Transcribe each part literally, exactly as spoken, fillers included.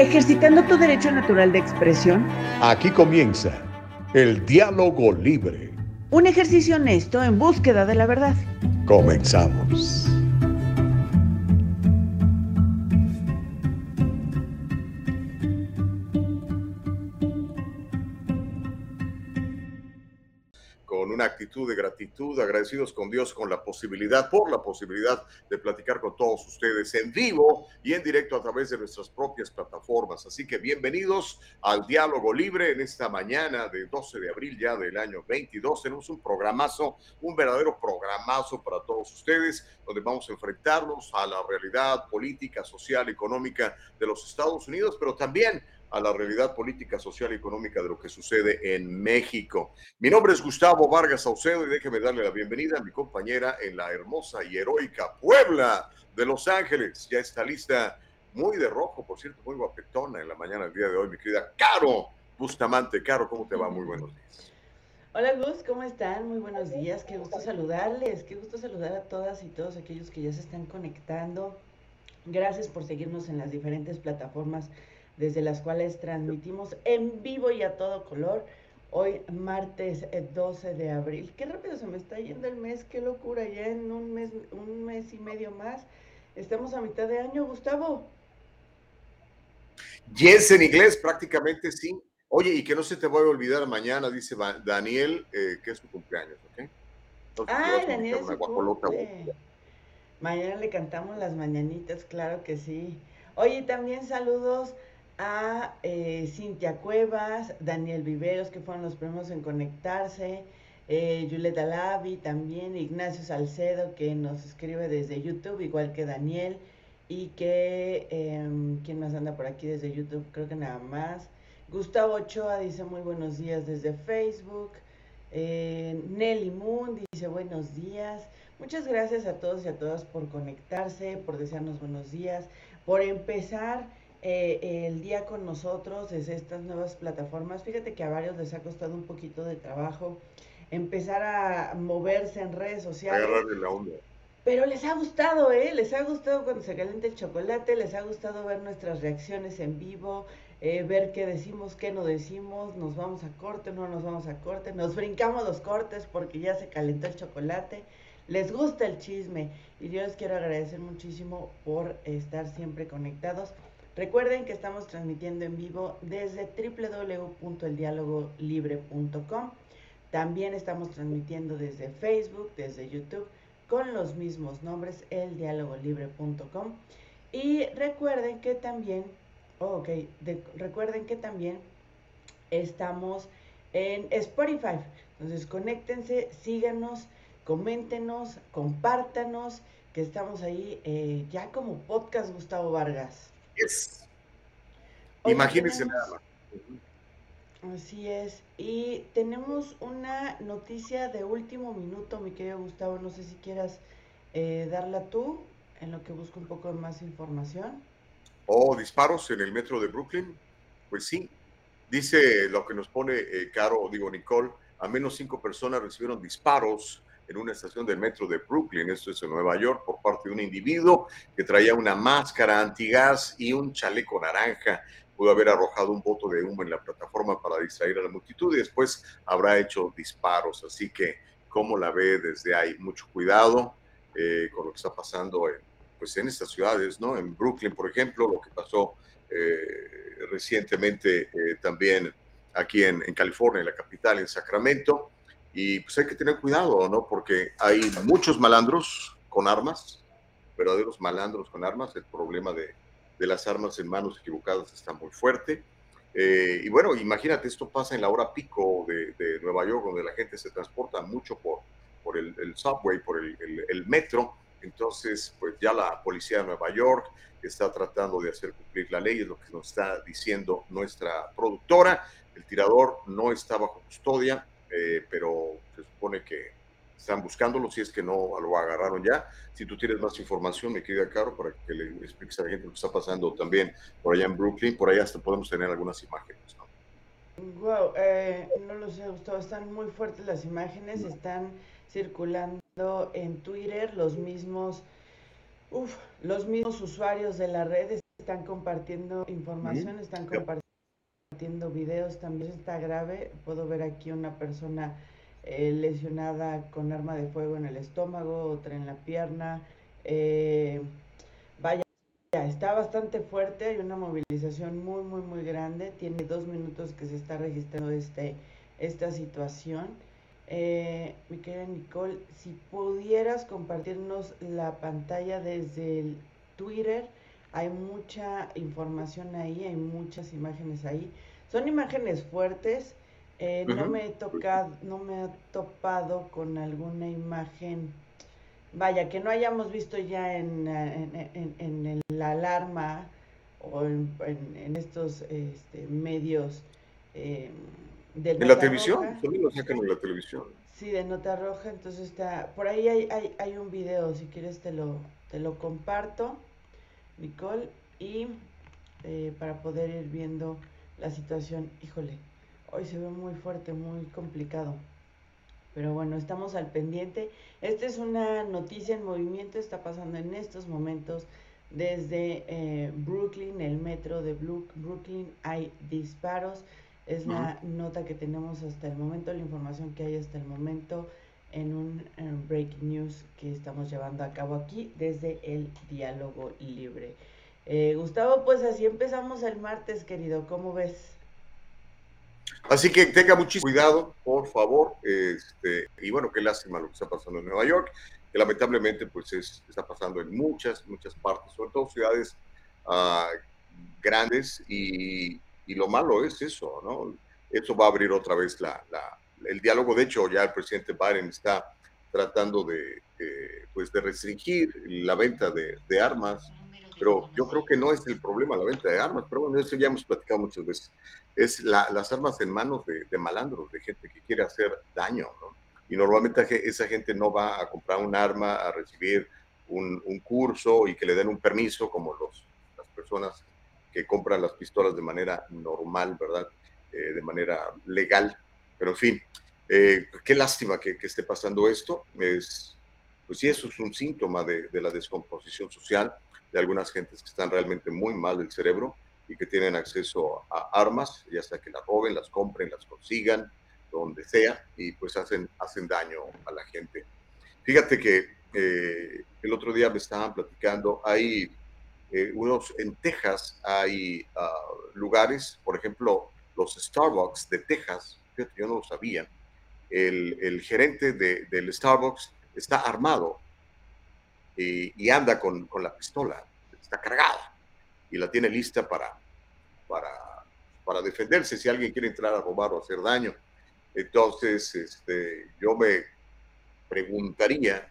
Ejercitando tu derecho natural de expresión. Aquí comienza el diálogo libre. Un ejercicio honesto en búsqueda de la verdad. Comenzamos. Con una actitud de gratitud, agradecidos con Dios con la posibilidad, por la posibilidad de platicar con todos ustedes en vivo y en directo a través de nuestras propias plataformas. Así que bienvenidos al Diálogo Libre en esta mañana de doce de abril ya del año veintidós. Tenemos un programazo, un verdadero programazo para todos ustedes, donde vamos a enfrentarnos a la realidad política, social, económica de los Estados Unidos, pero también a la realidad política, social y económica de lo que sucede en México. Mi nombre es Gustavo Vargas Saucedo y déjeme darle la bienvenida a mi compañera en la hermosa y heroica Puebla de Los Ángeles. Ya está lista, muy de rojo, por cierto, muy guapetona en la mañana del día de hoy, mi querida Caro Bustamante. Caro, ¿cómo te va? Muy buenos días. Hola Gus, ¿cómo están? Muy buenos días, qué gusto saludarles, qué gusto saludar a todas y todos aquellos que ya se están conectando. Gracias por seguirnos en las diferentes plataformas desde las cuales transmitimos en vivo y a todo color. Hoy martes doce de abril. Qué rápido se me está yendo el mes, qué locura, ya en un mes, un mes y medio más. Estamos a mitad de año, Gustavo. Yes, en inglés prácticamente sí. Oye, y que no se te vaya a olvidar mañana, dice Daniel, eh, que es su cumpleaños, ¿ok? Entonces le Ay, vas a Daniel invitar es una su guapolota. cumple. Mañana le cantamos las mañanitas, claro que sí. Oye, también saludos a eh, Cintia Cuevas, Daniel Viveros, que fueron los primeros en conectarse, eh, Yuleta Lavi también, Ignacio Salcedo, que nos escribe desde YouTube, igual que Daniel, y que, eh, ¿quién más anda por aquí desde YouTube? Creo que nada más. Gustavo Ochoa dice muy buenos días desde Facebook. Eh, Nelly Moon dice buenos días. Muchas gracias a todos y a todas por conectarse, por desearnos buenos días, por empezar eh, el día con nosotros desde estas nuevas plataformas. Fíjate que a varios les ha costado un poquito de trabajo empezar a moverse en redes sociales, Agarrarle la onda. pero les ha gustado, ¿eh? Les ha gustado cuando se calienta el chocolate, les ha gustado ver nuestras reacciones en vivo, eh, ver qué decimos, qué no decimos, nos vamos a corte, no nos vamos a corte, nos brincamos los cortes porque ya se calentó el chocolate. Les gusta el chisme y yo les quiero agradecer muchísimo por estar siempre conectados. Recuerden que estamos transmitiendo en vivo desde doble u doble u doble u punto el diálogo libre punto com. También estamos transmitiendo desde Facebook, desde YouTube, con los mismos nombres, el diálogo libre punto com. Y recuerden que también, oh, ok, de, recuerden que también estamos en Spotify. Entonces conéctense, síganos, coméntenos, compártanos, que estamos ahí eh, ya como podcast Gustavo Vargas. Yes. Oye, Imagínense tenemos, nada más. Uh-huh. Así es, y tenemos una noticia de último minuto, mi querido Gustavo, no sé si quieras eh, darla tú, en lo que busco un poco de más información. ¿O disparos en el metro de Brooklyn? Pues sí. Dice lo que nos pone eh, Caro, digo Nicole, al menos cinco personas recibieron disparos en una estación del metro de Brooklyn, esto es en Nueva York, por parte de un individuo que traía una máscara antigás y un chaleco naranja. Pudo haber arrojado un bote de humo en la plataforma para distraer a la multitud y después habrá hecho disparos. Así que, ¿cómo la ve desde ahí? Mucho cuidado eh, con lo que está pasando en, pues en estas ciudades, ¿no? En Brooklyn, por ejemplo, lo que pasó eh, recientemente eh, también aquí en, en California, en la capital, en Sacramento. Y pues hay que tener cuidado, ¿no? Porque hay muchos malandros con armas, verdaderos malandros con armas. El problema de, de las armas en manos equivocadas está muy fuerte. Eh, y bueno, imagínate, esto pasa en la hora pico de, de Nueva York, donde la gente se transporta mucho por, por el, el subway, por el, el, el metro. Entonces, pues ya la policía de Nueva York está tratando de hacer cumplir la ley, es lo que nos está diciendo nuestra productora. El tirador no está bajo custodia, eh, pero se supone que están buscándolo, si es que no lo agarraron ya. Si tú tienes más información, mi querida Caro, para que le expliques a la gente lo que está pasando también por allá en Brooklyn, por allá hasta podemos tener algunas imágenes, ¿no? Wow, eh, no lo sé, Gustavo, están muy fuertes las imágenes, están circulando en Twitter los mismos, uf, los mismos usuarios de la red están compartiendo información, Ujú. están Yep. compartiendo videos, también está grave. Puedo ver aquí una persona eh, lesionada con arma de fuego en el estómago, otra en la pierna. Eh, vaya, está bastante fuerte, hay una movilización muy, muy, muy grande. Tiene dos minutos que se está registrando este, esta situación. Eh, mi querida Nicole, si pudieras compartirnos la pantalla desde el Twitter, hay mucha información ahí, hay muchas imágenes ahí. Son imágenes fuertes. Eh, no Ujú. me he tocado, no me he topado con alguna imagen, vaya, que no hayamos visto ya en, en, en, en la alarma o en, en, en estos este, medios eh, de En la nota televisión, roja. solo lo sacan en la televisión. Sí, de nota roja, entonces está, por ahí hay, hay, hay un video, si quieres te lo, te lo comparto, Nicole, y eh, para poder ir viendo la situación. Híjole, hoy se ve muy fuerte, muy complicado. Pero bueno, estamos al pendiente. Esta es una noticia en movimiento, está pasando en estos momentos desde eh, Brooklyn, el metro de Brooklyn, hay disparos. Es Ujú. la nota que tenemos hasta el momento, la información que hay hasta el momento en un eh, breaking news que estamos llevando a cabo aquí desde el diálogo libre. Eh, Gustavo, pues así empezamos el martes, querido, ¿cómo ves? Así que tenga muchísimo cuidado, por favor. Este, y bueno, qué lástima lo que está pasando en Nueva York, que lamentablemente pues es, está pasando en muchas, muchas partes, sobre todo ciudades uh, grandes. Y, y, lo malo es eso, ¿no? Eso va a abrir otra vez la, la, el diálogo. De hecho, ya el presidente Biden está tratando de, eh, pues de restringir la venta de, de armas, pero yo creo que no es el problema la venta de armas, pero bueno, eso ya hemos platicado muchas veces. Es la, las armas en manos de, de, malandros, de gente que quiere hacer daño, ¿no? Y normalmente esa gente no va a comprar un arma, a recibir un, un curso y que le den un permiso, como los, las personas que compran las pistolas de manera normal, ¿verdad? Eh, de manera legal. Pero en fin, eh, qué lástima que, que esté pasando esto. Es, pues sí, eso es un síntoma de, de la descomposición social de algunas gentes que están realmente muy mal del cerebro y que tienen acceso a armas, ya sea que las roben, las compren, las consigan, donde sea, y pues hacen, hacen daño a la gente. Fíjate que eh, el otro día me estaban platicando, hay eh, unos, en Texas hay uh, lugares, por ejemplo, los Starbucks de Texas, fíjate, yo no lo sabía, el, el gerente de, del Starbucks está armado y, y anda con, con la pistola, está cargada y la tiene lista para, para, para defenderse si alguien quiere entrar a robar o hacer daño. Entonces, este, yo me preguntaría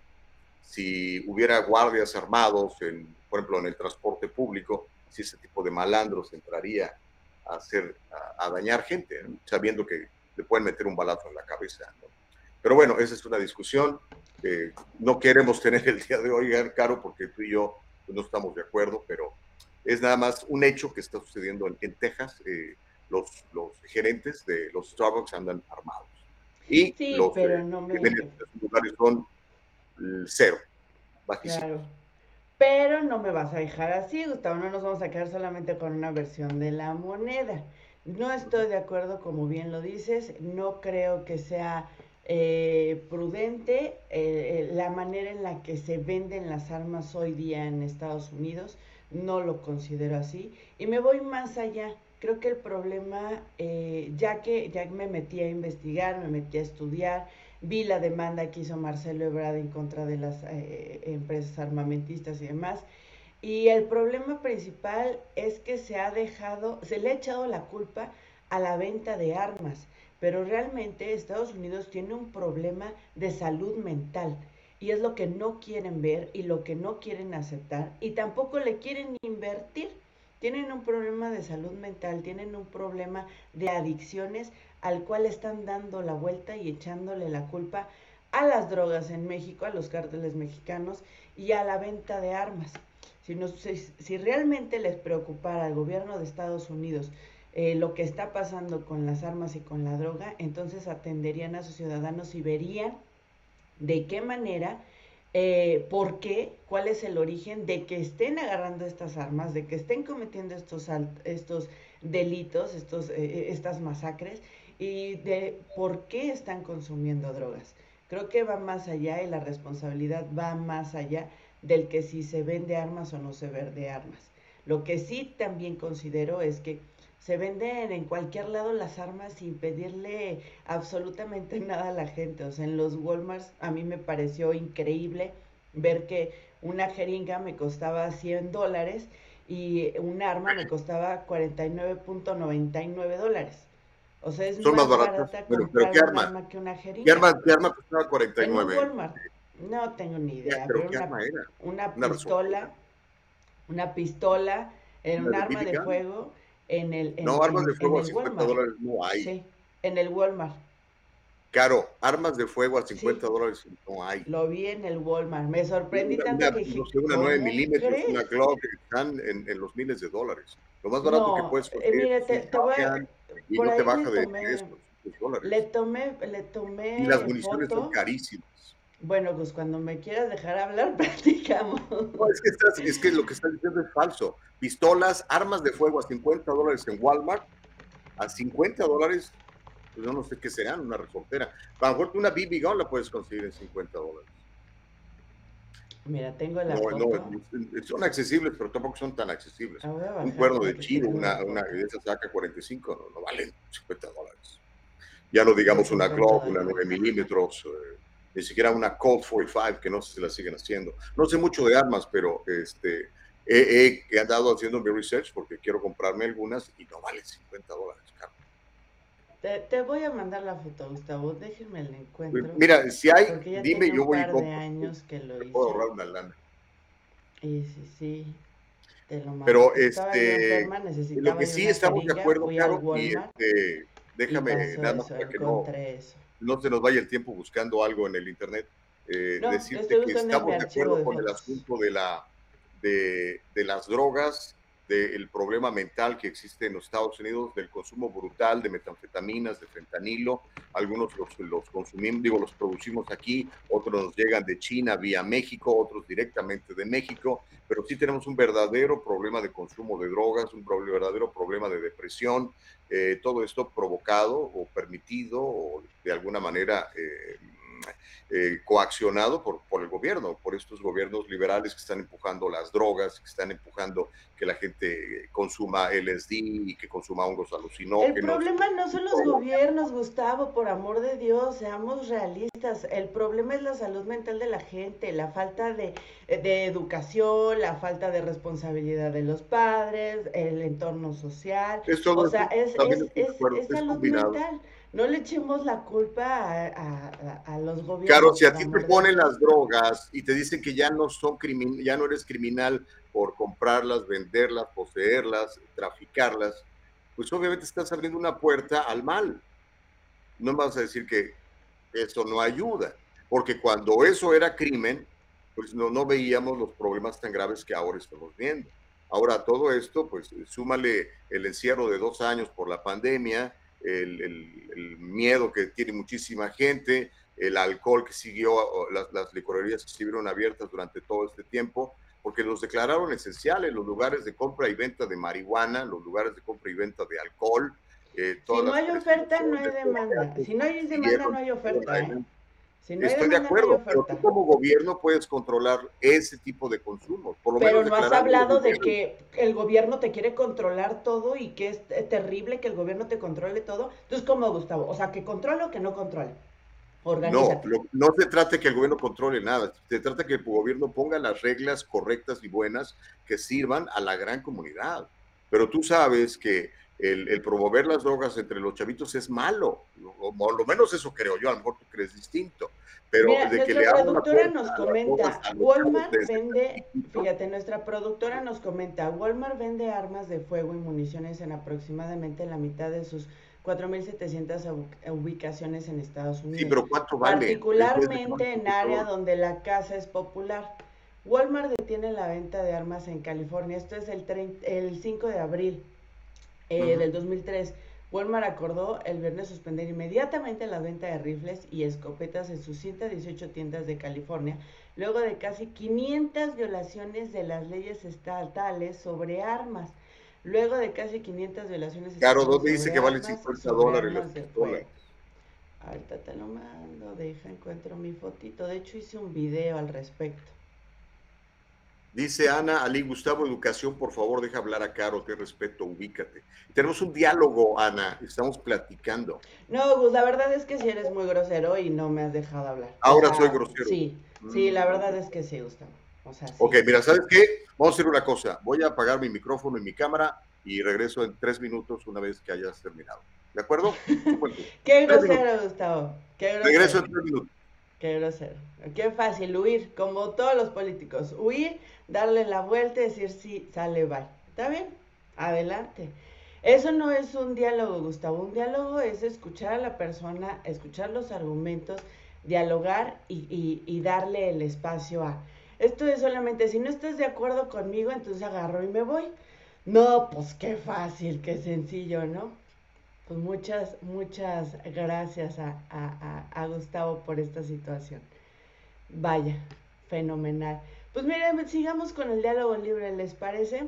si hubiera guardias armados, en, por ejemplo, en el transporte público, si ese tipo de malandros entraría a, hacer, a, a dañar gente, ¿no? Sabiendo que le pueden meter un balazo en la cabeza, ¿no? Pero bueno, esa es una discusión que no queremos tener el día de hoy, Caro, porque tú y yo pues, no estamos de acuerdo, pero es nada más un hecho que está sucediendo en, en Texas. Eh, los, los gerentes de los Starbucks andan armados y Sí, los pero eh, no que venden me... en esos lugares son cero, bajísimos. Claro. Pero no me vas a dejar así, Gustavo, no nos vamos a quedar solamente con una versión de la moneda. No estoy de acuerdo, como bien lo dices, no creo que sea eh, prudente eh, eh, la manera en la que se venden las armas hoy día en Estados Unidos, no lo considero así. Y me voy más allá, creo que el problema, eh, ya que ya me metí a investigar, me metí a estudiar, vi la demanda que hizo Marcelo Ebrard en contra de las eh, empresas armamentistas y demás. Y el problema principal es que se ha dejado, se le ha echado la culpa a la venta de armas, pero realmente Estados Unidos tiene un problema de salud mental y es lo que no quieren ver y lo que no quieren aceptar y tampoco le quieren invertir. Tienen un problema de salud mental, tienen un problema de adicciones al cual están dando la vuelta y echándole la culpa a las drogas en México, a los cárteles mexicanos y a la venta de armas. Si, nos, si, si realmente les preocupara al gobierno de Estados Unidos eh, lo que está pasando con las armas y con la droga, entonces atenderían a sus ciudadanos y verían de qué manera Eh, ¿por qué? ¿Cuál es el origen de que estén agarrando estas armas, de que estén cometiendo estos, estos delitos, estos, eh, estas masacres y de por qué están consumiendo drogas? Creo que va más allá y la responsabilidad va más allá del que si se vende armas o no se vende armas. Lo que sí también considero es que se venden en cualquier lado las armas sin pedirle absolutamente nada a la gente. O sea, en los Walmarts a mí me pareció increíble ver que una jeringa me costaba cien dólares y un arma me costaba cuarenta y nueve punto noventa y nueve dólares. O sea, es Son más más baratas. barata Bueno, pero comprar ¿qué un arma? arma que una ¿Qué jeringa. arma, qué arma costaba En un cuarenta y nueve? Walmart, no tengo ni Ya, idea, pero pero ¿qué una, arma era? una ¿Una resortera? pistola, una pistola, en ¿Una un de arma B B de gun? fuego en el, No, en, armas de en, en fuego a el cincuenta Walmart. dólares no hay. Sí, en el Walmart. Caro, armas de fuego a Sí, cincuenta dólares no hay. lo vi en el Walmart. Me sorprendí Una, tanto una, que no dije, sé, una nueve ¿cómo milímetros, una crees? Glock, están en, en los miles de dólares. Lo más barato que No, puedes eh, conseguir mire, es un te, te voy a, shotgun y por no te ahí le baja de diez tomé, o cinco le dólares. tomé, le Y las tomé municiones son foto. carísimas. Bueno, pues cuando me quieras dejar hablar, platicamos. No, es que, estás, es que lo que estás diciendo es falso. Pistolas, armas de fuego a cincuenta dólares en Walmart, a cincuenta dólares, pues yo no sé qué serán, una resortera. A lo mejor una B B gun la puedes conseguir en cincuenta dólares. Mira, tengo la No, foto. no, son accesibles, pero tampoco son tan accesibles. La voy a Un bajar cuerno para de que chivo, tengan la una, una foto. de esas saca cuarenta y cinco, no, no valen cincuenta dólares. Ya no De digamos una cincuenta Glock, una dólares. nueve milímetros, eh, ni siquiera una Colt cuarenta y cinco, que no sé si la siguen haciendo. No sé mucho de armas, pero este, he, he, he andado haciendo mi research porque quiero comprarme algunas y no valen cincuenta dólares, caro. Te, te voy a mandar la foto, Gustavo. Déjenme la encuentro. Mira, si hay, Porque ya dime, tiene yo un voy y par de compro. años que lo Me puedo hice. ahorrar una lana. Y sí, sí, te lo mando. Pero Estaba yo este, enferma, en lo necesitaba que yo sí una estamos de jeringa. acuerdo, Fui al Caro, y Walmart este, y déjame, pasó nada más eso. para que no, Encontré eso. no se nos vaya el tiempo buscando algo en el Internet, eh, No, decirte estoy que buscando en mi estamos de archivo acuerdo de con el fotos. asunto de, la, de, de las drogas, del problema mental que existe en los Estados Unidos, del consumo brutal de metanfetaminas, de fentanilo. Algunos los, los consumimos, digo, los producimos aquí, otros nos llegan de China vía México, otros directamente de México, pero sí tenemos un verdadero problema de consumo de drogas, un verdadero problema de depresión, eh, todo esto provocado o permitido o de alguna manera eh, eh, coaccionado por, por el gobierno, por estos gobiernos liberales que están empujando las drogas, que están empujando que la gente consuma L S D y que consuma hongos El alucinógenos. problema no son los gobiernos, Gustavo, por amor de Dios, seamos realistas. El problema es la salud mental de la gente, la falta de, de educación, la falta de responsabilidad de los padres, el entorno social. Es O todo sea, eso, es, también es, estoy de es, acuerdo, es es salud combinado. mental. No le echemos la culpa a, a, a, los Claro, gobiernos, si a por ti te amor de ponen Dios. las drogas y te dicen que ya no son crimin ya no eres criminal por comprarlas, venderlas, poseerlas, traficarlas, pues obviamente estás abriendo una puerta al mal. No me vas a decir que eso no ayuda, porque cuando eso era crimen, pues no, no veíamos los problemas tan graves que ahora estamos viendo. Ahora todo esto, pues súmale el encierro de dos años por la pandemia, el, el, el miedo que tiene muchísima gente, el alcohol que siguió, las, las licorerías que siguieron abiertas durante todo este tiempo, porque los declararon esenciales, los lugares de compra y venta de marihuana, los lugares de compra y venta de alcohol, eh, Si todas no las hay oferta, no hay prescripciones, los demanda. teatros Si no hay demanda, siguieron, no hay oferta, ¿eh? Si no hay estoy de demanda, no hay acuerdo, pero tú oferta. como gobierno puedes controlar ese tipo de consumos, por lo menos Pero no has declarándolo hablado de ilegal. que el gobierno te quiere controlar todo y que es terrible que el gobierno te controle todo. Entonces, ¿cómo, Gustavo? O sea, que controle o que no controle. No, Organízate. lo, no se trata de que el gobierno controle nada, se trata de que el gobierno ponga las reglas correctas y buenas que sirvan a la gran comunidad. Pero tú sabes que el, el promover las drogas entre los chavitos es malo, o por lo menos eso creo yo, a lo mejor tú crees distinto, pero Mira, de que nuestra le abran la productora puerta nos a las drogas comenta, a los chavos Walmart desde vende, chiquitos. fíjate, nuestra productora nos comenta, Walmart vende armas de fuego y municiones en aproximadamente la mitad de sus cuatro mil setecientas ubicaciones en Estados Sí, Unidos, pero ¿cuánto vale? Es, es de particularmente en área peor. donde la caza es popular. Walmart detiene la venta de armas en California, esto es el, treinta, el cinco de abril eh, Uh-huh. del dos mil tres. Walmart acordó el viernes suspender inmediatamente la venta de rifles y escopetas en sus ciento dieciocho tiendas de California, luego de casi quinientas violaciones de las leyes estatales sobre armas. Luego de casi quinientas violaciones Caro, estatales ¿dónde dice sobre que valen armas, cincuenta sobre dólares las armas de pistolas? fuego. Ahorita te lo mando, deja, encuentro mi fotito. De hecho, hice un video al respecto. Dice Ana, Ali Gustavo, educación, por favor, deja hablar a Caro, te respeto, ubícate. Tenemos un diálogo, Ana, estamos platicando. No, Gus, la verdad es que sí eres muy grosero y no me has dejado hablar. O Ahora soy sea, grosero. sí, sí, la verdad es que sí, Gustavo. O sea, sí. Ok, mira, ¿sabes qué? Vamos a hacer una cosa. Voy a apagar mi micrófono y mi cámara y regreso en tres minutos una vez que hayas terminado. ¿De acuerdo? Qué Tres grosero, minutos. Gustavo. Qué Regreso grosero. en tres minutos. Qué grosero. Qué fácil huir, como todos los políticos. Huir, darle la vuelta y decir sí, sale, bye. ¿Está bien? Adelante. Eso no es un diálogo, Gustavo. Un diálogo es escuchar a la persona, escuchar los argumentos, dialogar y, y, y darle el espacio a. Esto es solamente, si no estás de acuerdo conmigo, entonces agarro y me voy. No, pues qué fácil, qué sencillo, ¿no? Pues muchas, muchas gracias a, a, a, a Gustavo por esta situación. Vaya, fenomenal. Pues miren, sigamos con el diálogo libre, ¿les parece?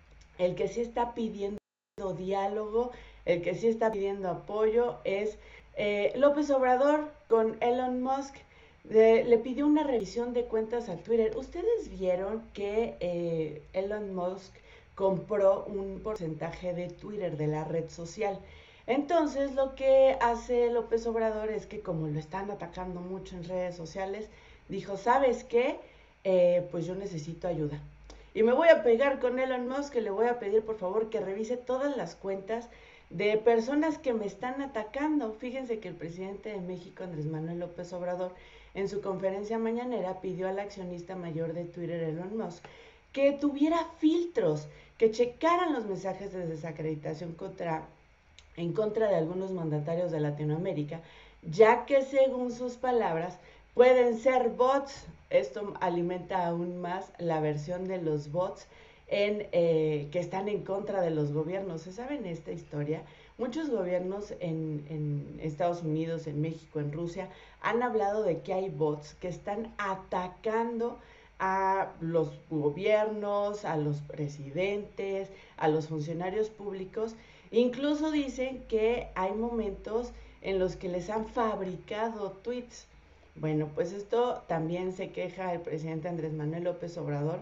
El que sí está pidiendo diálogo, el que sí está pidiendo apoyo es eh, López Obrador con Elon Musk. De, le pidió una revisión de cuentas a Twitter. ¿Ustedes vieron que eh, Elon Musk compró un porcentaje de Twitter, de la red social? Entonces lo que hace López Obrador es que, como lo están atacando mucho en redes sociales, dijo, ¿sabes qué? Eh, pues yo necesito ayuda. Y me voy a pegar con Elon Musk, que le voy a pedir por favor que revise todas las cuentas de personas que me están atacando. Fíjense que el presidente de México, Andrés Manuel López Obrador, en su conferencia mañanera pidió al accionista mayor de Twitter, Elon Musk, que tuviera filtros, que checaran los mensajes de desacreditación contra en contra de algunos mandatarios de Latinoamérica, ya que según sus palabras pueden ser bots. Esto alimenta aún más la versión de los bots en, eh, que están en contra de los gobiernos. ¿Se saben esta historia? Muchos gobiernos en, en Estados Unidos, en México, en Rusia, han hablado de que hay bots que están atacando a los gobiernos, a los presidentes, a los funcionarios públicos. Incluso dicen que hay momentos en los que les han fabricado tweets. Bueno, pues esto también se queja el presidente Andrés Manuel López Obrador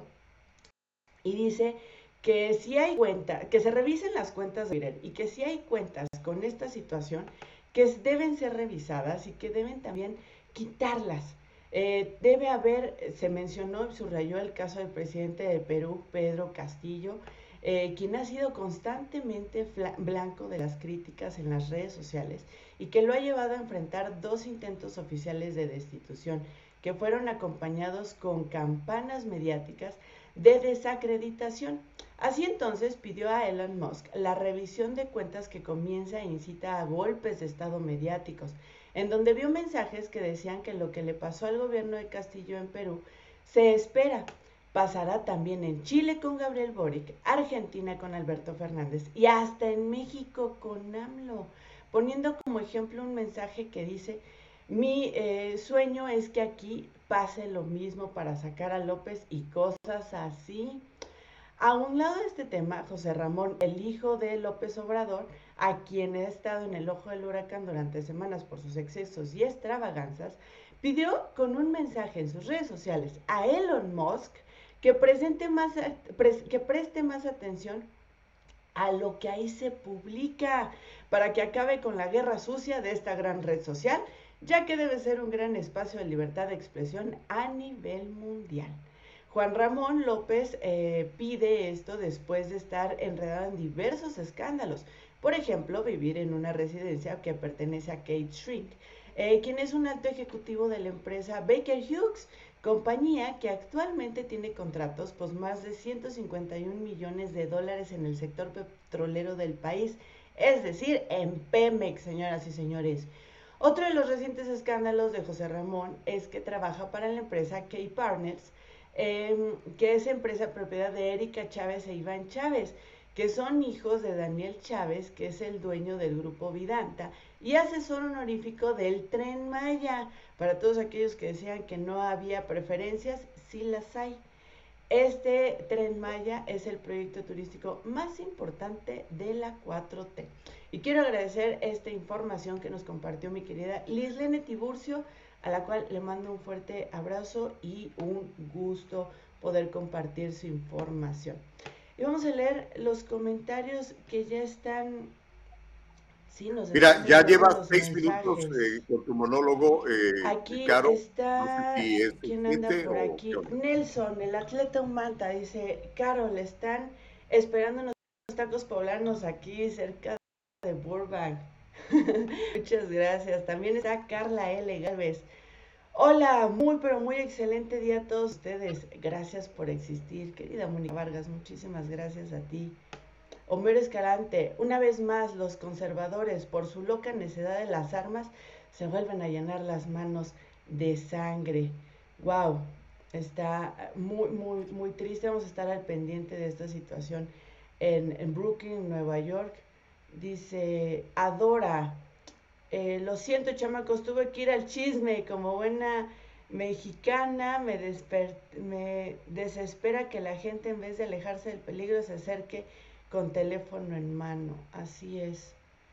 y dice que si hay cuentas, que se revisen las cuentas de Twitter y que si hay cuentas con esta situación, que deben ser revisadas y que deben también quitarlas. Eh, debe haber, se mencionó y subrayó el caso del presidente de Perú, Pedro Castillo, eh, quien ha sido constantemente blanco de las críticas en las redes sociales y que lo ha llevado a enfrentar dos intentos oficiales de destitución que fueron acompañados con campanas mediáticas de desacreditación. Así entonces pidió a Elon Musk la revisión de cuentas que comienza e incita a golpes de estado mediáticos, en donde vio mensajes que decían que lo que le pasó al gobierno de Castillo en Perú se espera pasará también en Chile con Gabriel Boric, Argentina con Alberto Fernández y hasta en México con AMLO, poniendo como ejemplo un mensaje que dice, mi eh, sueño es que aquí pase lo mismo para sacar a López y cosas así. A un lado de este tema, José Ramón, el hijo de López Obrador, a quien ha estado en el ojo del huracán durante semanas por sus excesos y extravaganzas, pidió con un mensaje en sus redes sociales a Elon Musk que, presente más, que preste más atención a lo que ahí se publica para que acabe con la guerra sucia de esta gran red social, ya que debe ser un gran espacio de libertad de expresión a nivel mundial. Juan Ramón López eh, pide esto después de estar enredado en diversos escándalos. Por ejemplo, vivir en una residencia que pertenece a Kate Shrink, eh, quien es un alto ejecutivo de la empresa Baker Hughes, compañía que actualmente tiene contratos por más de ciento cincuenta y un millones de dólares en el sector petrolero del país, es decir, en Pemex, señoras y señores. Otro de los recientes escándalos de José Ramón es que trabaja para la empresa K-Partners, Eh, que es empresa propiedad de Erika Chávez e Iván Chávez, que son hijos de Daniel Chávez, que es el dueño del grupo Vidanta y asesor honorífico del Tren Maya. Para todos aquellos que decían que no había preferencias, sí las hay. Este Tren Maya es el proyecto turístico más importante de la cuatro T. Y quiero agradecer esta información que nos compartió mi querida Lislene Tiburcio, a la cual le mando un fuerte abrazo y un gusto poder compartir su información. Y vamos a leer los comentarios que ya están. Sí, nos Mira, están ya llegando llevas los seis minutos mensajes. eh, con tu monólogo, eh, Aquí Caro. No sé está, si es ¿quién anda suficiente por o aquí? qué onda. Nelson, el atleta humanta, dice, Carol, están esperando unos tacos poblanos aquí cerca de Burbank. Muchas gracias. También está Carla L. Galvez. Hola, muy pero muy excelente día a todos ustedes. Gracias por existir, querida Mónica Vargas, muchísimas gracias a ti. Homero Escalante, una vez más los conservadores, por su loca necedad de las armas, se vuelven a llenar las manos de sangre. Wow, está muy, muy, muy triste. Vamos a estar al pendiente de esta situación en, en Brooklyn, Nueva York. Dice, Adora, eh, lo siento chamacos, tuve que ir al chisme como buena mexicana, me, desper me desespera que la gente en vez de alejarse del peligro se acerque con teléfono en mano. Así es.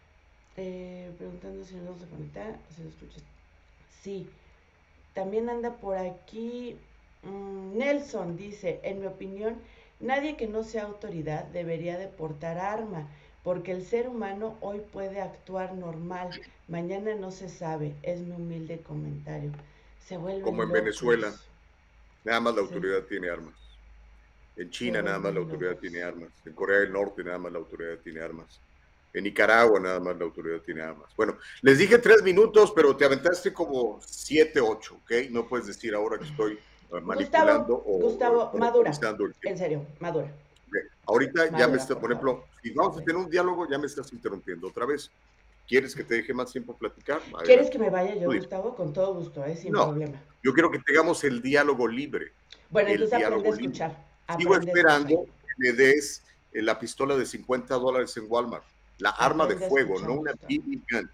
Eh, preguntando si nos vamos a conectar. ¿Se lo escucha? Sí. También anda por aquí mmm, Nelson, dice, en mi opinión, nadie que no sea autoridad debería de portar arma, porque el ser humano hoy puede actuar normal, mañana no se sabe, es mi humilde comentario. Se vuelven Como en locos. Venezuela, nada más la Se, autoridad tiene armas. En se China nada más la vuelven autoridad locos. tiene armas. En Corea del Norte nada más la autoridad tiene armas. En Nicaragua nada más la autoridad tiene armas. Bueno, les dije tres minutos, pero te aventaste como siete, ocho, ¿ok? No puedes decir ahora que estoy uh, manipulando Gustavo, o uh, Gustavo, madura. monopolizando el En tiempo. serio, madura. Okay. Ahorita ya me Madura, está, por por favor. ejemplo, si vamos a tener un diálogo, ya me estás interrumpiendo otra vez. ¿Quieres que te deje más tiempo platicar? ¿Quieres Adelante. que me vaya yo, Tú dime. Gustavo? Con todo gusto, ¿eh? Sin No, problema. yo quiero que tengamos el diálogo libre. Bueno, El entonces aprende a diálogo libre. escuchar. Sigo Aprende a escuchar. esperando que me des eh, la pistola de cincuenta dólares en Walmart. La arma de Aprende a fuego, escuchar, no una Gustavo. B B gun.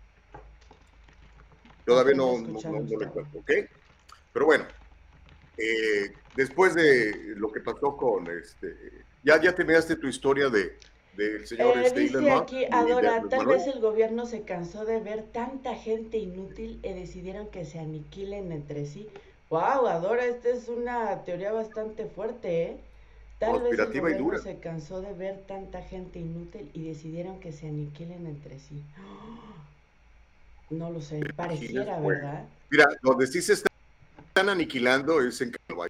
Todavía Aprende a no, no, escuchar, no, no le Gustavo. cuento, ¿ok? Pero bueno, eh, después de lo que pasó con este, ya, ya terminaste tu historia de del señor Eh, este Elon dice Musk aquí, y de Adora, Andrés tal vez Manuel. el gobierno se cansó de ver tanta gente inútil y decidieron que se aniquilen entre sí. Wow, Adora, esta es una teoría bastante fuerte, ¿eh? Tal vez el Conspirativa y gobierno dura. se cansó de ver tanta gente inútil y decidieron que se aniquilen entre sí. No lo sé, Imagines, pareciera, bueno. ¿verdad? Mira, donde sí se están aniquilando es en Canadá.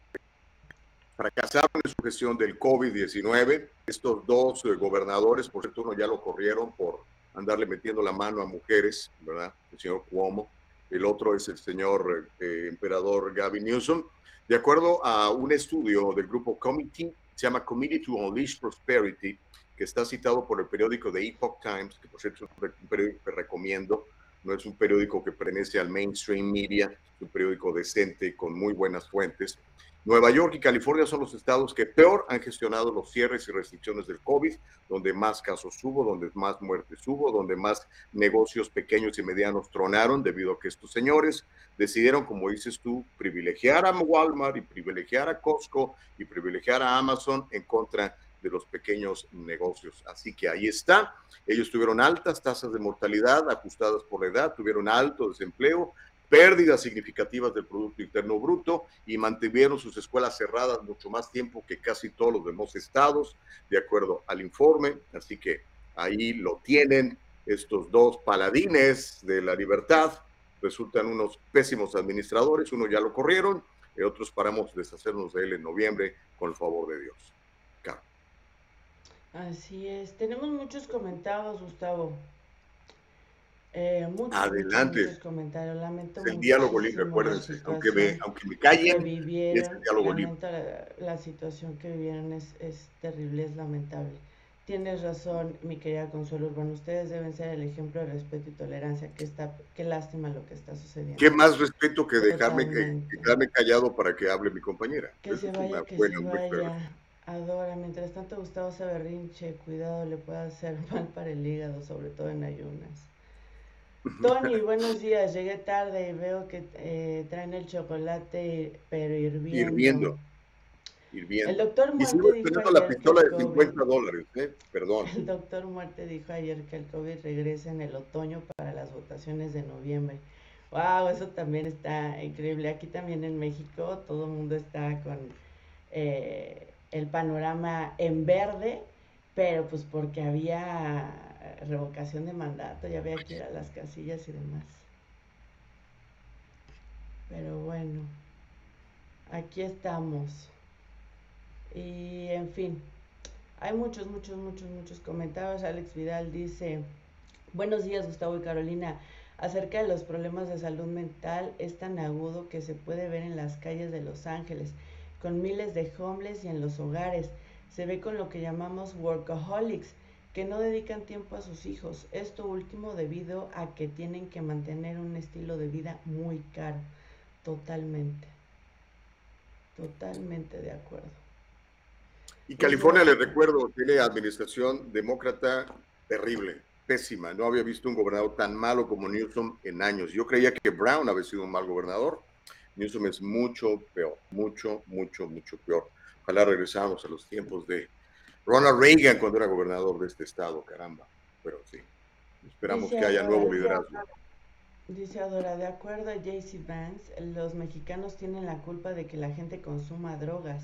Fracasaron en su gestión del COVID diecinueve. Estos dos eh, gobernadores, por cierto, uno ya lo corrieron por andarle metiendo la mano a mujeres, ¿verdad? El señor Cuomo. El otro es el señor eh, emperador Gavin Newsom. De acuerdo a un estudio del grupo Committee, se llama Committee to Unleash Prosperity, que está citado por el periódico The Epoch Times, que por cierto es un periódico que recomiendo. No es un periódico que pertenece al mainstream media, es un periódico decente con muy buenas fuentes. Nueva York y California son los estados que peor han gestionado los cierres y restricciones del COVID, donde más casos hubo, donde más muertes hubo, donde más negocios pequeños y medianos tronaron debido a que estos señores decidieron, como dices tú, privilegiar a Walmart y privilegiar a Costco y privilegiar a Amazon en contra de los pequeños negocios. Así que ahí está. Ellos tuvieron altas tasas de mortalidad ajustadas por la edad, tuvieron alto desempleo, pérdidas significativas del Producto Interno Bruto y mantuvieron sus escuelas cerradas mucho más tiempo que casi todos los demás estados, de acuerdo al informe. Así que ahí lo tienen estos dos paladines de la libertad. Resultan unos pésimos administradores, uno ya lo corrieron, y otros paramos deshacernos de él en noviembre con el favor de Dios. Claro. Así es. Tenemos muchos comentarios, Gustavo. Eh, muchos, Adelante. muchos, muchos comentarios. Lamento Es el diálogo libre, muchísimo la acuérdense. Aunque me, situación aunque me que callen, es vivieron. el diálogo libre. Lamento la, la situación que vivieron. Es, es terrible, es lamentable. Tienes razón, mi querida Consuelo Urbano. Ustedes deben ser el ejemplo de respeto y tolerancia. Que está, qué lástima lo que está sucediendo. ¿Qué más respeto que dejarme, que, Totalmente. que quedarme callado para que hable mi compañera? Que Eso se es una vaya, que buena, se un buen vaya. Adora, mientras tanto Gustavo se berrinche, cuidado, le puede hacer mal para el hígado, sobre todo en ayunas. Tony, buenos días, llegué tarde y veo que eh, traen el chocolate, pero hirviendo. Hirviendo, El hirviendo. doctor Y sigo Muerte dijo esperando la ayer que pistola el de COVID, cincuenta dólares, ¿eh? Perdón. el doctor Muerte dijo ayer que el COVID regresa en el otoño para las votaciones de noviembre. Wow, eso también está increíble. Aquí también en México todo el mundo está con eh, el panorama en verde, pero pues porque había revocación de mandato, ya había que ir a las casillas y demás. Pero bueno, aquí estamos. Y en fin, hay muchos, muchos, muchos, muchos comentarios. Alex Vidal dice, buenos días Gustavo y Carolina, acerca de los problemas de salud mental es tan agudo que se puede ver en las calles de Los Ángeles, con miles de homeless y en los hogares. Se ve con lo que llamamos workaholics, que no dedican tiempo a sus hijos. Esto último debido a que tienen que mantener un estilo de vida muy caro. Totalmente, totalmente de acuerdo. Y California, Dice, les recuerdo, tiene administración demócrata terrible, pésima. No había visto un gobernador tan malo como Newsom en años. Yo creía que Brown había sido un mal gobernador. Newsom es mucho peor, mucho, mucho, mucho peor. Ojalá regresamos a los tiempos de Ronald Reagan cuando era gobernador de este estado, caramba. Pero sí, esperamos dice que haya Adora, nuevo liderazgo. dice Adora, de acuerdo a J C Vance, los mexicanos tienen la culpa de que la gente consuma drogas.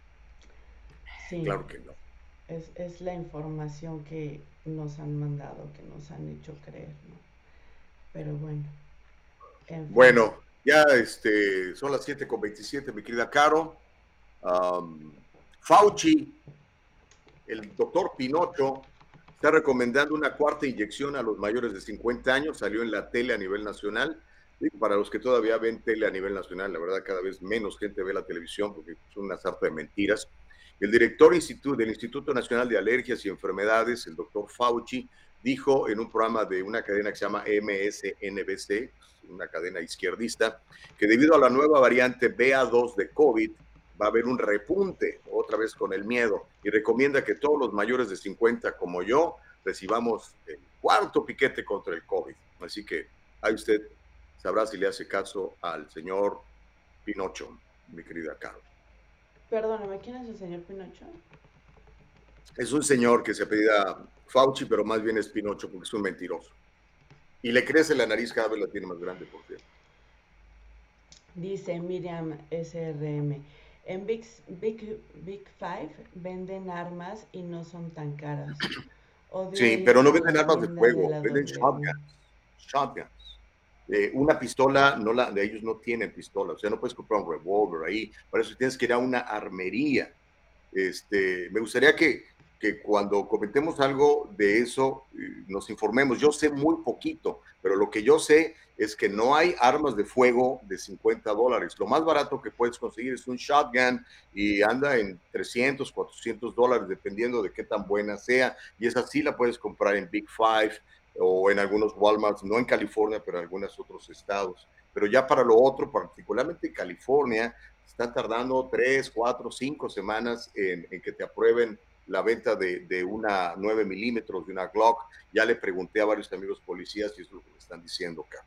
Sí, Claro que no. es, es la información que nos han mandado, que nos han hecho creer, ¿no? Pero bueno, en fin. Bueno, ya este, son las siete con veintisiete, mi querida Caro. Um, Fauci, el doctor Pinocho, está recomendando una cuarta inyección a los mayores de cincuenta años. Salió en la tele a nivel nacional. Y para los que todavía ven tele a nivel nacional, la verdad, cada vez menos gente ve la televisión porque son una sarta de mentiras. El director del Instituto Nacional de Alergias y Enfermedades, el doctor Fauci, dijo en un programa de una cadena que se llama M S N B C, una cadena izquierdista, que debido a la nueva variante B A dos de COVID, va a haber un repunte otra vez con el miedo y recomienda que todos los mayores de cincuenta como yo recibamos el cuarto piquete contra el COVID. Así que ahí usted sabrá si le hace caso al señor Pinocho, mi querida Caro. Perdóname, ¿quién es el señor Pinocho? Es un señor que se apellida Fauci, pero más bien es Pinocho porque es un mentiroso. Y le crece la nariz, cada vez la tiene más grande, por cierto. Dice Miriam S R M. En Big, Big, Big Five venden armas y no son tan caras. Odio Sí, ir pero no a venden la armas de tienda de fuego, la venden W. shotguns. Shotguns. Eh, una pistola, no la, de ellos no tienen pistola, o sea, no puedes comprar un revólver ahí, para eso tienes que ir a una armería. Este, me gustaría que, que cuando comentemos algo de eso, eh, nos informemos. Yo sé muy poquito, pero lo que yo sé es que no hay armas de fuego de cincuenta dólares. Lo más barato que puedes conseguir es un shotgun y anda en trescientos, cuatrocientos dólares, dependiendo de qué tan buena sea. Y esa sí la puedes comprar en Big Five o en algunos Walmarts, no en California, pero en algunos otros estados. Pero ya para lo otro, particularmente en California, están tardando tres, cuatro, cinco semanas en, en que te aprueben la venta de, de una nueve milímetros, de una Glock. Ya le pregunté a varios amigos policías y eso es lo que me están diciendo acá.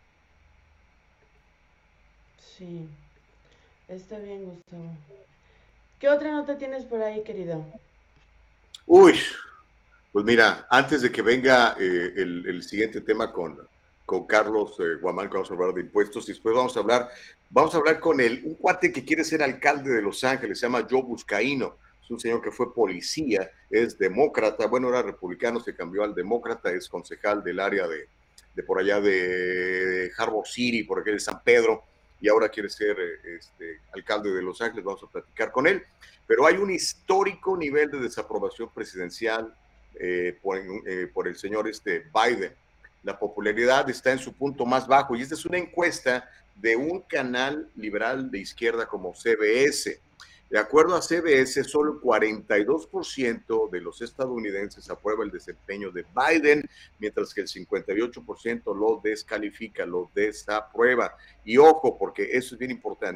Sí, está bien, Gustavo. ¿Qué otra nota tienes por ahí, querido? Uy, pues mira, antes de que venga eh, el, el, siguiente tema con, con Carlos eh, Guamán, que vamos a hablar de impuestos, y después vamos a hablar, vamos a hablar con el, un cuate que quiere ser alcalde de Los Ángeles, se llama Joe Buscaino, es un señor que fue policía, es demócrata, bueno, era republicano, se cambió al demócrata, es concejal del área de, de por allá de Harbor City, por aquí de San Pedro, y ahora quiere ser eh, este, alcalde de Los Ángeles, vamos a platicar con él, pero hay un histórico nivel de desaprobación presidencial Eh, por, eh, por el señor este Biden. La popularidad está en su punto más bajo y esta es una encuesta de un canal liberal de izquierda como C B S. De acuerdo a C B S, solo el cuarenta y dos por ciento de los estadounidenses aprueba el desempeño de Biden, mientras que el cincuenta y ocho por ciento lo descalifica, lo desaprueba. Y ojo, porque eso es bien importante.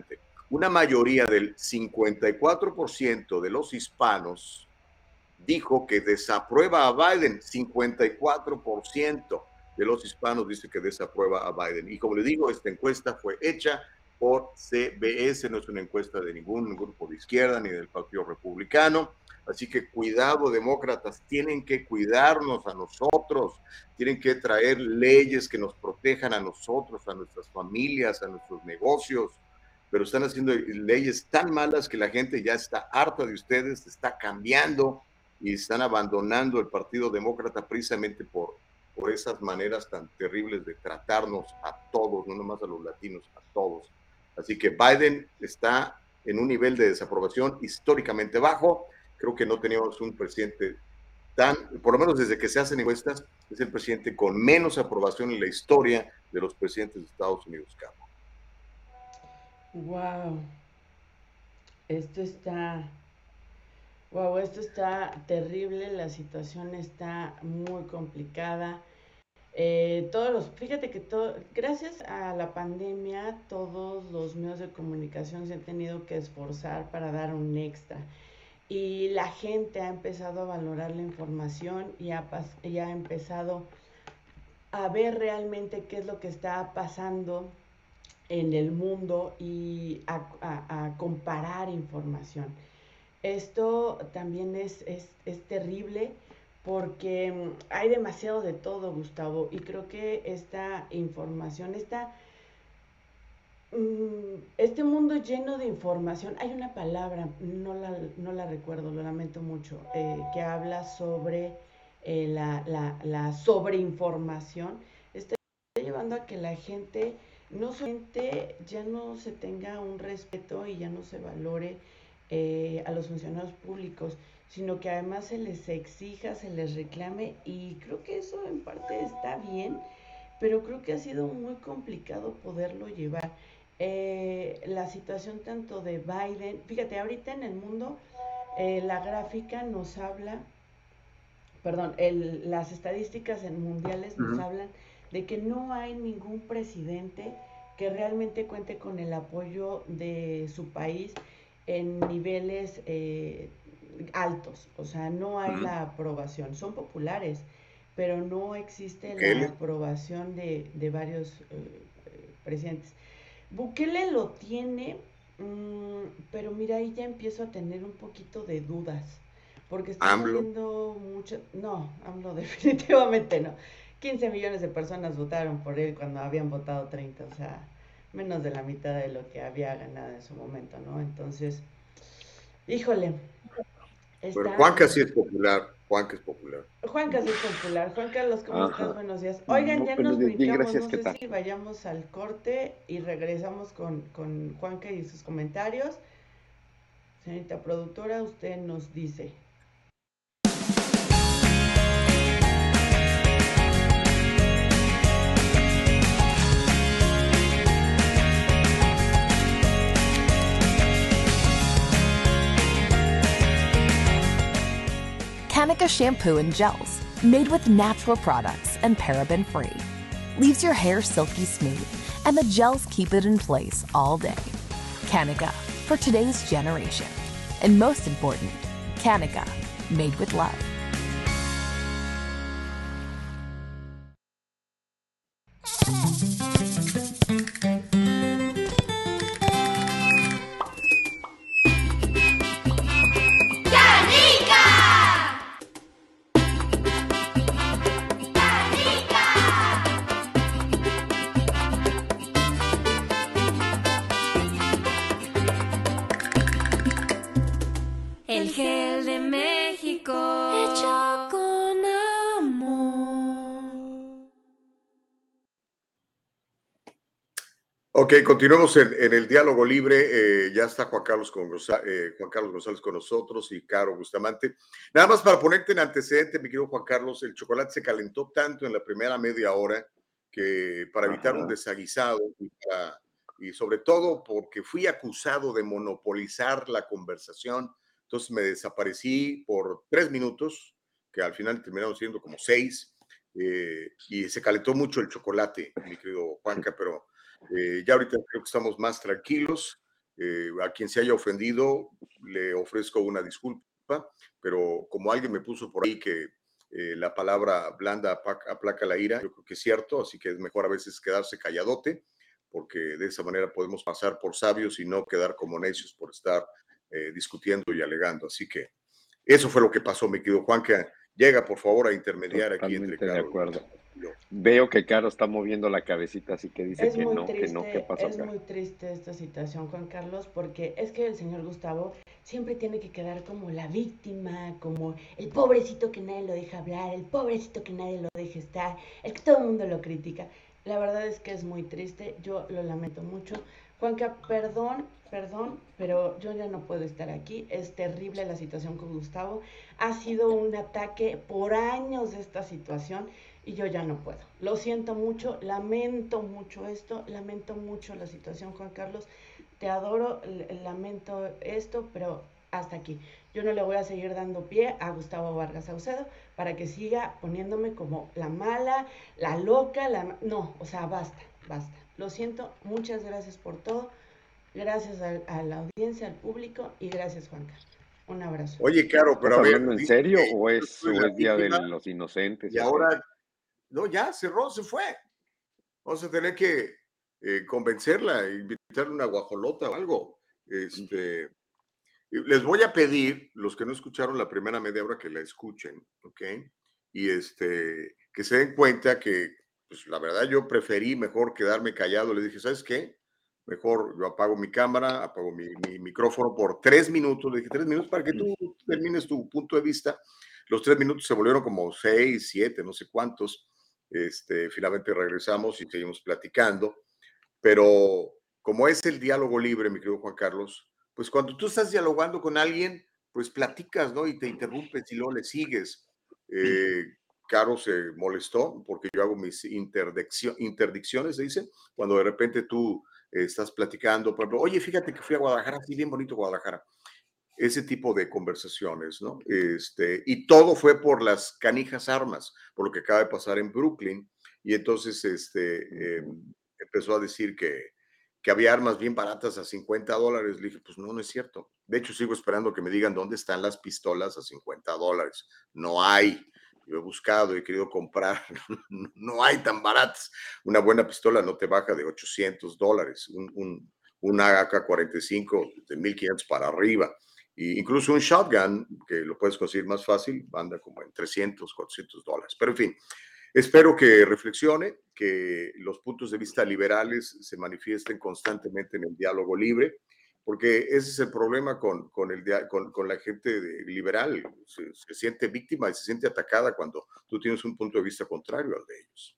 una mayoría del cincuenta y cuatro por ciento de los hispanos dijo que desaprueba a Biden. cincuenta y cuatro por ciento de los hispanos dice que desaprueba a Biden. Y como le digo, esta encuesta fue hecha por C B S, no es una encuesta de ningún grupo de izquierda ni del Partido Republicano. Así que cuidado, demócratas, tienen que cuidarnos a nosotros, tienen que traer leyes que nos protejan a nosotros, a nuestras familias, a nuestros negocios, pero están haciendo leyes tan malas que la gente ya está harta de ustedes, está cambiando y están abandonando el Partido Demócrata precisamente por, por esas maneras tan terribles de tratarnos a todos, no nomás a los latinos, a todos. Así que Biden está en un nivel de desaprobación históricamente bajo. Creo que no teníamos un presidente tan, por lo menos desde que se hacen encuestas, es el presidente con menos aprobación en la historia de los presidentes de Estados Unidos, Carlos. Wow, esto está, wow, esto está terrible, la situación está muy complicada. Eh, todos los, fíjate que todo, gracias a la pandemia, todos los medios de comunicación se han tenido que esforzar para dar un extra. Y la gente ha empezado a valorar la información y ha, y ha empezado a ver realmente qué es lo que está pasando en el mundo y a, a, a comparar información. Esto también es, es, es terrible porque hay demasiado de todo, Gustavo, y creo que esta información, esta, este mundo lleno de información, hay una palabra, no la, no la recuerdo, lo lamento mucho, eh, que habla sobre eh, la, la, la sobreinformación, está llevando a que la gente no solamente ya no se tenga un respeto y ya no se valore eh, a los funcionarios públicos, sino que además se les exija, se les reclame, y creo que eso en parte está bien, pero creo que ha sido muy complicado poderlo llevar. Eh, la situación tanto de Biden, fíjate, ahorita en el mundo eh, la gráfica nos habla, perdón, el, las estadísticas en mundiales nos uh-huh. hablan de que no hay ningún presidente que realmente cuente con el apoyo de su país en niveles eh, altos, o sea, no hay uh-huh. la aprobación, son populares, pero no existe ¿Qué? la aprobación de, de varios eh, presidentes. Bukele lo tiene, mmm, pero mira, ahí ya empiezo a tener un poquito de dudas, porque estoy viendo mucho, no, AMLO definitivamente no, quince millones de personas votaron por él cuando habían votado treinta, o sea, menos de la mitad de lo que había ganado en su momento, ¿no? Entonces, híjole. Está... Pero Juanca sí es popular, Juanca es popular. Juanca sí es popular. Juan Carlos, ¿cómo Ajá. estás? Buenos días. Oigan, ya nos brincamos, bien, gracias, no sé tal? si vayamos al corte y regresamos con, con Juanca y sus comentarios. Señorita productora, usted nos dice. Kanika shampoo and gels, made with natural products and paraben-free. Leaves your hair silky smooth, and the gels keep it in place all day. Kanika, for today's generation. And most important, Kanika, made with love. El gel de México, hecho con amor. Ok, continuamos en, en el diálogo libre. Eh, ya está Juan Carlos, con, eh, Juan Carlos González con nosotros y Caro Bustamante. Nada más para ponerte en antecedente, mi querido Juan Carlos, el chocolate se calentó tanto en la primera media hora que para evitar Ajá. un desaguisado y, para, y sobre todo porque fui acusado de monopolizar la conversación. Entonces me desaparecí por tres minutos, que al final terminaron siendo como seis, eh, y se calentó mucho el chocolate, mi querido Juanca, pero eh, ya ahorita creo que estamos más tranquilos. Eh, a quien se haya ofendido, le ofrezco una disculpa, pero como alguien me puso por ahí que eh, la palabra blanda apaca, aplaca la ira, yo creo que es cierto, así que es mejor a veces quedarse calladote, porque de esa manera podemos pasar por sabios y no quedar como necios por estar eh, discutiendo y alegando. Así que eso fue lo que pasó, mi querido Juan, que llega por favor a intermediar aquí entre Totalmente de Carol acuerdo. y yo. Veo que Caro está moviendo la cabecita, así que dice Es que muy no, que no. ¿Qué triste, pasó, es Caro? muy triste esta situación, Juan Carlos, porque es que el señor Gustavo siempre tiene que quedar como la víctima, como el pobrecito que nadie lo deja hablar, el pobrecito que nadie lo deja estar, el que todo el mundo lo critica. La verdad es que es muy triste, yo lo lamento mucho. Juanca, perdón, perdón, pero yo ya no puedo estar aquí. Es terrible la situación con Gustavo. Ha sido un ataque por años de esta situación y yo ya no puedo. Lo siento mucho, lamento mucho esto, lamento mucho la situación, Juan Carlos. Te adoro, lamento esto, pero hasta aquí. Yo no le voy a seguir dando pie a Gustavo Vargas Saucedo para que siga poniéndome como la mala, la loca, la... No, o sea, basta, basta. Lo siento, muchas gracias por todo. Gracias a, a la audiencia, al público y gracias, Juanca. Un abrazo. Oye, Caro, pero ¿Estás a ver, hablando en dice serio que o yo es, soy o la es Día de víctima los Inocentes y o qué? ahora, no, ya cerró, se fue. Vamos a tener que eh, convencerla, invitarle una guajolota o algo. Este, les voy a pedir, los que no escucharon la primera media hora, que la escuchen, ¿ok? Y este, que se den cuenta que, pues la verdad, yo preferí mejor quedarme callado. Le dije, ¿sabes qué? Mejor yo apago mi cámara, apago mi, mi micrófono por tres minutos. Le dije, tres minutos para que tú termines tu punto de vista. Los tres minutos se volvieron como seis, siete, no sé cuántos. Este, finalmente regresamos y seguimos platicando. Pero como es el diálogo libre, mi querido Juan Carlos, pues cuando tú estás dialogando con alguien, pues platicas, ¿no? Y te interrumpes y luego le sigues. Eh, Caro se molestó porque yo hago mis interdicciones, se dice, cuando de repente tú eh, estás platicando, por ejemplo, oye, fíjate que fui a Guadalajara, sí, bien bonito Guadalajara. Ese tipo de conversaciones, ¿no? Este, y todo fue por las canijas armas, por lo que acaba de pasar en Brooklyn. Y entonces este, eh, empezó a decir que, que había armas bien baratas a cincuenta dólares. Le dije, pues no, no es cierto. De hecho, sigo esperando que me digan dónde están las pistolas a cincuenta dólares. No hay. Yo he buscado, he querido comprar, no hay tan baratas. Una buena pistola no te baja de ochocientos dólares. Un, un, una A K cuarenta y cinco de mil quinientos para arriba. Y incluso un shotgun, que lo puedes conseguir más fácil, anda como en trescientos, cuatrocientos dólares. Pero en fin, espero que reflexione, que los puntos de vista liberales se manifiesten constantemente en el diálogo libre, porque ese es el problema con, con, el, con, con la gente de, liberal. Se, se siente víctima y se siente atacada cuando tú tienes un punto de vista contrario al de ellos.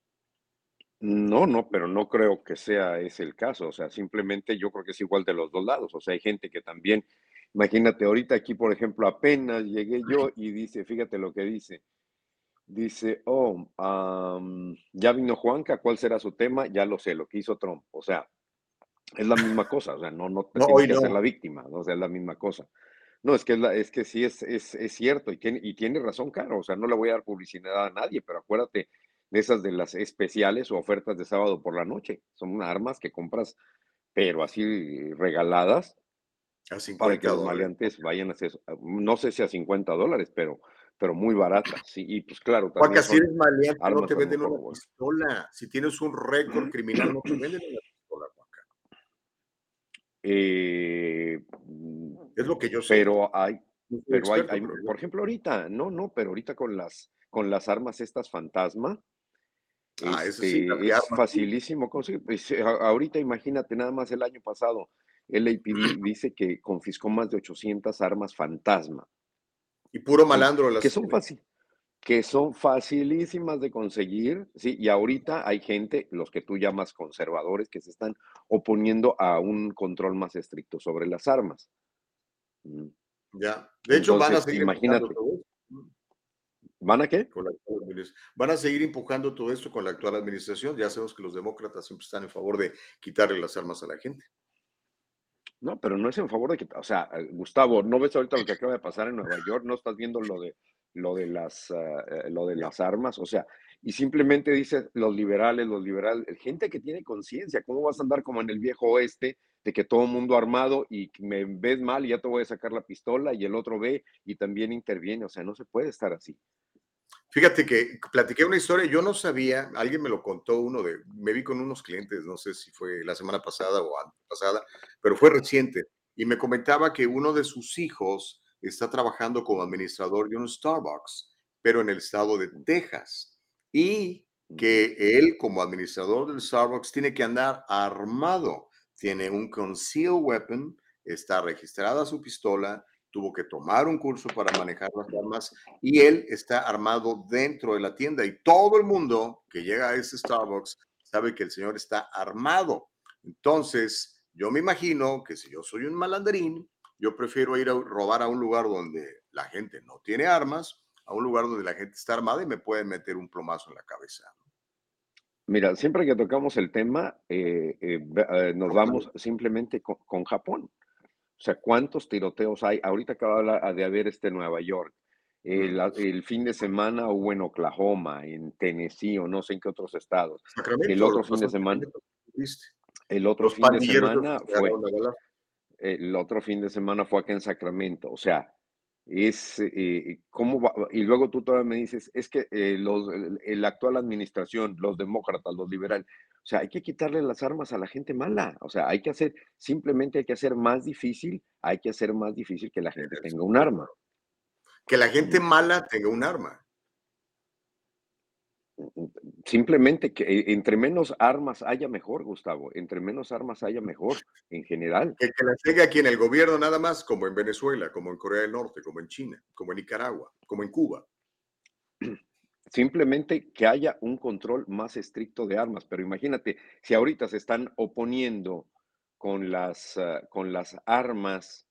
No, no, pero no creo que sea ese el caso. O sea, simplemente yo creo que es igual de los dos lados. O sea, hay gente que también, imagínate, ahorita aquí, por ejemplo, apenas llegué yo y dice, fíjate lo que dice. Dice, oh, am, ya vino Juanca, ¿cuál será su tema? Ya lo sé, lo que hizo Trump. O sea, es la misma cosa. O sea, no, no te No, tienes hoy que hacer la no. víctima, ¿no? O sea, es la misma cosa. No, es que, es, la, es que sí es, es, es cierto y tiene, y tiene razón, Caro. O sea, no le voy a dar publicidad a nadie, pero acuérdate de esas de las especiales o ofertas de sábado por la noche. Son armas que compras, pero así regaladas A para que cincuenta los dólares. maleantes vayan a hacer, no sé si a cincuenta dólares, pero, pero muy baratas. Sí, y pues claro, Juanca, también si son eres maleante, no armas te a lo venden mejor una buenas. pistola. Si tienes un récord criminal, no te venden una pistola, Juanca. Eh, Es lo que yo sé. pero hay, No soy pero hay, experto, hay, pero es lo por que... ejemplo, ahorita, no, no, pero ahorita con las, con las armas estas fantasma, Ah, eso sí, las este, que es arman. facilísimo conseguir. Pues, a- ahorita imagínate, nada más el año pasado, el L A P D dice que confiscó más de ochocientas armas fantasma, Y puro ¿sí? malandro las Que son tiene. fácil, que son facilísimas de conseguir, ¿sí? Y ahorita hay gente, los que tú llamas conservadores, que se están oponiendo a un control más estricto sobre las armas. Mm. Ya. De hecho, van a Entonces, seguir empujando imagínate, todo esto ¿van a qué? con la actual administración. Van a seguir empujando todo esto con la actual administración. Ya sabemos que los demócratas siempre están en favor de quitarle las armas a la gente. No, pero no es en favor de que, o sea, eh, Gustavo, ¿no ves ahorita lo que acaba de pasar en Nueva York? ¿No estás viendo lo de lo de las ah, eh, lo de Ya. las armas? O sea, y simplemente dices los liberales, los liberales, gente que tiene conciencia, ¿cómo vas a andar como en el viejo oeste de que todo el mundo armado y me ves mal y ya te voy a sacar la pistola y el otro ve y también interviene. O sea, no se puede estar así. Fíjate que platiqué una historia, yo no sabía, alguien me lo contó, uno de, me vi con unos clientes, no sé si fue la semana pasada o antepasada, pero fue reciente, y me comentaba que uno de sus hijos está trabajando como administrador de un Starbucks, pero en el estado de Texas, y Ujú. que él como administrador del Starbucks tiene que andar armado, tiene un concealed weapon, está registrada su pistola, tuvo que tomar un curso para manejar las armas y él está armado dentro de la tienda y todo el mundo que llega a ese Starbucks sabe que el señor está armado. Entonces, yo me imagino que si yo soy un malandrín, yo prefiero ir a robar a un lugar donde la gente no tiene armas, a un lugar donde la gente está armada y me pueden meter un plomazo en la cabeza. Mira, siempre que tocamos el tema, eh, eh, ve- eh, nos vamos simplemente con, con Japón. O sea, ¿cuántos tiroteos hay? Ahorita acaba de hablar- de haber este en Nueva York. El, Mm. el fin de semana hubo en Oklahoma, en Tennessee o no sé en qué otros estados. El Sacramento, lo otro que fin pasó de en semana, Sacramento, ¿viste? el otro Los fin de pandilleros esos semana que se fue, agarraron a galar. el otro fin de semana fue acá en Sacramento. O sea, es eh, cómo va- y luego tú todavía me dices, es que eh, los, el, el actual administración, los demócratas, los liberales, o sea, hay que quitarle las armas a la gente mala. O sea, hay que hacer, simplemente hay que hacer más difícil, hay que hacer más difícil que la gente tenga Estoy un de arma. acuerdo. Que la gente Mm, mala tenga un arma. mm, Simplemente que eh, entre menos armas haya mejor, Gustavo, entre menos armas haya mejor en general. Que, que las tenga aquí en el gobierno nada más, como en Venezuela, como en Corea del Norte, como en China, como en Nicaragua, como en Cuba. Simplemente que haya un control más estricto de armas. Pero imagínate, si ahorita se están oponiendo con las, ah, con las armas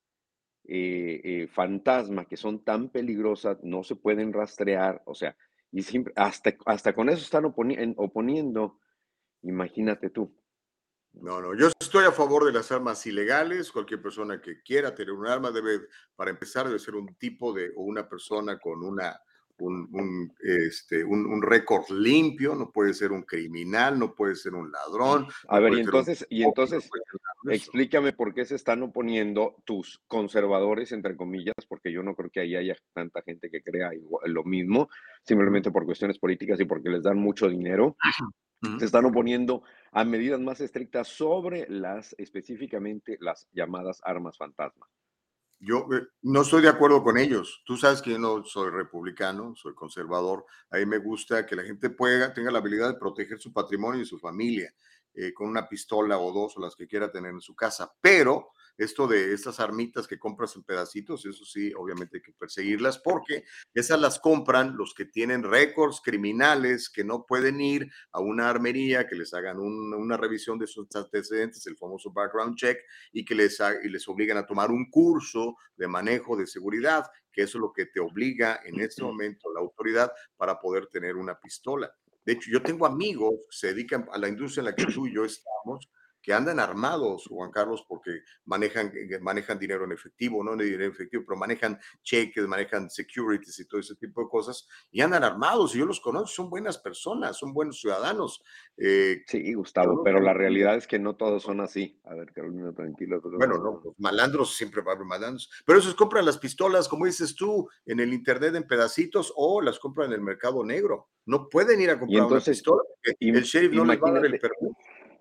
eh, eh, fantasma que son tan peligrosas, no se pueden rastrear, o sea, y siempre, hasta, hasta con eso están oponi- en- oponiendo, imagínate tú. No, no, yo estoy a favor de las armas ilegales. Cualquier persona que quiera tener un arma debe, para empezar, debe ser un tipo de o una persona con una un, un, este, un, un récord limpio. No puede ser un criminal, no puede ser un ladrón, A no ver, y puede ser un entonces, y pedófilo, no entonces, puede ser nada de eso. explícame por qué se están oponiendo tus conservadores, entre comillas, porque yo no creo que ahí haya tanta gente que crea igual- lo mismo, Ujú, simplemente por cuestiones políticas y porque les dan mucho dinero. ujú. Se están oponiendo a medidas más estrictas sobre las, específicamente las llamadas armas fantasma. Yo eh, no estoy de acuerdo con ellos. Tú sabes que yo no soy republicano, soy conservador. A mí me gusta que la gente pueda, tenga la habilidad de proteger su patrimonio y su familia eh, con una pistola o dos o las que quiera tener en su casa. Pero esto de estas armitas que compras en pedacitos, eso sí, obviamente hay que perseguirlas porque esas las compran los que tienen récords criminales, que no pueden ir a una armería, que les hagan un- una revisión de sus antecedentes, el famoso background check, y que les, ha- y les obligan a tomar un curso de manejo de seguridad, que eso es lo que te obliga en este momento la autoridad para poder tener una pistola. De hecho, yo tengo amigos que se dedican a la industria en la que tú y yo estamos, que andan armados, Juan Carlos, porque manejan, eh, manejan dinero en efectivo, no dinero en efectivo, pero manejan cheques, manejan securities y todo ese tipo de cosas, y andan armados, y yo los conozco, son buenas personas, son buenos ciudadanos. Eh, Sí, yo Gustavo, no pero la tengo realidad es que no todos son así. A ver, Carolina, tranquilo. bueno, no, los malandros siempre va a haber malandros, pero esos compran las pistolas, como dices tú, en el internet en pedacitos o las compran en el mercado negro. No pueden ir a Y comprar una entonces, pistola porque el im- sheriff no les va a dar el imagínate, permiso.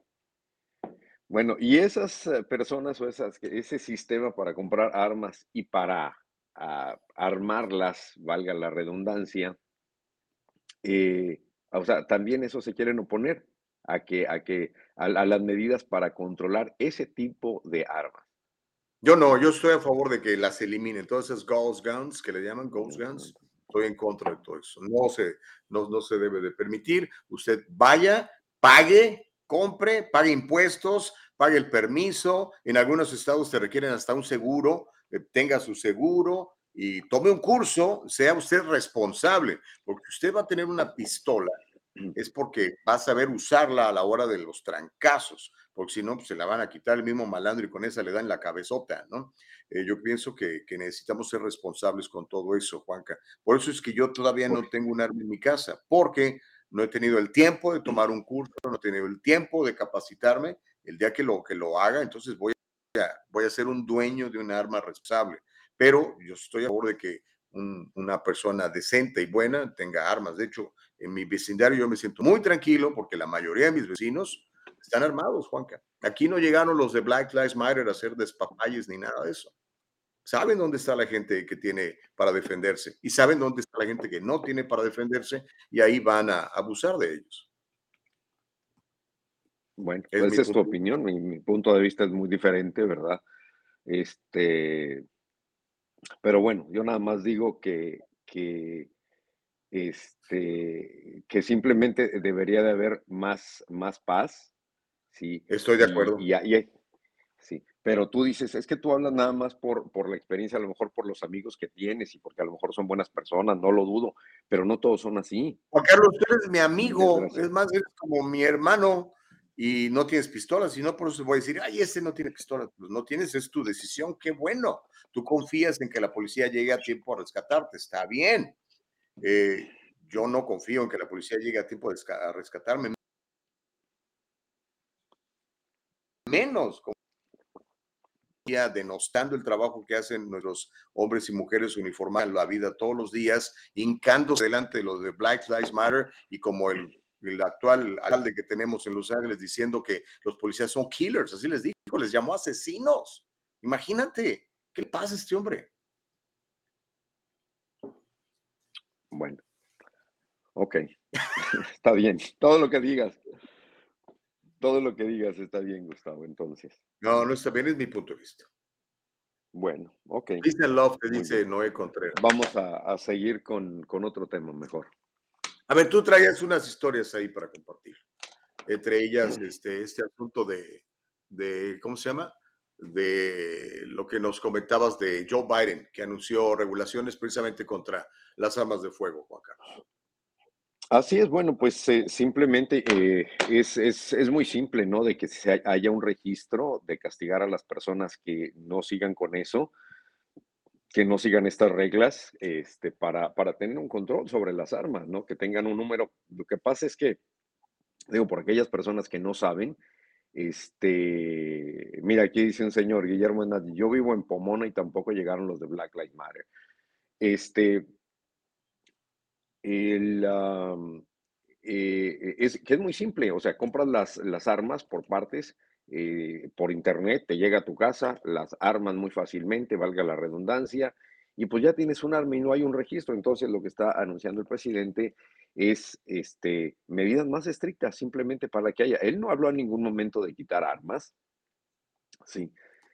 bueno, y esas eh, personas o esas, ese sistema para comprar armas y para ah, armarlas, valga la redundancia, eh, o sea, también eso se quieren oponer a que, a que, a, a las medidas para controlar ese tipo de armas. Yo no, yo estoy a favor de que las eliminen. Todas esas ghost guns que le llaman ghost Ujú. guns, estoy en contra de todo eso. No se, no, no se debe de permitir. Usted vaya, pague, compre, pague impuestos, pague el permiso. En algunos estados te requieren hasta un seguro, eh, tenga su seguro y tome un curso, sea usted responsable, porque usted va a tener una pistola es porque va a saber usarla a la hora de los trancazos, porque si no, pues se la van a quitar el mismo malandro y con esa le dan la cabezota, ¿no? Eh, yo pienso que, que necesitamos ser responsables con todo eso, Juanca. Por eso es que yo todavía Por- no tengo un arma en mi casa, porque no he tenido el tiempo de tomar un curso, no he tenido el tiempo de capacitarme. El día que lo, que lo haga, entonces voy voy a ser un dueño de un arma responsable. Pero yo estoy a favor de que un, una persona decente y buena tenga armas. De hecho, en mi vecindario yo me siento muy tranquilo porque la mayoría de mis vecinos están armados, Juanca. Aquí no llegaron los de Black Lives Matter a hacer despapalles ni nada de eso. Saben dónde está la gente que tiene para defenderse y saben dónde está la gente que no tiene para defenderse y ahí van a abusar de ellos. Bueno, Es pues mi esa es tu punto. opinión, mi, mi punto de vista es muy diferente, ¿verdad? Este, pero bueno, yo nada más digo que, que, este, que simplemente debería de haber más, más paz, ¿sí? Estoy de Y, acuerdo. y, y, sí, pero tú dices, es que tú hablas nada más por, por la experiencia, a lo mejor por los amigos que tienes y porque a lo mejor son buenas personas, no lo dudo, pero no todos son así, Juan Carlos, tú eres mi amigo, desgracia. es más, eres como mi hermano y no tienes pistolas, y no por eso voy a decir, ay, ese no tiene pistolas. Pues no tienes, es tu decisión, qué bueno. Tú confías en que la policía llegue a tiempo a rescatarte, está bien. Eh, yo no confío en que la policía llegue a tiempo a rescatarme, menos como denostando el trabajo que hacen nuestros hombres y mujeres uniformados en la vida todos los días, hincándose delante de los de Black Lives Matter y como el, el actual alcalde que tenemos en Los Ángeles diciendo que los policías son killers, así les dijo, les llamó asesinos. Imagínate, ¿qué le pasa a este hombre? Bueno, ok, está bien, todo lo que digas, todo lo que digas está bien, Gustavo, entonces. No, no está bien, es mi punto de vista. Bueno, ok, Peace and love, te muy dice bien. Noé Contreras. Vamos a, a seguir con, con otro tema mejor. A ver, tú traías unas historias ahí para compartir. Entre ellas, este, este asunto de, de, ¿cómo se llama? De lo que nos comentabas de Joe Biden, que anunció regulaciones precisamente contra las armas de fuego, Juan Carlos. Así es, bueno, pues eh, simplemente eh, es, es, es muy simple, ¿no? De que se haya un registro, de castigar a las personas que no sigan con eso, que no sigan estas reglas, este, para, para tener un control sobre las armas, ¿no? Que tengan un número. Lo que pasa es que, digo, por aquellas personas que no saben, este, mira, aquí dice un señor, Guillermo Hernández, yo vivo en Pomona y tampoco llegaron los de Black Lives Matter. Este, el, um, eh, es que es muy simple, o sea, compras las, las armas por partes, eh, por internet, te llega a tu casa, las armas muy fácilmente, valga la redundancia, y pues ya tienes un arma y no hay un registro. Entonces lo que está anunciando el presidente es este, medidas más estrictas, simplemente para que haya. Él no habló en ningún momento de quitar armas, sí,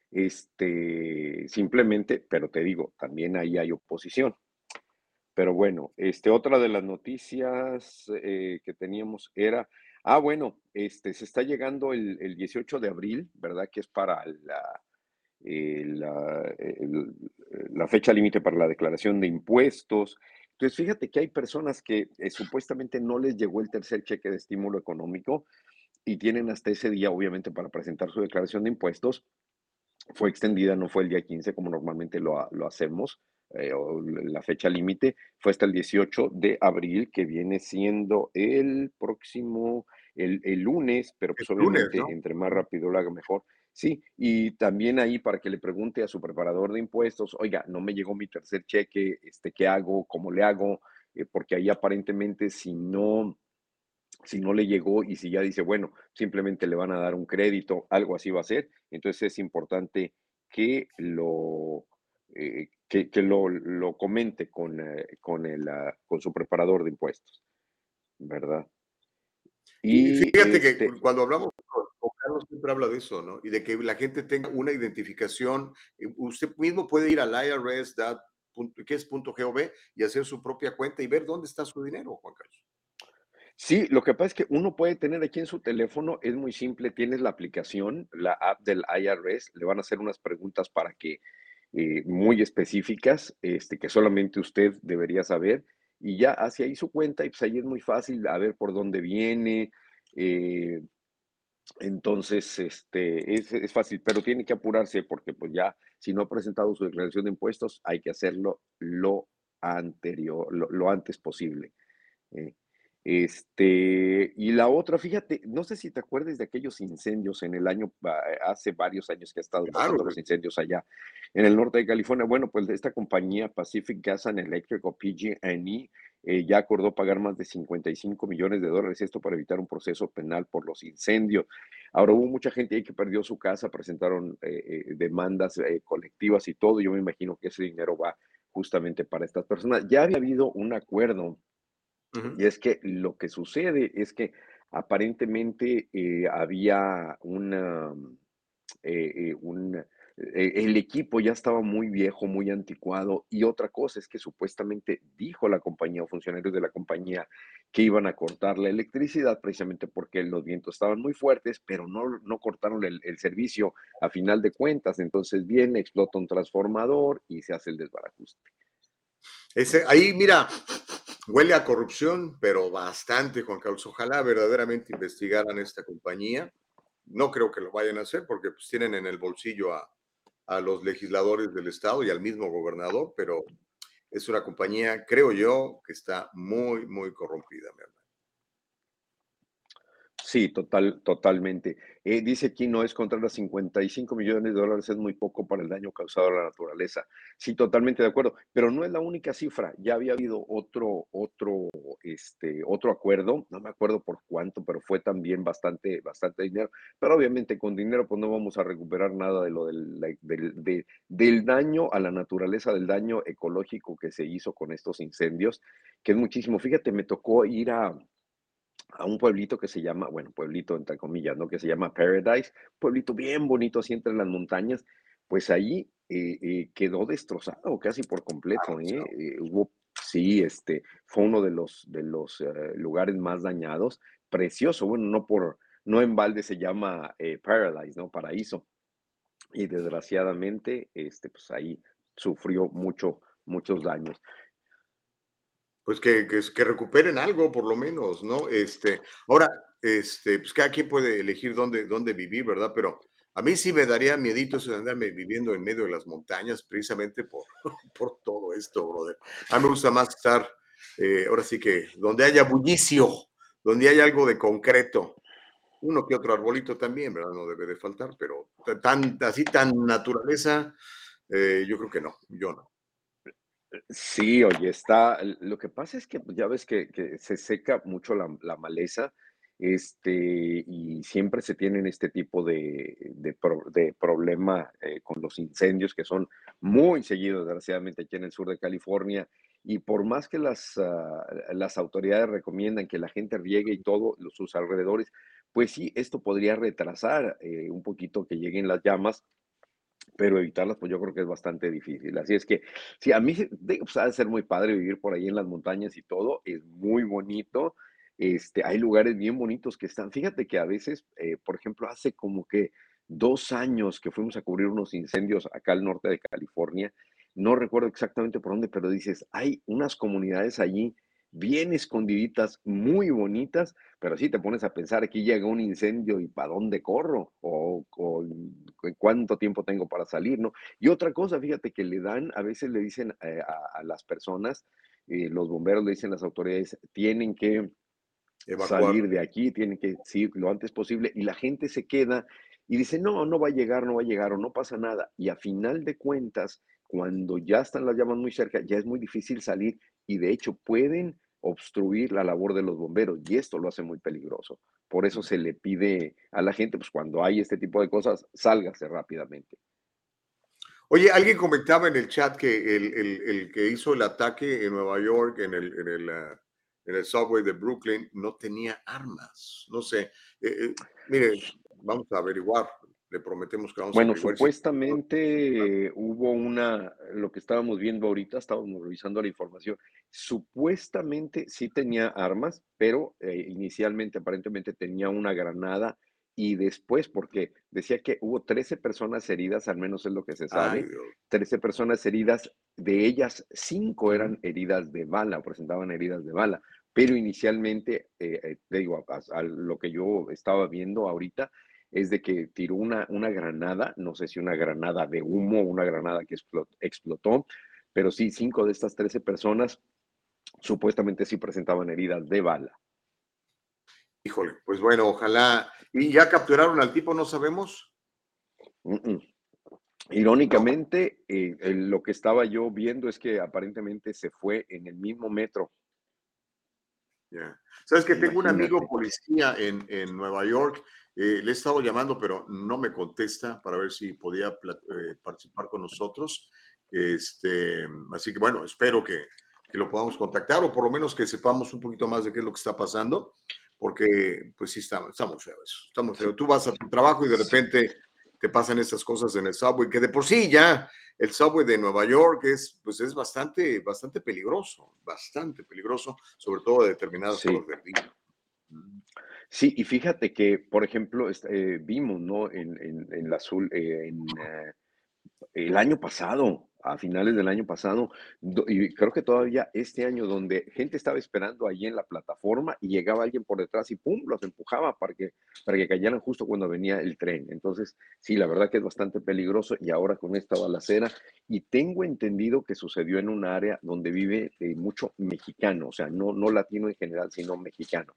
este, simplemente, pero te digo, también ahí hay oposición. Pero bueno, este, otra de las noticias eh, que teníamos era, ah, bueno, este, se está llegando el, el dieciocho de abril, ¿verdad? Que es para la, eh, la, el- la fecha límite para la declaración de impuestos. Entonces, fíjate que hay personas que eh, supuestamente no les llegó el tercer cheque de estímulo económico y tienen hasta ese día, obviamente, para presentar su declaración de impuestos. Fue extendida, no fue el día quince como normalmente lo, ha- lo hacemos, eh, o la fecha límite, fue hasta el dieciocho de abril, que viene siendo el próximo, el, el lunes, pero Es pues lunes, obviamente ¿no? entre más rápido lo haga mejor. Sí, y también ahí para que le pregunte a su preparador de impuestos, oiga, no me llegó mi tercer cheque, este, ¿qué hago? ¿Cómo le hago? Eh, porque ahí aparentemente si no si no le llegó y si ya dice, bueno, simplemente le van a dar un crédito, algo así va a ser, entonces es importante que lo, eh, que, que lo, lo comente con, eh, con, el, ah, con su preparador de impuestos, ¿verdad? Y Y fíjate que este, cuando hablamos con, con Carlos siempre habla de eso, ¿no? Y de que la gente tenga una identificación. eh, Usted mismo puede ir al I R S, dat- punto- que es punto .gov, y hacer su propia cuenta y ver dónde está su dinero, Juan Carlos. sí, lo que pasa es que uno puede tener aquí en su teléfono, es muy simple, tienes la aplicación, la app del I R S, le van a hacer unas preguntas para que, eh, muy específicas, este, que solamente usted debería saber, y ya hace ahí su cuenta, y pues ahí es muy fácil a ver por dónde viene, eh, entonces, este, es, es fácil, pero tiene que apurarse porque pues ya, si no ha presentado su declaración de impuestos, hay que hacerlo lo anterior, lo, lo antes posible. eh. Este, y la otra, fíjate, no sé si te acuerdas de aquellos incendios en el año, ah, hace varios años que ha estado Claro, pasando los incendios allá en el norte de California. Bueno, pues esta compañía Pacific Gas and Electric o P G and E eh, ya acordó pagar más de cincuenta y cinco millones de dólares, esto para evitar un proceso penal por los incendios. Ahora hubo mucha gente ahí que perdió su casa, presentaron eh, eh, demandas eh, colectivas y todo. Yo me imagino que ese dinero va justamente para estas personas. Ya había habido un acuerdo ujú. y es que lo que sucede es que aparentemente eh, había una, eh, eh, un, eh, el equipo ya estaba muy viejo, muy anticuado. Y otra cosa es que supuestamente dijo la compañía o funcionarios de la compañía que iban a cortar la electricidad precisamente porque los vientos estaban muy fuertes, pero no, no cortaron el, el servicio a final de cuentas. Entonces viene, explota un transformador y se hace el desbarajuste. Ese, ahí, mira, huele a corrupción, pero bastante, Juan Carlos. Ojalá verdaderamente investigaran esta compañía. No creo que lo vayan a hacer porque pues, tienen en el bolsillo a, a los legisladores del estado y al mismo gobernador, pero es una compañía, creo yo, que está muy, muy corrompida, mi hermano. Sí, total, totalmente. Eh, dice aquí no es contra los cincuenta y cinco millones de dólares, es muy poco para el daño causado a la naturaleza. Sí, totalmente de acuerdo, pero no es la única cifra. Ya había habido otro, otro, este, otro acuerdo, no me acuerdo por cuánto, pero fue también bastante, bastante dinero. Pero obviamente con dinero pues no vamos a recuperar nada de lo del, la- del, de- del daño a la naturaleza, del daño ecológico que se hizo con estos incendios, que es muchísimo. Fíjate, me tocó ir a a un pueblito que se llama, bueno, pueblito entre comillas, ¿no? Que se llama Paradise, pueblito bien bonito así entre las montañas, pues ahí eh, eh, quedó destrozado casi por completo, ¿eh? Eh, hubo, sí, este, fue uno de los, de los eh, lugares más dañados, precioso, bueno, no por, no en balde se llama eh, Paradise, ¿no? Paraíso, y desgraciadamente, este, pues ahí sufrió mucho, muchos daños. Pues que, que, que recuperen algo, por lo menos, ¿no? Este, ahora, este, pues cada quien puede elegir dónde, dónde vivir, ¿verdad? Pero a mí sí me daría miedito eso de andarme viviendo en medio de las montañas, precisamente por, por todo esto, brother. A mí me gusta más estar, eh, ahora sí que, donde haya bullicio, donde haya algo de concreto. Uno que otro arbolito también, ¿verdad? No debe de faltar, pero tan, así tan naturaleza, eh, yo creo que no, yo no. Sí, oye, está, lo que pasa es que pues, ya ves que, que se seca mucho la, la maleza, este, y siempre se tienen este tipo de, de, pro- de problema eh, con los incendios que son muy seguidos, desgraciadamente, aquí en el sur de California. Y por más que las, ah, las autoridades recomiendan que la gente riegue y todo, los, sus alrededores, pues sí, esto podría retrasar eh, un poquito que lleguen las llamas, pero evitarlas, pues yo creo que es bastante difícil. Así es que, sí, a mí se- digo, pues, ha de ser muy padre vivir por ahí en las montañas y todo, es muy bonito. Este, hay lugares bien bonitos que están. Fíjate que a veces, eh, por ejemplo, hace como que dos años que fuimos a cubrir unos incendios acá al norte de California, no recuerdo exactamente por dónde, pero dices, hay unas comunidades allí bien escondiditas, muy bonitas, pero sí te pones a pensar, aquí llega un incendio y ¿para dónde corro? O, o en cuánto tiempo tengo para salir, ¿no? Y otra cosa, fíjate que le dan, a veces le dicen eh, a, a las personas, eh, los bomberos le dicen a las autoridades, tienen que Evacuar. salir de aquí, tienen que ir lo antes posible, y la gente se queda y dice, no, no va a llegar, no va a llegar, o no pasa nada. Y a final de cuentas, cuando ya están las llamas muy cerca, ya es muy difícil salir y de hecho pueden obstruir la labor de los bomberos y esto lo hace muy peligroso. Por eso se le pide a la gente, pues cuando hay este tipo de cosas, sálgase rápidamente. Oye, alguien comentaba en el chat que el, el- el que hizo el ataque en Nueva York, en el, en el, ah, en el subway de Brooklyn, no tenía armas. No sé. Eh, eh, mire, vamos a averiguar. Le prometemos que vamos a Bueno, averiguar si. supuestamente eh, hubo una, lo que estábamos viendo ahorita, estábamos revisando la información, supuestamente sí tenía armas, pero eh, inicialmente aparentemente tenía una granada y después, porque decía que hubo trece personas heridas, al menos es lo que se Ay, sabe, Dios. trece personas heridas, de ellas cinco Ujú. eran heridas de bala, presentaban heridas de bala, pero inicialmente, eh, eh, te digo, a, a lo que yo estaba viendo ahorita, es de que tiró una, una granada, no sé si una granada de humo, una granada que explotó, explotó, pero sí, cinco de estas trece personas supuestamente sí presentaban heridas de bala. Híjole, pues bueno, ojalá. ¿Y ya capturaron al tipo, no sabemos? Mm, mm. No. Irónicamente, eh, el- lo que estaba yo viendo es que aparentemente se fue en el mismo metro. Ya. Sabes que tengo un amigo Imagínate. policía en, en Nueva York, eh, le he estado llamando, pero no me contesta para ver si podía pla- eh, participar con nosotros. Este, así que bueno, espero que, que lo podamos contactar o por lo menos que sepamos un poquito más de qué es lo que está pasando, porque pues sí, está, está muy feo eso, está muy Sí, feo. Tú vas a tu trabajo y de sí, repente te pasan estas cosas en el subway, que de por sí ya el subway de Nueva York es, pues es bastante, bastante peligroso, bastante peligroso, sobre todo a determinadas horas sí. del día. Mm. Sí, y fíjate que, por ejemplo, est- eh, vimos, ¿no? En, en, en la azul, eh, en, eh, el año pasado, a finales del año pasado, do- y creo que todavía este año, donde gente estaba esperando allí en la plataforma y llegaba alguien por detrás y ¡pum! Los empujaba para que, para que cayeran justo cuando venía el tren. Entonces, sí, la verdad que es bastante peligroso y ahora con esta balacera, y tengo entendido que sucedió en un área donde vive eh, mucho mexicano, o sea, no, no latino en general, sino mexicano.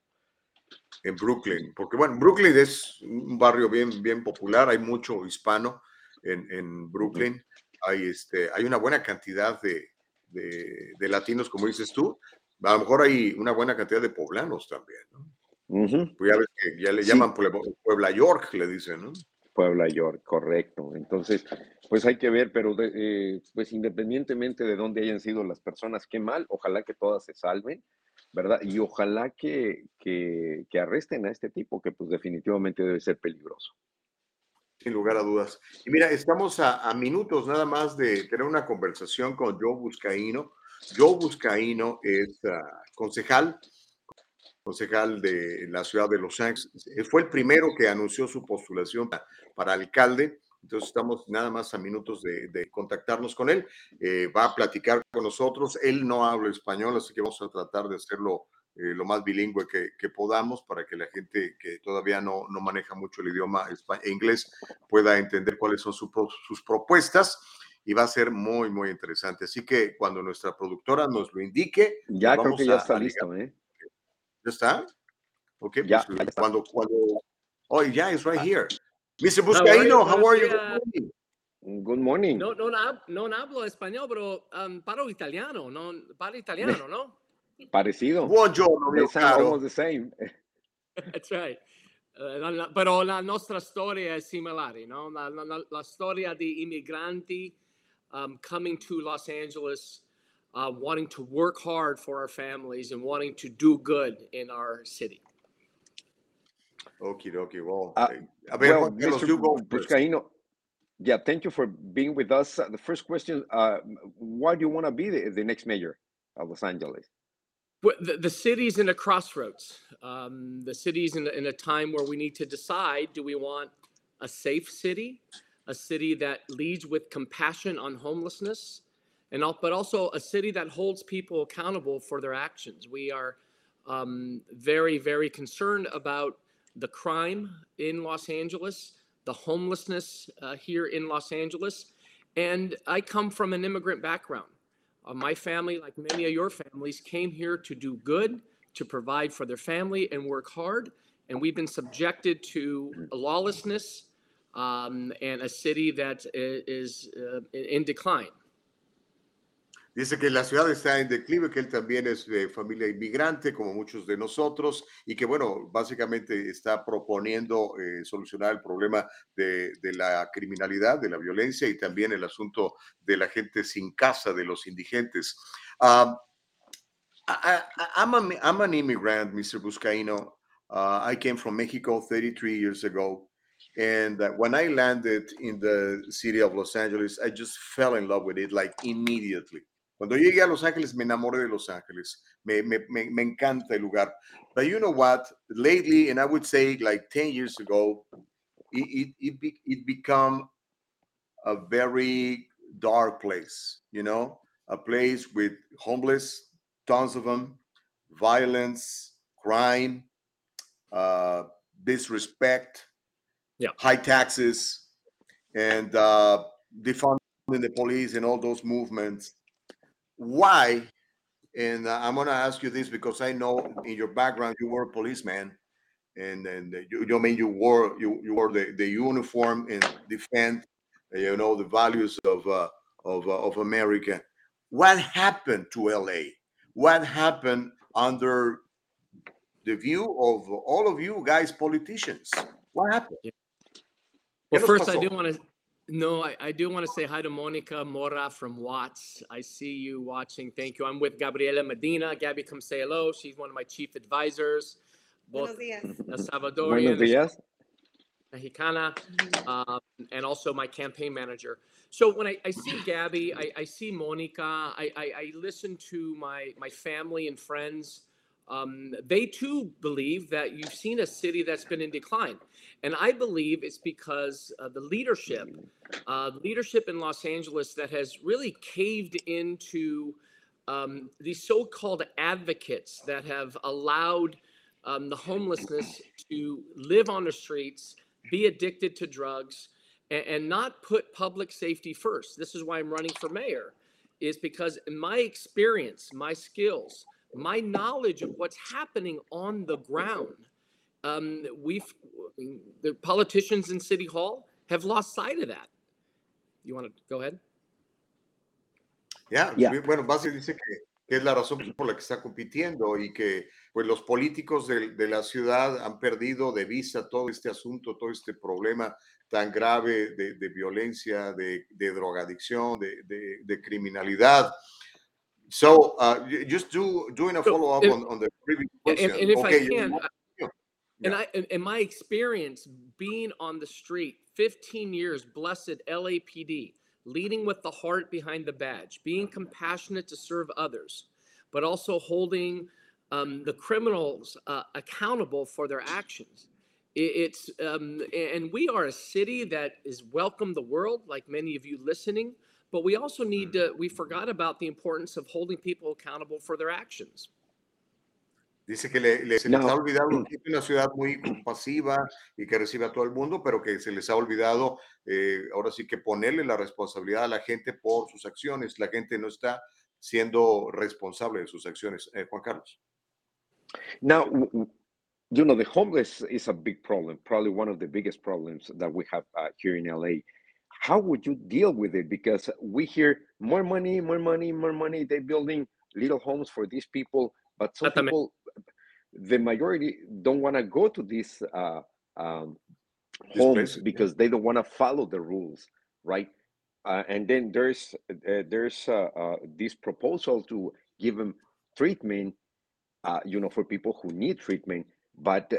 En Brooklyn, porque bueno, Brooklyn es un barrio bien, bien popular, hay mucho hispano en, en Ujú, Brooklyn, hay, este, hay una buena cantidad de, de, de latinos, como dices tú, a lo mejor hay una buena cantidad de poblanos también, ¿no? ujú. Pues ya ves que ya le llaman Sí, Puebla, Puebla York, le dicen, ¿no? Puebla York, correcto. Entonces, pues hay que ver, pero de- eh, pues independientemente de dónde hayan sido las personas, qué mal, ojalá que todas se salven, ¿verdad? Y ojalá que, que, que arresten a este tipo, que pues definitivamente debe ser peligroso. Sin lugar a dudas. Y mira, estamos a, a minutos nada más de tener una conversación con Joe Buscaino. Joe Buscaino es uh, concejal concejal de la ciudad de Los Ángeles. Fue el primero que anunció su postulación para, para alcalde. Entonces estamos nada más a minutos de, de contactarnos con él. Eh, va a platicar con nosotros. Él no habla español, así que vamos a tratar de hacerlo eh, lo más bilingüe que, que, podamos para que la gente que todavía no, no maneja mucho el idioma inglés pueda entender cuáles son su, sus propuestas. Y va a ser muy, muy interesante. Así que cuando nuestra productora nos lo indique, pues Ya creo que vamos ya a, está a ligar. listo, ¿eh? ¿Ya está? Ok, pues Ya, ya está. cuando, cuando, oh, yeah, it's right Ah, here. mister How are you? Buscaino, how Buenos are you? Good días. morning. good morning. No, no, hab- no hablo español, pero um, paro italiano, no, paro italiano, ¿no? Parecido. Buongiorno, They mio sound almost caro. the same. That's right. Eh, la- la- però la nostra storia è similare, no? La, la- la- la storia di immigranti um, coming to Los Angeles, uh, wanting to work hard for our families and wanting to do good in our city. Okie dokie, well, Uh, eh, a ver, well, Juan Carlos, mister you go first. Buscaino, yeah, thank you for being with us. Uh, the first question, uh, why do you want to be the, the next mayor of Los Angeles? Well, The, the city's in a crossroads. Um, the city's in, in a time where we need to decide, do we want a safe city, a city that leads with compassion on homelessness, and al- but also a city that holds people accountable for their actions. We are um, very, very concerned about the crime in Los Angeles, the homelessness uh, here in Los Angeles. And I come from an immigrant background. Uh, my family, like many of your families, came here to do good, to provide for their family and work hard. And we've been subjected to lawlessness um, and a city that is uh, in decline. Dice que la ciudad está en declive, que él también es de familia inmigrante, como muchos de nosotros, y que, bueno, básicamente está proponiendo eh, solucionar el problema de, de, la criminalidad, de la violencia y también el asunto de la gente sin casa, de los indigentes. Um, I, I, I'm, a, I'm an immigrant, mister Buscaino. Uh, I came from Mexico thirty-three years ago. And uh, when I landed in the city of Los Angeles, I just fell in love with it like immediately. Cuando llegué a Los Ángeles, me enamoré de Los Ángeles. Me, me, me, me encanta el lugar. But you know what? Lately, and I would say like ten years ago, it, it, it, be, it become a very dark place, you know, a place with homeless, tons of them, violence, crime, uh, disrespect, Yeah. high taxes, and uh, defunding the police and all those movements. Why? And uh, I'm going to ask you this because I know in your background you were a policeman. and and you, you mean you wore you, you wore the, the uniform and defend, you know, the values of uh, of uh, of America. What happened to L A? What happened under the view of all of you guys, politicians? What happened? Yeah. ¿Qué Well, nos first, I pasó? do want to no, I, I do want to say hi to Monica Mora from Watts. I see you watching. Thank you. I'm with Gabriela Medina. Gabby, come say hello. She's one of my chief advisors, both Buenos días. a Buenos Salvadorian as días. Mexicana, um, and also my campaign manager. So when I, I see Gabby, I, I see Monica, I, I, I listen to my, my family and friends. Um, they too believe that you've seen a city that's been in decline. And I believe it's because uh, the leadership, uh, leadership in Los Angeles that has really caved into um, these so-called advocates that have allowed um, the homelessness to live on the streets, be addicted to drugs, and, and not put public safety first. This is why I'm running for mayor, is because in my experience, my skills, my knowledge of what's happening on the ground, um, we've, the politicians in City Hall have lost sight of that. You want to go ahead? Ya, Yeah. yeah. Bueno, básicamente dice que, que es la razón por la que está compitiendo y que pues los políticos de, de la ciudad han perdido de vista todo este asunto, todo este problema tan grave de, de violencia, de, de drogadicción, de, de, de criminalidad. So, uh, just do, doing a So, follow-up if- on, on the previous And, question. and if Okay, I can, you- I- yeah. and I, in, in my experience being on the street, fifteen years, blessed L A P D, leading with the heart behind the badge, being compassionate to serve others, but also holding um, the criminals uh, accountable for their actions. It, it's um, and we are a city that is welcome the world, like many of you listening. But we also need to. We forgot about the importance of holding people accountable for their actions. Dice que le, le- se No. les ha olvidado que es una ciudad muy compasiva y que recibe a todo el mundo, pero que se les ha olvidado eh, ahora sí que ponerle la responsabilidad a la gente por sus acciones. La gente no está siendo responsable de sus acciones. Eh, Juan Carlos. Now, w- w- you know, the homeless is a big problem, probably one of the biggest problems that we have uh, here in L A. How would you deal with it? Because we hear more money, more money, more money. They're building little homes for these people, but some Exactamente. people, the majority, don't want to go to these uh, um, homes places, yeah. because they don't want to follow the rules, right? Uh, and then there's uh, there's uh, uh, this proposal to give them treatment, uh, you know, for people who need treatment. But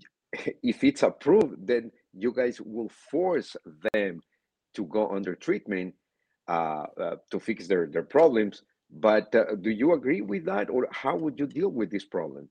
if it's approved, then you guys will force them to go under treatment uh, uh, to fix their, their problems. But uh, do you agree with that, or how would you deal with this problem?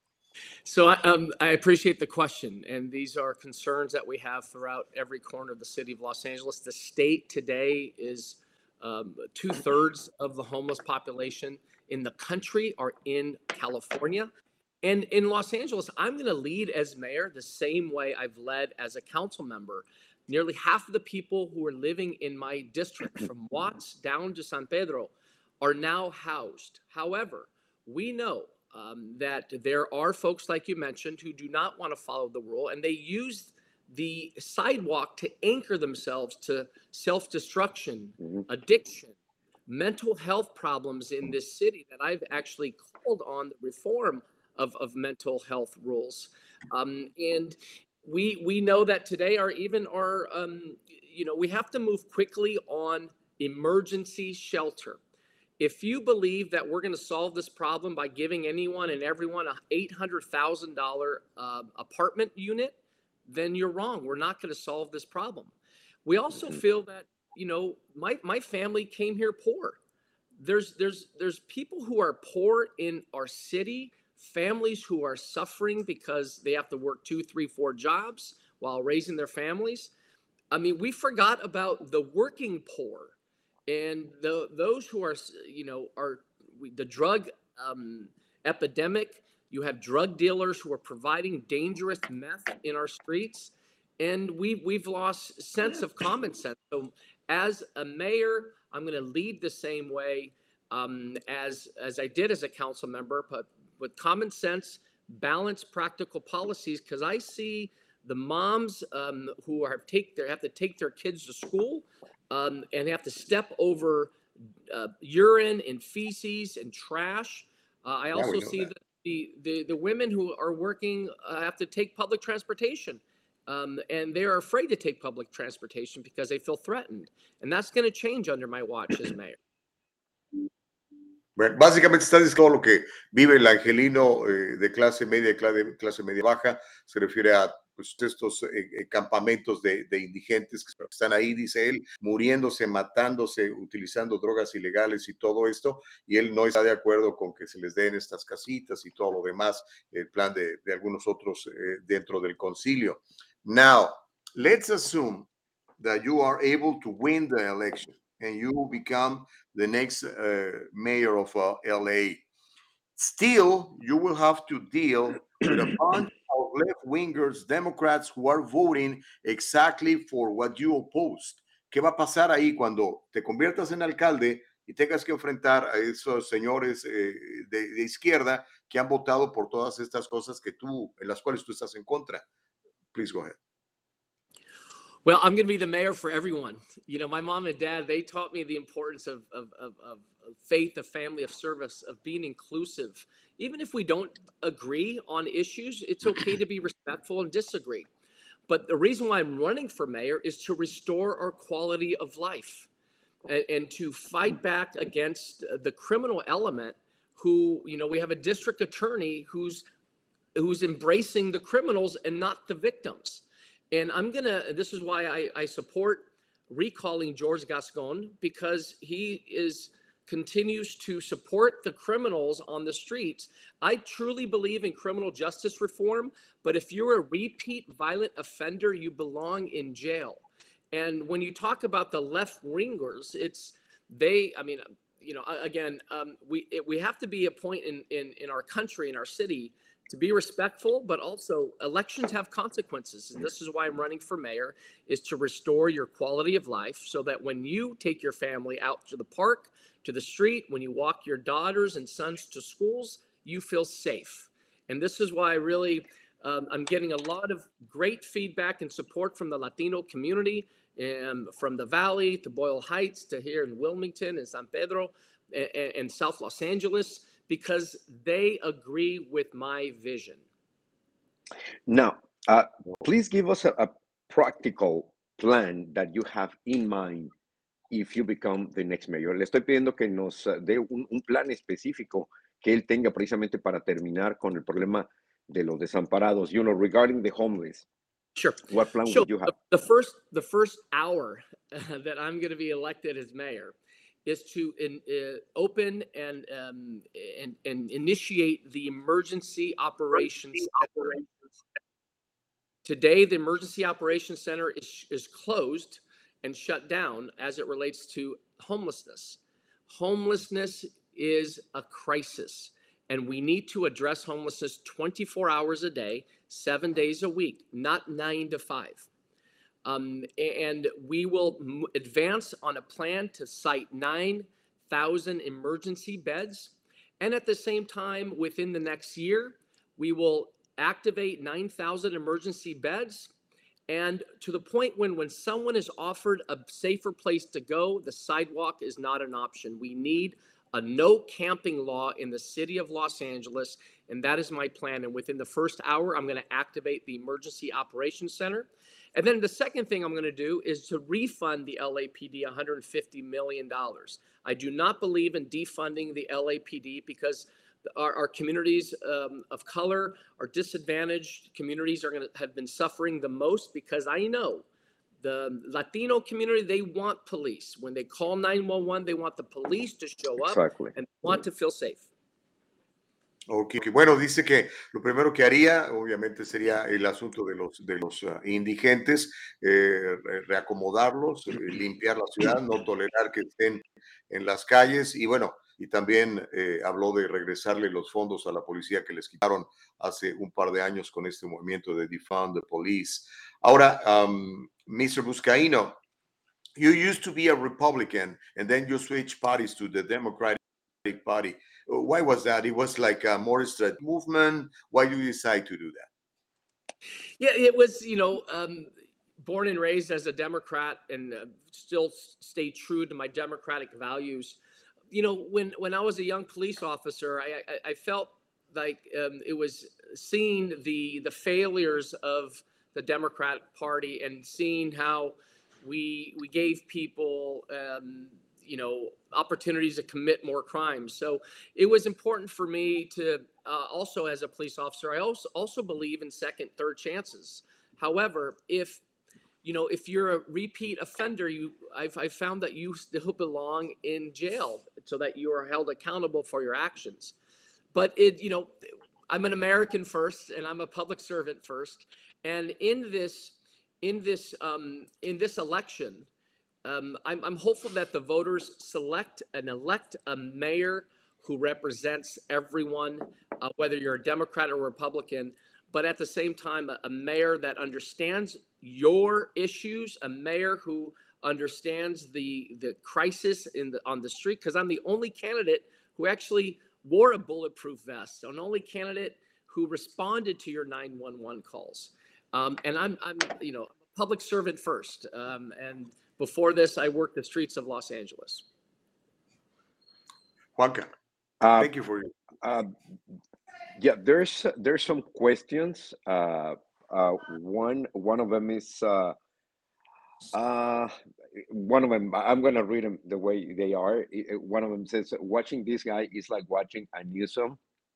So I, um, I appreciate the question, and these are concerns that we have throughout every corner of the city of Los Angeles. The state today is um, two thirds of the homeless population in the country are in California. And in Los Angeles, I'm going to lead as mayor the same way I've led as a council member. Nearly half of the people who are living in my district, from Watts down to San Pedro, are now housed. However, we know um, that there are folks, like you mentioned, who do not want to follow the rule, and they use the sidewalk to anchor themselves to self-destruction, Mhm. addiction, mental health problems in this city that I've actually called on the reform of, of mental health rules. Um, and we we know that today our even our, um, you know, we have to move quickly on emergency shelter. If you believe that we're going to solve this problem by giving anyone and everyone a eight hundred thousand dollars uh, apartment unit, then you're wrong. We're not going to solve this problem. We also Mhm. feel that, you know, my, my family came here poor. There's, there's, there's people who are poor in our city, families who are suffering because they have to work two, three, four jobs while raising their families. I mean, we forgot about the working poor and the, those who are, you know, are we- the drug um, epidemic. You have drug dealers who are providing dangerous meth in our streets, and we we've lost sense of common sense. So, as a mayor, I'm going to lead the same way um, as as I did as a council member, but with common sense, balanced, practical policies, because I see the moms um, who are take their have to take their kids to school um, and have to step over uh, urine and feces and trash. Uh, I Yeah, also we know see that. the, the the women who are working uh, have to take public transportation. Um, and they're afraid to take public transportation because they feel threatened. And that's going to change under my watch as mayor. Bueno, básicamente está diciendo todo lo que vive el angelino eh, de clase media, clase, clase media baja, se refiere a pues, estos eh, eh, campamentos de, de indigentes que están ahí, dice él, muriéndose, matándose, utilizando drogas ilegales y todo esto, y él no está de acuerdo con que se les den estas casitas y todo lo demás, el plan de, de algunos otros eh, dentro del concilio. Now, let's assume that you are able to win the election and you become the next uh, mayor of uh, L A. Still, you will have to deal with a bunch of left-wingers, Democrats who are voting exactly for what you opposed. ¿Qué va a pasar ahí cuando te conviertas en alcalde y tengas que enfrentar a esos señores eh, de, de izquierda que han votado por todas estas cosas que tú, en las cuales tú estás en contra? Please go ahead. Well, I'm going to be the mayor for everyone. You know, my mom and dad, they taught me the importance of, of, of, of faith, of family, of service, of being inclusive. Even if we don't agree on issues, it's okay to be respectful and disagree. But the reason why I'm running for mayor is to restore our quality of life and, and to fight back against the criminal element who, you know, we have a district attorney who's who's embracing the criminals and not the victims. And I'm going to, this is why I, I support recalling George Gascon, because he is continues to support the criminals on the streets. I truly believe in criminal justice reform, but if you're a repeat violent offender, you belong in jail. And when you talk about the left wingers, it's they, I mean, you know, again, um, we it, we have to be a point in, in, in our country, in our city, to be respectful, but also elections have consequences. And this is why I'm running for mayor, is to restore your quality of life so that when you take your family out to the park, to the street, when you walk your daughters and sons to schools, you feel safe. And this is why I really, um, I'm getting a lot of great feedback and support from the Latino community, and from the Valley to Boyle Heights to here in Wilmington and San Pedro and, and South Los Angeles, because they agree with my vision. Now, uh, please give us a, a practical plan that you have in mind if you become the next mayor. Le estoy pidiendo que nos uh, dé un, un plan específico que él tenga precisamente para terminar con el problema de los desamparados, you know, regarding the homeless. Sure. What plan So would you have? the, the first the first hour uh, that I'm going to be elected as mayor is to in, uh, open and, um, and and initiate the emergency operations center. Today, the emergency operations center is is closed and shut down as it relates to homelessness. Homelessness is a crisis, and we need to address homelessness twenty-four hours a day, seven days a week, not nine to five. Um, and we will m- advance on a plan to site nine thousand emergency beds. And at the same time, within the next year, we will activate nine thousand emergency beds. And to the point when, when someone is offered a safer place to go, the sidewalk is not an option. We need a no camping law in the city of Los Angeles, and that is my plan. And within the first hour, I'm going to activate the Emergency Operations Center. And then the second thing I'm going to do is to refund the L A P D one hundred fifty million dollars. I do not believe in defunding the L A P D because our, our communities um, of color, our disadvantaged communities are going to have been suffering the most, because I know the Latino community, they want police. When they call nine one one, they want the police to show up Exactly. and want to feel safe. Ok, ok. Bueno, dice que lo primero que haría, obviamente, sería el asunto de los, de los uh, indigentes, eh, re- reacomodarlos, eh, limpiar la ciudad, no tolerar que estén en las calles y bueno, y también eh, habló de regresarle los fondos a la policía que les quitaron hace un par de años con este movimiento de Defund the Police. Ahora, um, mister Buscaino, you used to be a Republican and then you switched parties to the Democratic Party. Uh, Why was that? It was like a more strategic movement. Why do you decide to do that? Yeah, it was, you know, um, born and raised as a Democrat and uh, still stay true to my democratic values. You know, when when I was a young police officer, I I, I felt like um, it was seeing the the failures of the Democratic Party and seeing how we we gave people um, you know opportunities to commit more crimes. So it was important for me to uh, also, as a police officer, I also also believe in second, third chances. However, if you know, if you're a repeat offender, you I've, I've found that you still belong in jail so that you are held accountable for your actions. But it, you know, I'm an American first, and I'm a public servant first. And in this, in this, um, in this election, um, I'm, I'm hopeful that the voters select and elect a mayor who represents everyone, uh, whether you're a Democrat or Republican, but at the same time, a, a mayor that understands your issues, a mayor who understands the the crisis in the on the street. Because I'm the only candidate who actually wore a bulletproof vest, an only candidate who responded to your nine one one calls. Um, and I'm I'm you know public servant first. Um, and before this, I worked the streets of Los Angeles. Juanca, Uh, thank you for your. uh, yeah, there's there's some questions. Uh, uh, one one of them is uh, uh, one of them. I'm gonna read them the way they are. I- I- One of them says, "Watching this guy is like watching a Newsom,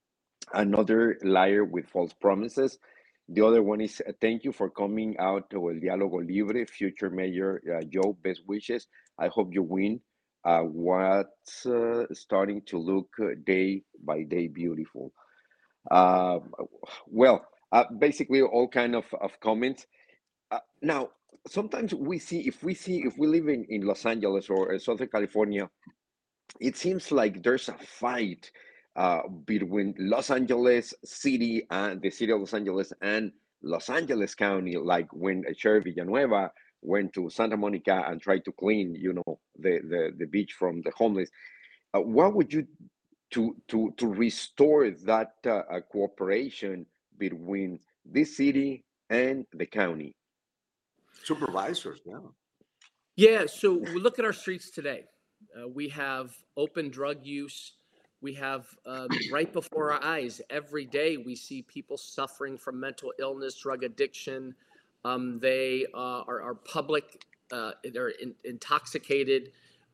another liar with false promises." The other one is, uh, "Thank you for coming out to El Diálogo Libre, future Mayor uh, Joe. Best wishes. I hope you win. Uh, what's uh, starting to look uh, day by day beautiful." Uh, well, uh, basically all kind of, of comments. Uh, now, sometimes we see if we see if we live in, in Los Angeles or uh, Southern California, it seems like there's a fight uh, between Los Angeles City and the city of Los Angeles and Los Angeles County, like when Sheriff Villanueva went to Santa Monica and tried to clean, you know, the, the, the beach from the homeless. Uh, what would you to to to restore that uh, uh, cooperation between this city and the county? Supervisors, yeah. Yeah, so we look at our streets today. Uh, we have open drug use. We have um, right before our eyes every day we see people suffering from mental illness, drug addiction. Um, they uh, are, are public. Uh, they're in, intoxicated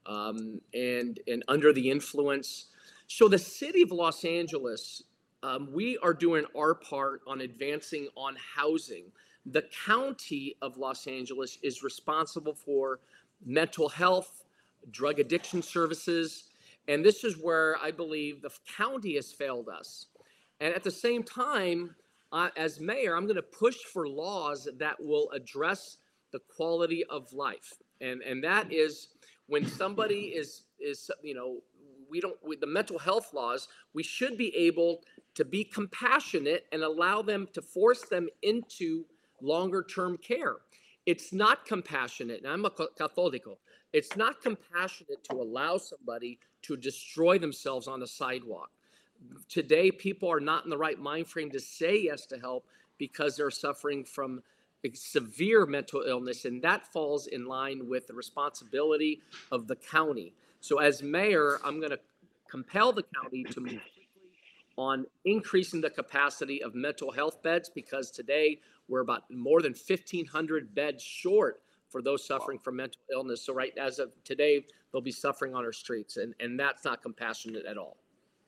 um, and and under the influence. So the city of Los Angeles, um, we are doing our part on advancing on housing. The county of Los Angeles is responsible for mental health, drug addiction services. And this is where I believe the county has failed us. And at the same time, uh, as mayor, I'm going to push for laws that will address the quality of life. And, and that is when somebody is, is you know, we don't, with the mental health laws, we should be able to be compassionate and allow them to force them into longer term care. It's not compassionate, and I'm a Catholico. It's not compassionate to allow somebody to destroy themselves on the sidewalk. Today, people are not in the right mind frame to say yes to help because they're suffering from severe mental illness, and that falls in line with the responsibility of the county. So as mayor, I'm going to compel the county to move quickly on increasing the capacity of mental health beds, because today we're about more than fifteen hundred beds short for those suffering from mental illness. So right as of today, they'll be suffering on our streets, and, and that's not compassionate at all.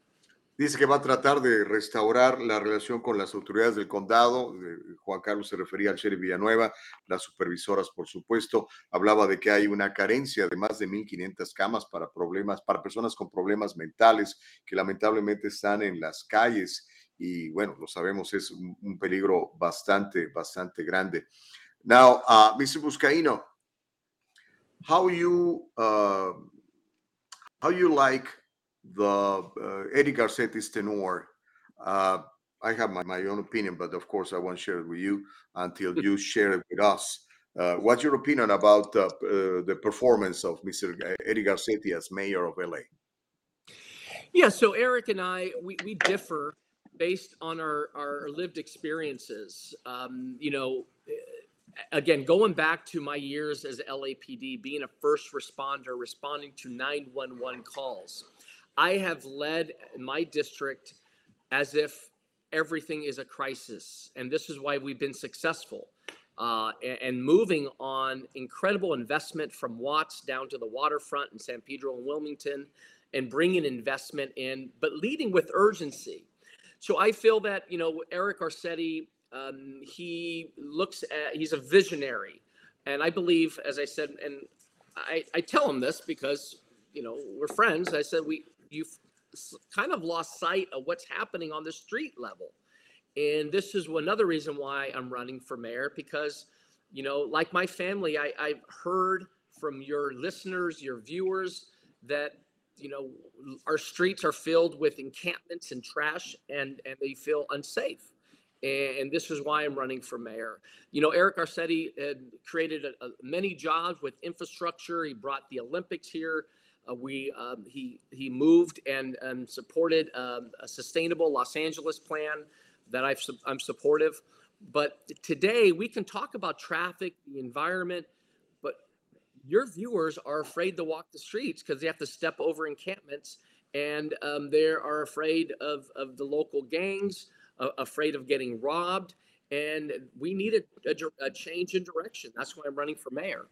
Dice que va a tratar de restaurar la relación con las autoridades del condado. Juan Carlos se refería al sheriff Villanueva, las supervisoras, por supuesto. Hablaba de que hay una carencia de más de mil quinientas camas para problemas, para personas con problemas mentales que lamentablemente están en las calles. Y bueno, lo sabemos, es un, un peligro bastante, bastante grande. Now, uh, mister Buscaino, how you, uh, how you like the uh, Eddie Garcetti's tenor? Uh, I have my, my own opinion, but of course I won't share it with you until you share it with us. Uh, what's your opinion about uh, uh, the performance of mister Eddie Garcetti as mayor of L A? Yeah, so Eric and I, we, we differ based on our, our lived experiences. Um, you know, again, going back to my years as L A P D, being a first responder, responding to nine one one calls, I have led my district as if everything is a crisis. And this is why we've been successful. Uh, and, and moving on incredible investment from Watts down to the waterfront in San Pedro and Wilmington, and bringing investment in, but leading with urgency. So I feel that, you know, Eric Garcetti, um, he looks at, he's a visionary. And I believe, as I said, and I, I tell him this because, you know, we're friends. I said, we, you've kind of lost sight of what's happening on the street level. And this is another reason why I'm running for mayor, because, you know, like my family, I, I've heard from your listeners, your viewers, that, you know, our streets are filled with encampments and trash, and, and they feel unsafe. And, and this is why I'm running for mayor. You know, Eric Garcetti had created a, a, many jobs with infrastructure. He brought the Olympics here. Uh, we um, he he moved and, and supported um, a sustainable Los Angeles plan that I've, I'm supportive. But today we can talk about traffic, the environment, but your viewers are afraid to walk the streets because they have to step over encampments, and um, they are afraid of, of the local gangs, uh, afraid of getting robbed, and we need a, a, a change in direction. That's why I'm running for mayor.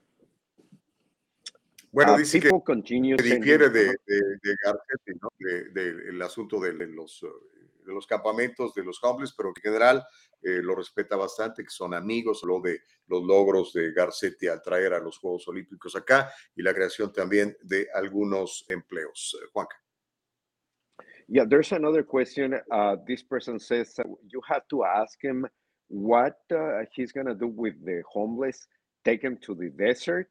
Bueno, Uh, dice que people continue que sending, difiere de, de, de Garcetti, ¿no? De, de- el asunto de, de los, eh, de los campamentos, de los homeless, pero que en general eh, lo respeta bastante, que son amigos, lo de los logros de Garcetti al traer a los Juegos Olímpicos acá y la creación también de algunos empleos. Eh, Juanca. Yeah, there's another question. Uh, this person says uh, you have to ask him what uh, he's gonna do with the homeless, take them to the desert,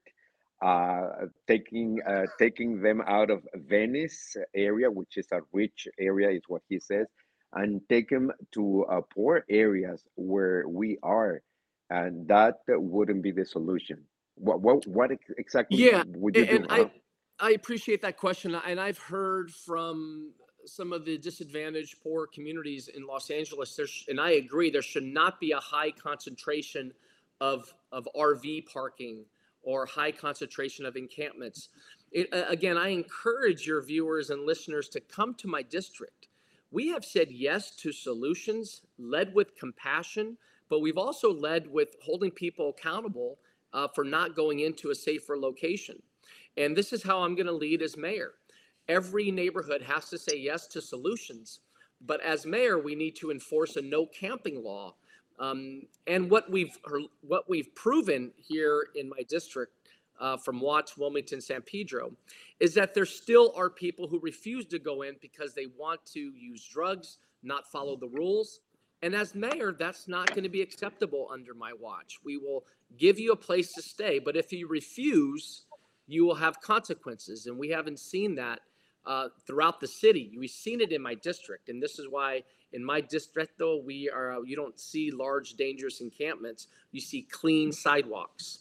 uh, taking uh, taking them out of Venice area, which is a rich area, is what he says, and take them to uh, poor areas where we are, and that wouldn't be the solution. What what what ex- exactly Yeah, would you a- do? and Huh? I I appreciate that question, and I've heard from some of the disadvantaged poor communities in Los Angeles. There's, and I agree, there should not be a high concentration of of R V parking or high concentration of encampments. It, uh, again, I encourage your viewers and listeners to come to my district. We have said yes to solutions, led with compassion, but we've also led with holding people accountable uh, for not going into a safer location. And this is how I'm going to lead as mayor. Every neighborhood has to say yes to solutions, but as mayor, we need to enforce a no camping law. Um, and what we've what we've proven here in my district, uh, from Watts, Wilmington, San Pedro, is that there still are people who refuse to go in because they want to use drugs, not follow the rules. And as mayor, that's not going to be acceptable under my watch. We will give you a place to stay, but if you refuse, you will have consequences. And we haven't seen that uh, throughout the city. We've seen it in my district. And this is why in my district, though, we are, uh, you don't see large, dangerous encampments. You see clean sidewalks.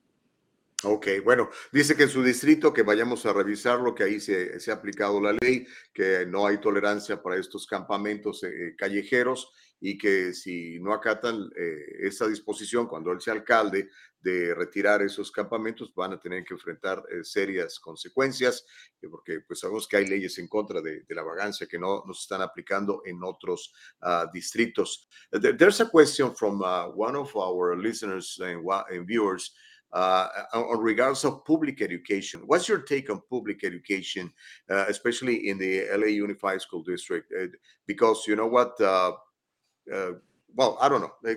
Ok, bueno, dice que en su distrito que vayamos a revisarlo, que ahí se, se ha aplicado la ley, que no hay tolerancia para estos campamentos eh, callejeros y que si no acatan eh, esa disposición cuando él sea alcalde de retirar esos campamentos van a tener que enfrentar eh, serias consecuencias, eh, porque pues sabemos que hay leyes en contra de, de la vagancia que no nos están aplicando en otros uh, distritos. There, there's a question from uh, one of our listeners and, and viewers. Uh, on regards of public education, what's your take on public education, uh, especially in the L A Unified School District? Uh, because you know what, uh, uh, well, I don't know. Like,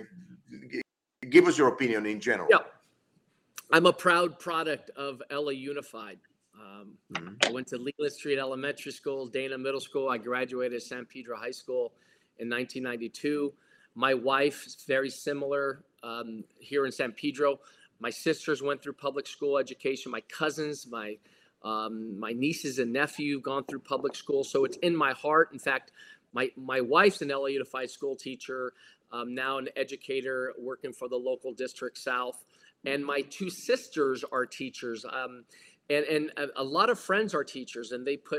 give us your opinion in general. Yeah, I'm a proud product of L A Unified. Um, mm-hmm. I went to Leland Street Elementary School, Dana Middle School. I graduated San Pedro High School in nineteen ninety-two. My wife is very similar um, here in San Pedro. My sisters went through public school education. My cousins, my um, my nieces and nephew gone through public school. So it's in my heart. In fact, my my wife's an L A Unified school teacher, um, now an educator working for the local district South. And my two sisters are teachers. Um, and and a, a lot of friends are teachers, and they put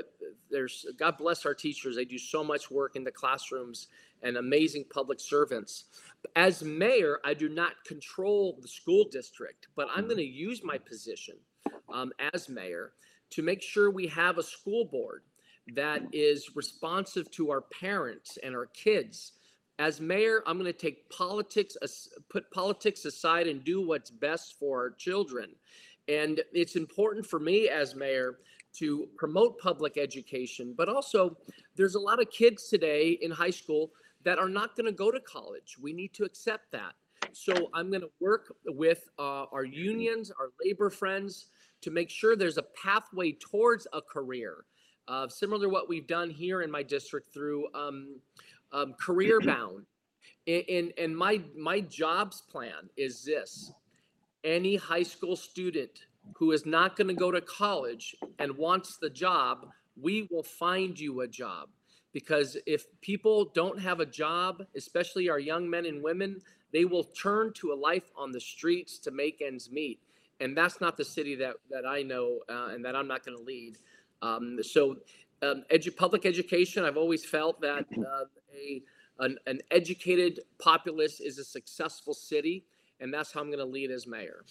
there's God bless our teachers. They do so much work in the classrooms and amazing public servants. As mayor, I do not control the school district, but I'm going to use my position um, as mayor to make sure we have a school board that is responsive to our parents and our kids. As mayor, I'm going to take politics, put politics aside and do what's best for our children. And it's important for me as mayor to promote public education, but also there's a lot of kids today in high school that are not going to go to college. We need to accept that. So I'm going to work with uh, our unions, our labor friends, to make sure there's a pathway towards a career, uh, similar to what we've done here in my district through um, um, Career Bound. And, and my, my jobs plan is this. Any high school student who is not going to go to college and wants the job, we will find you a job. Because if people don't have a job, especially our young men and women, they will turn to a life on the streets to make ends meet. And that's not the city that, that I know uh, and that I'm not going to lead. Um, so um, edu- public education, I've always felt that uh, a an, an educated populace is a successful city. And that's how I'm going to lead as mayor.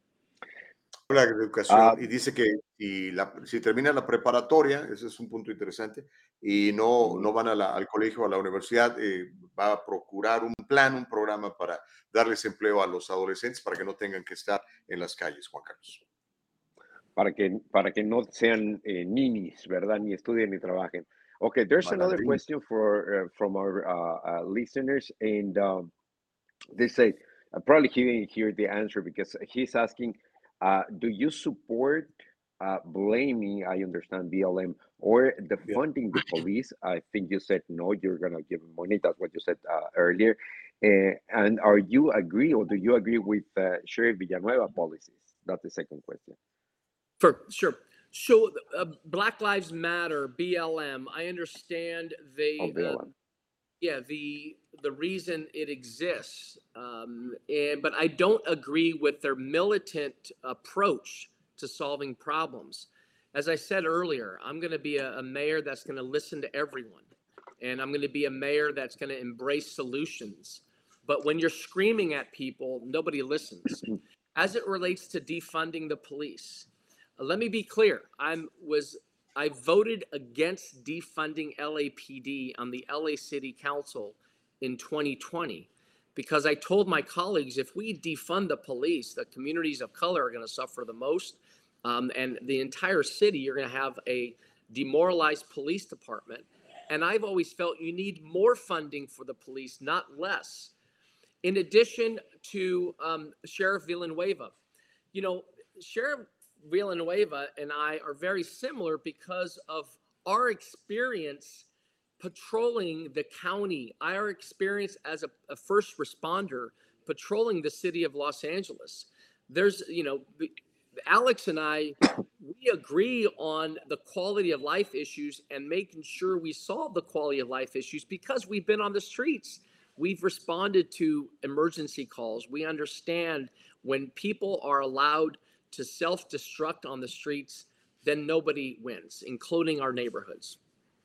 La educación Ah, y dice que si, la, si termina la preparatoria, ese es un punto interesante, y no, ujú. no van a la- al colegio o a la universidad, eh, va a procurar un plan, un programa para darles empleo a los adolescentes para que no tengan que estar en las calles, Juan Carlos. Para que, para que no sean eh, ninis, ¿verdad? Ni estudien ni trabajen. Okay, there's another Malandrín. question for uh, from our uh, uh, listeners, and um, they say, uh, probably he didn't hear the answer because he's asking, uh, do you support uh, blaming, I understand, B L M, or defunding the police? I think you said no, you're going to give them money. That's what you said uh, earlier. Uh, and are you agree, or do you agree with uh, Sheriff Villanueva policies? That's the second question. For sure. So uh, Black Lives Matter, B L M, I understand they, Of uh, B L M. yeah, the the reason it exists, um, and but I don't agree with their militant approach to solving problems. As I said earlier, I'm going to be a, a mayor that's going to listen to everyone, and I'm going to be a mayor that's going to embrace solutions. But when you're screaming at people, nobody listens. As it relates to defunding the police, uh, let me be clear. I'm was I voted against defunding L A P D on the L A City Council in twenty twenty because I told my colleagues if we defund the police, the communities of color are going to suffer the most, um, and the entire city, you're going to have a demoralized police department. And I've always felt you need more funding for the police, not less. In addition to um, Sheriff Villanueva, you know, Sheriff Villanueva and I are very similar because of our experience patrolling the county, our experience as a, a first responder patrolling the city of Los Angeles. There's, you know, Alex and I, we agree on the quality of life issues and making sure we solve the quality of life issues because we've been on the streets. We've responded to emergency calls. We understand when people are allowed to self-destruct on the streets, then nobody wins, including our neighborhoods.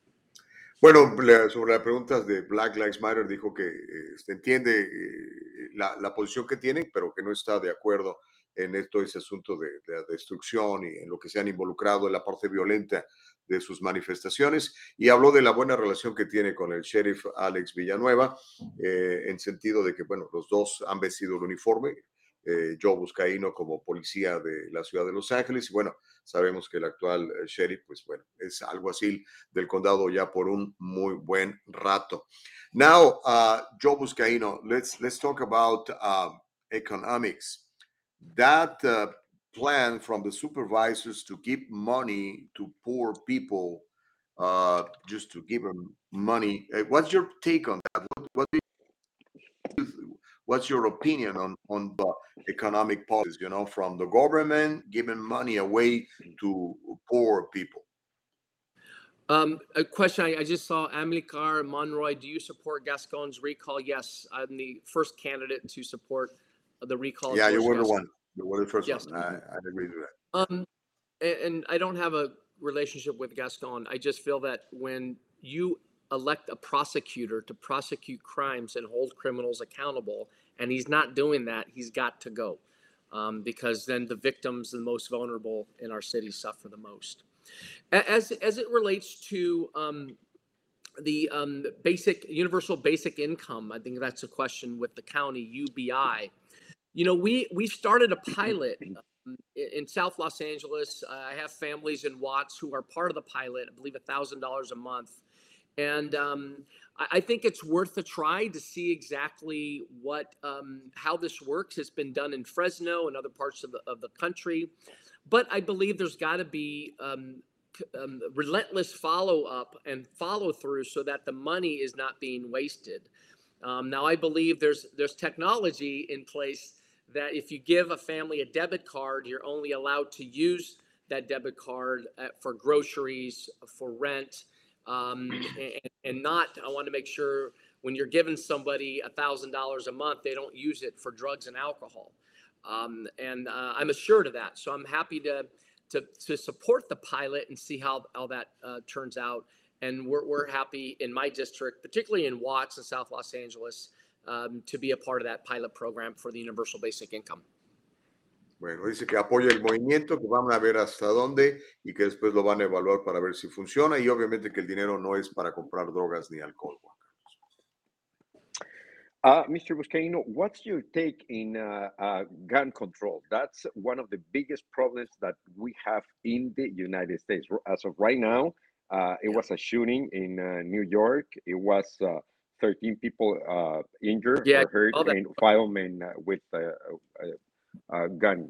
Bueno, le- sobre las preguntas de Black Lives Matter, dijo que eh, este, entiende eh, la, la posición que tienen, pero que no está de acuerdo en esto, ese asunto de, de la destrucción y en lo que se han involucrado en la parte violenta de sus manifestaciones. Y habló de la buena relación que tiene con el sheriff Alex Villanueva, eh, en sentido de que, bueno, los dos han vestido el uniforme. Eh, Joe Buscaino como policía de la ciudad de Los Ángeles y bueno, sabemos que el actual eh, sheriff, pues bueno, es alguacil del condado ya por un muy buen rato. Now, uh, Joe Buscaino, let's let's talk about um, economics. That uh, plan from the supervisors to give money to poor people, uh, just to give them money. Uh, what's your take on that? What, what do you, what's your opinion on on the economic policies? You know, from the government giving money away to poor people. Um, a question I, I just saw, Amilcar Monroy, do you support Gascon's recall? Yes, I'm the first candidate to support the recall. of Yeah, you George were the Gascon. one. You were the first Yes. one. I, I agree with that. Um, and, and I don't have a relationship with Gascon. I just feel that when you elect a prosecutor to prosecute crimes and hold criminals accountable, and he's not doing that, he's got to go. Um, because then the victims, the most vulnerable in our city, suffer the most. As, as it relates to um, the um, basic, universal basic income, I think that's a question with the county, U B I. You know, we, we started a pilot um, in, in South Los Angeles. Uh, I have families in Watts who are part of the pilot, I believe one thousand dollars a month. And um, I, I think it's worth a try to see exactly what, um, how this works. It's been done in Fresno and other parts of the, of the country. But I believe there's got to be um, um, relentless follow-up and follow-through so that the money is not being wasted. Um, now, I believe there's there's technology in place that if you give a family a debit card, you're only allowed to use that debit card at, for groceries, for rent, um, and, and not, I want to make sure when you're giving somebody one thousand dollars a month, they don't use it for drugs and alcohol. Um, and uh, I'm assured of that. So I'm happy to to, to support the pilot and see how, how that uh, turns out. And we're, we're happy in my district, particularly in Watts and South Los Angeles, um, to be a part of that pilot program for the Universal Basic Income. Bueno, dice que apoya el movimiento, que van a ver hasta dónde y que después lo van a evaluar para ver si funciona, y obviamente que el dinero no es para comprar drogas ni alcohol. Uh, Mister Buscaino, what's your take in uh, uh, gun control? That's one of the biggest problems that we have in the United States. As of right now, uh, it was a shooting in uh, New York. It was uh, thirteen people uh, injured Yeah, or hurt, all that. and five men uh, with a, a, a gun.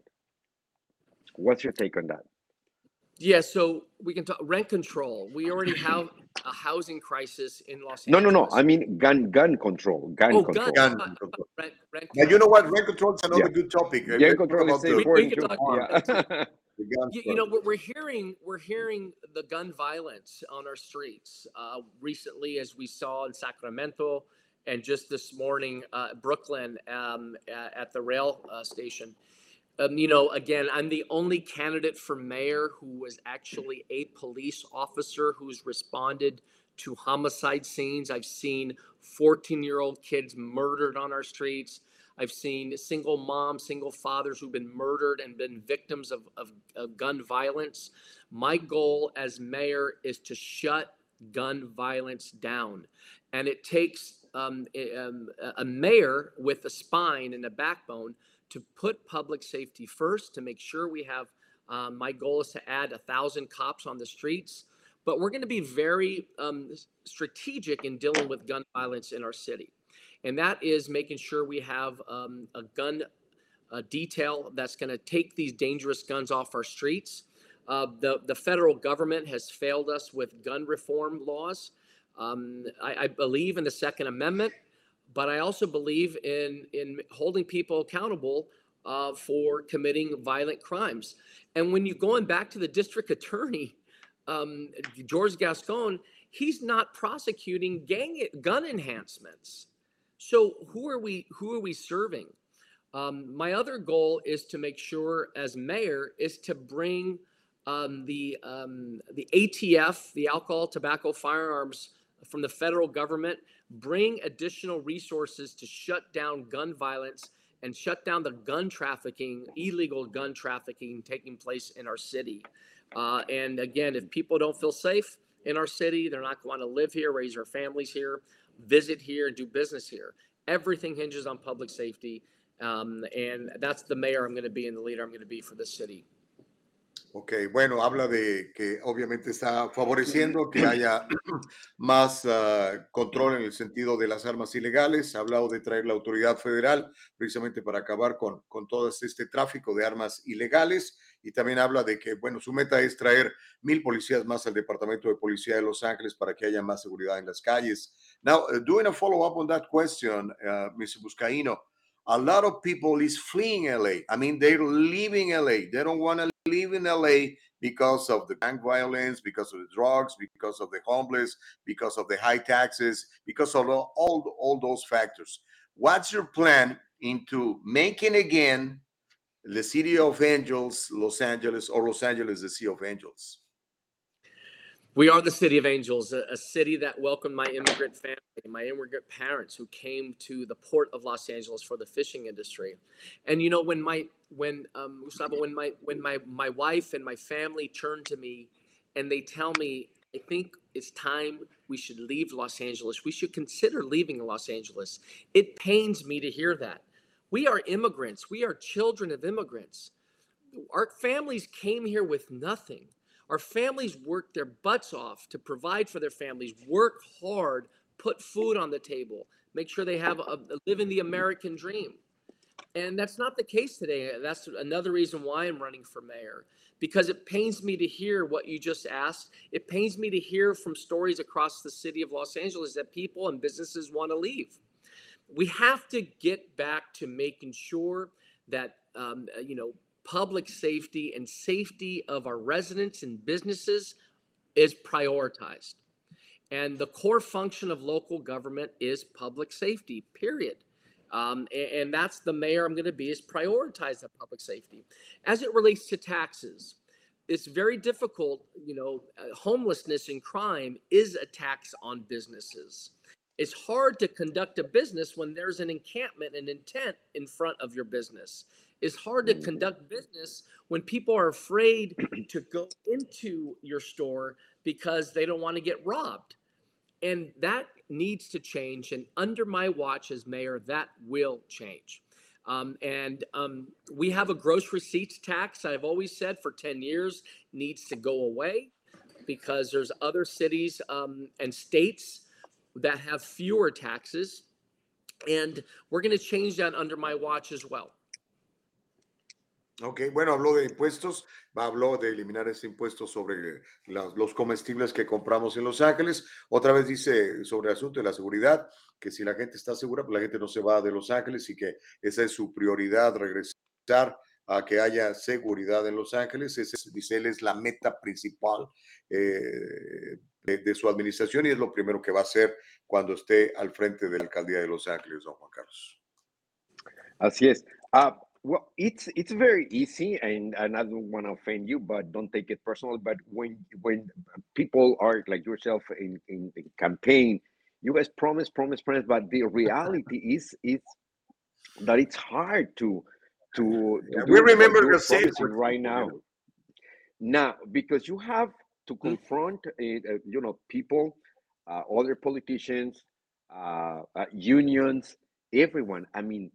What's your take on that? Yeah, so we can talk rent control. We already have a housing crisis in Los No, no, Angeles. no. I mean gun, gun control, gun Oh, control. gun. Gun control. Rent, rent Now, you know what? Rent control is another Yeah. good topic. Gun Let's control talk is about the, We- we important can too. talk- Yeah. the guns You, you know, first. we're, we're hearing we're hearing the gun violence on our streets. Uh, recently, as we saw in Sacramento, and just this morning, uh, Brooklyn, um, at, at the rail uh, station. Um, you know, again, I'm the only candidate for mayor who was actually a police officer who's responded to homicide scenes. I've seen fourteen-year-old kids murdered on our streets. I've seen single moms, single fathers who've been murdered and been victims of, of, of gun violence. My goal as mayor is to shut gun violence down. And it takes um, a, um, a mayor with a spine and a backbone to put public safety first, to make sure we have, um, my goal is to add a thousand cops on the streets. But we're going to be very um, strategic in dealing with gun violence in our city. And that is making sure we have um, a gun uh, detail that's going to take these dangerous guns off our streets. Uh, the, the federal government has failed us with gun reform laws. Um, I, I believe in the Second Amendment, but I also believe in, in holding people accountable uh, for committing violent crimes. And when you're going back to the district attorney, um, George Gascon, he's not prosecuting gang gun enhancements. So who are we who are we serving? Um, my other goal is to make sure, as mayor, is to bring um, the um, the A T F, the alcohol, tobacco, firearms from the federal government, bring additional resources to shut down gun violence and shut down the gun trafficking, illegal gun trafficking taking place in our city. Uh, and again, if people don't feel safe in our city, they're not going to live here, raise their families here, visit here, and do business here. Everything hinges on public safety. Um, and that's the mayor I'm going to be and the leader I'm going to be for this city. Ok, bueno, habla de que obviamente está favoreciendo que haya más uh, control en el sentido de las armas ilegales. Ha hablado de traer la autoridad federal precisamente para acabar con, con todo este tráfico de armas ilegales. Y también habla de que, bueno, su meta es traer mil policías más al Departamento de Policía de Los Ángeles para que haya más seguridad en las calles. Now, uh, doing a follow-up on that question, uh, Mister Buscaino, a lot of people is fleeing L A. I mean, they're leaving L A. They don't want to live in L A because of the gang violence, because of the drugs, because of the homeless, because of the high taxes, because of all, all, all those factors. What's your plan into making again the City of Angels, Los Angeles, or Los Angeles, the City of Angels? We are the City of Angels, a, a city that welcomed my immigrant family, my immigrant parents who came to the port of Los Angeles for the fishing industry. And you know, when my when um, Gustavo, when my when my my wife and my family turn to me, and they tell me, I think it's time we should leave Los Angeles. We should consider leaving Los Angeles. It pains me to hear that. We are immigrants. We are children of immigrants. Our families came here with nothing. Our families work their butts off to provide for their families, work hard, put food on the table, make sure they have a, live in the American dream. And that's not the case today. That's another reason why I'm running for mayor, because it pains me to hear what you just asked. It pains me to hear from stories across the city of Los Angeles that people and businesses want to leave. We have to get back to making sure that, um, you know, public safety and safety of our residents and businesses is prioritized. And the core function of local government is public safety, period. Um, and, and that's the mayor I'm going to be, is prioritize that public safety. As it relates to taxes, it's very difficult. You know, uh, homelessness and crime is a tax on businesses. It's hard to conduct a business when there's an encampment and intent in front of your business. It's hard to conduct business when people are afraid to go into your store because they don't want to get robbed. And that needs to change. And under my watch as mayor, that will change. Um, and um, we have a gross receipts tax, I've always said for ten years, needs to go away, because there's other cities um, and states that have fewer taxes. And we're going to change that under my watch as well. Ok, bueno, habló de impuestos, habló de eliminar ese impuesto sobre la- los comestibles que compramos en Los Ángeles. Otra vez dice sobre el asunto de la seguridad, que si la gente está segura, pues la gente no se va de Los Ángeles, y que esa es su prioridad, regresar a que haya seguridad en Los Ángeles. Esa es, dice él, es la meta principal eh, de, de su administración, y es lo primero que va a hacer cuando esté al frente de la alcaldía de Los Ángeles, don Juan Carlos. Así es. Uh, well, it's it's very easy, and, and I don't want to offend you, but don't take it personal. But when when people are like yourself in, in the campaign, you guys promise, promise, promise, but the reality is is that it's hard to to, to Yeah, do we what remember you're the same promising word, right you now. know. Now, because you have to confront, uh, uh, you know, people, uh, other politicians, uh, uh, unions, everyone. I mean,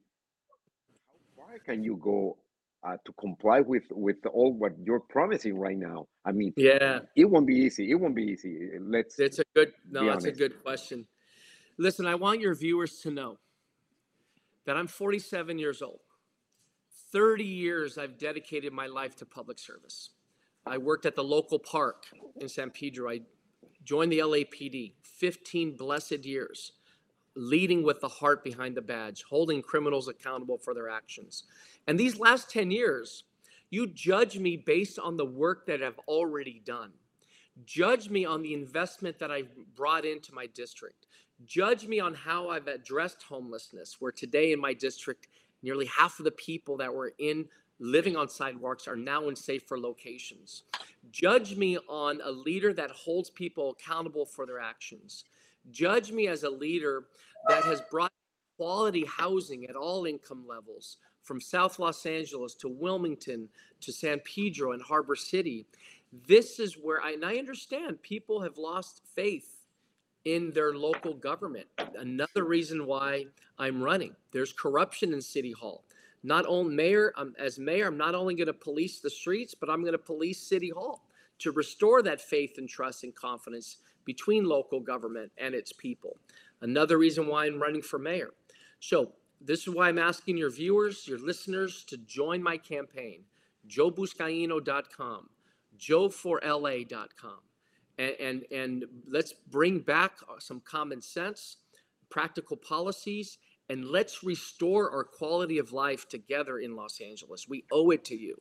how far can you go uh, to comply with with all what you're promising right now? I mean, Yeah, it won't be easy. It won't be easy. Let's it's a good, be no, it's a honest. good question. Listen, I want your viewers to know that I'm forty-seven years old. thirty years I've dedicated my life to public service. I worked at the local park in San Pedro. I joined the L A P D, fifteen blessed years, leading with the heart behind the badge, holding criminals accountable for their actions. And these last ten years, you judge me based on the work that I've already done. Judge me on the investment that I've brought into my district. Judge me on how I've addressed homelessness, where today in my district, nearly half of the people that were in living on sidewalks are now in safer locations. Judge me on a leader that holds people accountable for their actions. Judge me as a leader that has brought quality housing at all income levels, from South Los Angeles to Wilmington to San Pedro and Harbor City. This is where I, and I understand people have lost faith in their local government. Another reason why I'm running. There's corruption in City Hall. Not only mayor, um, as mayor, I'm not only going to police the streets, but I'm going to police City Hall to restore that faith and trust and confidence between local government and its people. Another reason why I'm running for mayor. So this is why I'm asking your viewers, your listeners, to join my campaign. joe buscaino dot com, joe for L A dot com. And, and, and let's bring back some common sense, practical policies, and let's restore our quality of life together in Los Angeles. We owe it to you.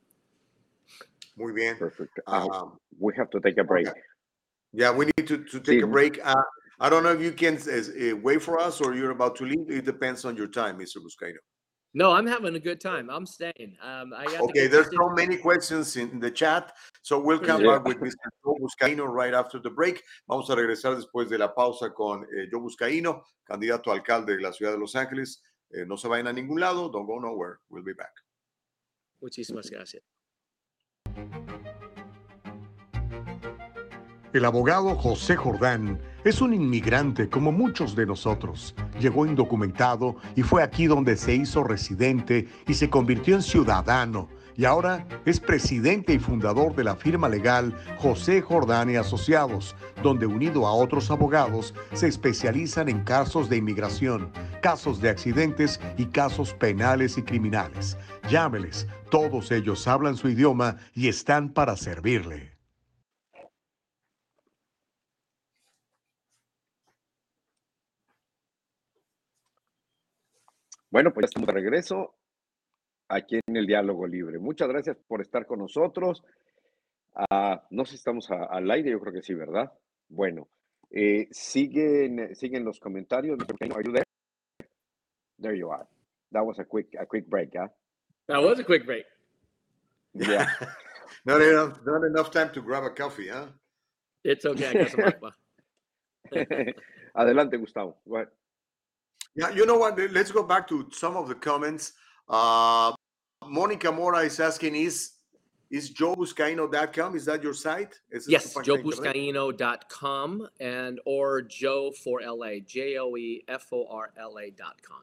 Muy bien. Perfect. Uh, Um, we have to take a break. okay. Yeah, we need to, to take Sí. a break. Uh, I don't know if you can uh, uh, wait for us or you're about to leave. It depends on your time, Mister Buscaino. No, I'm having a good time. I'm staying. Um, I got to Okay, get there's this so in- many questions in the chat, so we'll come Yeah. back with mister Joe Buscaino right after the break. Vamos a regresar después de la pausa con eh, Joe Buscaino, candidato a alcalde de la ciudad de Los Ángeles. Eh, no se vayan a ningún lado, don't go nowhere. We'll be back. Muchísimas gracias. El abogado José Jordán es un inmigrante como muchos de nosotros. Llegó indocumentado y fue aquí donde se hizo residente y se convirtió en ciudadano. Y ahora es presidente y fundador de la firma legal José Jordán y Asociados, donde unido a otros abogados se especializan en casos de inmigración, casos de accidentes y casos penales y criminales. Llámeles, todos ellos hablan su idioma y están para servirle. Bueno, pues ya estamos de regreso aquí en el Diálogo Libre. Muchas gracias por estar con nosotros. Uh, no sé si estamos a, al aire, yo creo que sí, ¿verdad? Bueno, eh, siguen, siguen los comentarios. Are you there? There you are. That was a quick, a quick break, ¿ah? That was a quick break. Yeah. not, enough, not enough time to grab a coffee, huh? It's okay. I got some agua. Adelante, Gustavo. Go ahead. Yeah, you know what? Let's go back to some of the comments. Uh, Monica Mora is asking, is is joe buscaino dot com? Is that your site? ¿Es Yes, tu página joe de internet? buscaino dot com and or Joe for L A, J O E F O R L A dot com.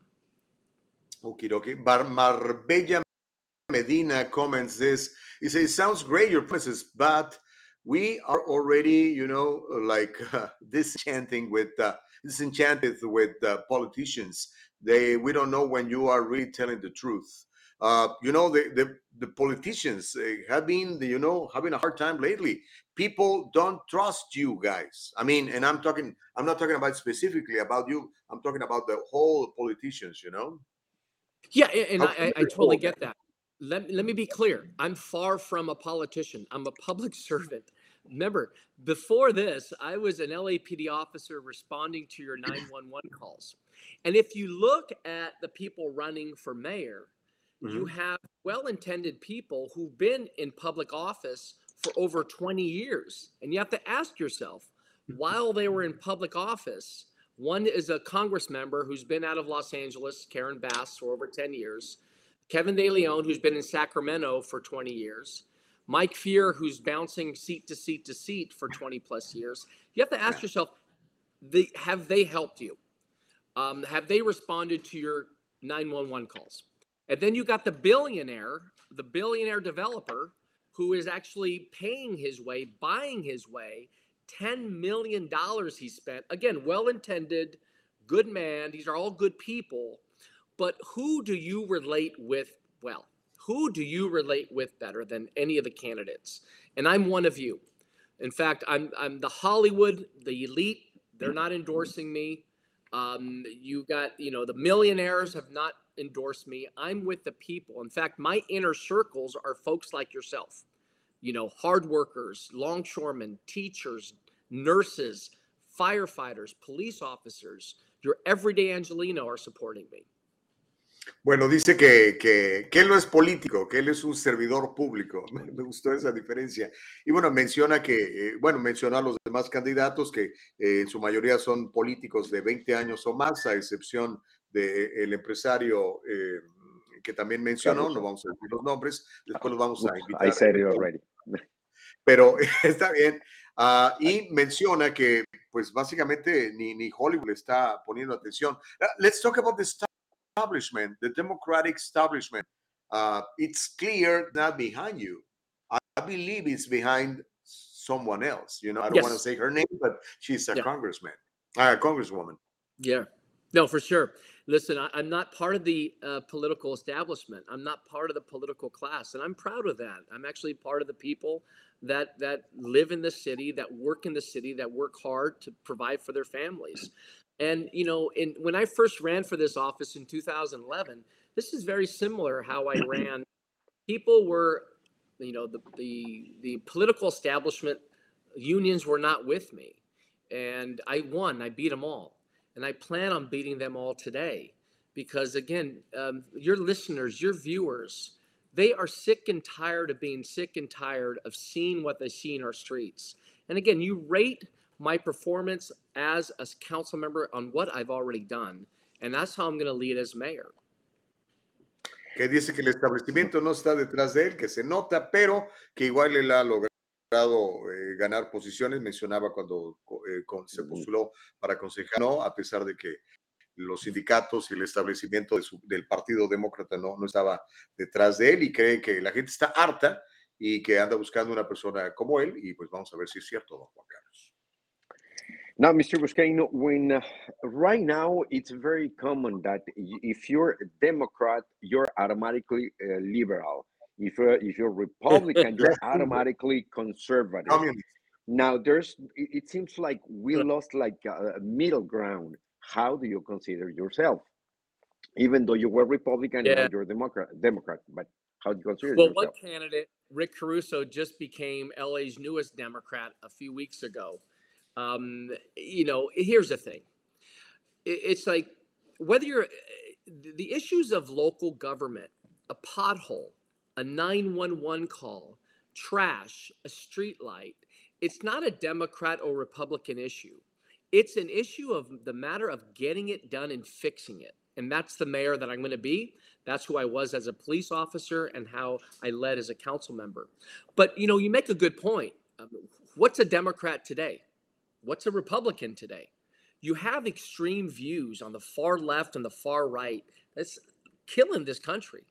Okay, okay. Bar Marbella Medina comments this. He says, sounds great, your promises, but we are already, you know, like uh, disenchanting with, uh, disenchanted with uh, politicians. They, we don't know when you are really telling the truth. Uh, you know, the, the, the politicians uh, have been, you know, having a hard time lately. People don't trust you guys. I mean, and I'm talking, I'm not talking about specifically about you. I'm talking about the whole politicians, you know? Yeah, and How I, can I, you I totally report? get that. Let, let me be clear. I'm far from a politician. I'm a public servant. Remember, before this, I was an L A P D officer responding to your nine one one calls. And if you look at the people running for mayor, Mm-hmm. you have well-intended people who've been in public office for over twenty years. And you have to ask yourself, while they were in public office, one is a Congress member who's been out of Los Angeles, Karen Bass, for over ten years. Kevin De Leon, who's been in Sacramento for twenty years. Mike Fear, who's bouncing seat to seat to seat for twenty plus years. You have to ask yourself, they, have they helped you? Um, have they responded to your nine one one calls? And then you got the billionaire, the billionaire developer, who is actually paying his way, buying his way, ten million dollars he spent. Again, well-intended, good man. These are all good people. But who do you relate with well? Who do you relate with better than any of the candidates? And I'm one of you. In fact, I'm I'm the Hollywood, the elite. They're not endorsing me. Um, you got, you know, the millionaires have not endorsed me. I'm with the people. In fact, my inner circles are folks like yourself. You know, hard workers, longshoremen, teachers, nurses, firefighters, police officers. Your everyday Angelino are supporting me. Bueno, dice que, que, que él no es político, que él es un servidor público. Me, me gustó esa diferencia. Y bueno, menciona que, eh, bueno, menciona a los demás candidatos que eh, en su mayoría son políticos de veinte años o más, a excepción del empresario eh, que también mencionó, no vamos a decir los nombres, después los vamos a invitar. I said it already. Pero está bien. Uh, y menciona que, pues básicamente ni, ni Hollywood está poniendo atención. Uh, let's talk about the establishment, the Democratic establishment. Uh, it's clear not behind you. I, I believe it's behind someone else. You know, I don't Yes. want to say her name, but she's a Yeah. congressman, a congresswoman. Yeah. No, for sure. Listen, I, I'm not part of the uh, political establishment. I'm not part of the political class, and I'm proud of that. I'm actually part of the people that that live in the city, that work in the city, that work hard to provide for their families. And, you know, in, when I first ran for this office in two thousand eleven, this is very similar how I ran. People were, you know, the, the, the political establishment, unions were not with me. And I won, I beat them all. And I plan on beating them all today because again, um, your listeners, your viewers, they are sick and tired of being sick and tired of seeing what they see in our streets. And again, you rate my performance as a council member on what I've already done, and that's how I'm going to lead as mayor. Que dice que el establecimiento no está detrás de él, que se nota, pero que igual él ha logrado eh, ganar posiciones. Mencionaba cuando eh, con, se postuló para concejal, no, a pesar de que los sindicatos y el establecimiento de su, del Partido Demócrata no, no estaba detrás de él, y cree que la gente está harta y que anda buscando una persona como él, y pues vamos a ver si es cierto, don Juan Carlos. Now, Mister Vizcaino, when uh, right now it's very common that if you're a Democrat, you're automatically uh, liberal. If you're, if you're Republican, you're automatically conservative. Communist. Now, there's it, it seems like we lost like a, a middle ground. How do you consider yourself? Even though you were Republican, Yeah. now you're Democrat, Democrat, but how do you consider Well, yourself? one candidate, Rick Caruso, just became L A's newest Democrat a few weeks ago. Um, you know, here's the thing. It, it's like whether you're the issues of local government, a pothole, a nine one one call, trash, a street light. It's not a Democrat or Republican issue. It's an issue of the matter of getting it done and fixing it. And that's the mayor that I'm going to be. That's who I was as a police officer and how I led as a council member. But, you know, you make a good point. Um, what's a Democrat today? What's a Republican today? You have extreme views on the far left and the far right. That's killing this country.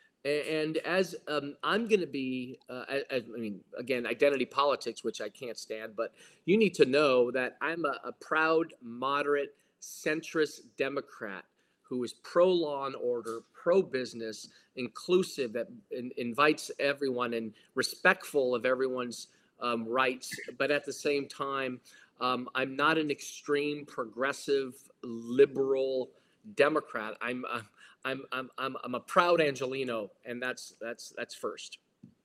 And as um, I'm going to be, uh, I, I mean, again, identity politics, which I can't stand, but you need to know that I'm a, a proud, moderate, centrist Democrat who is pro-law and order, pro-business, inclusive, that in, invites everyone and respectful of everyone's um, rights. But at the same time, um, I'm not an extreme, progressive, liberal Democrat. I'm uh, I'm I'm I'm I'm a proud Angelino, and that's that's that's first.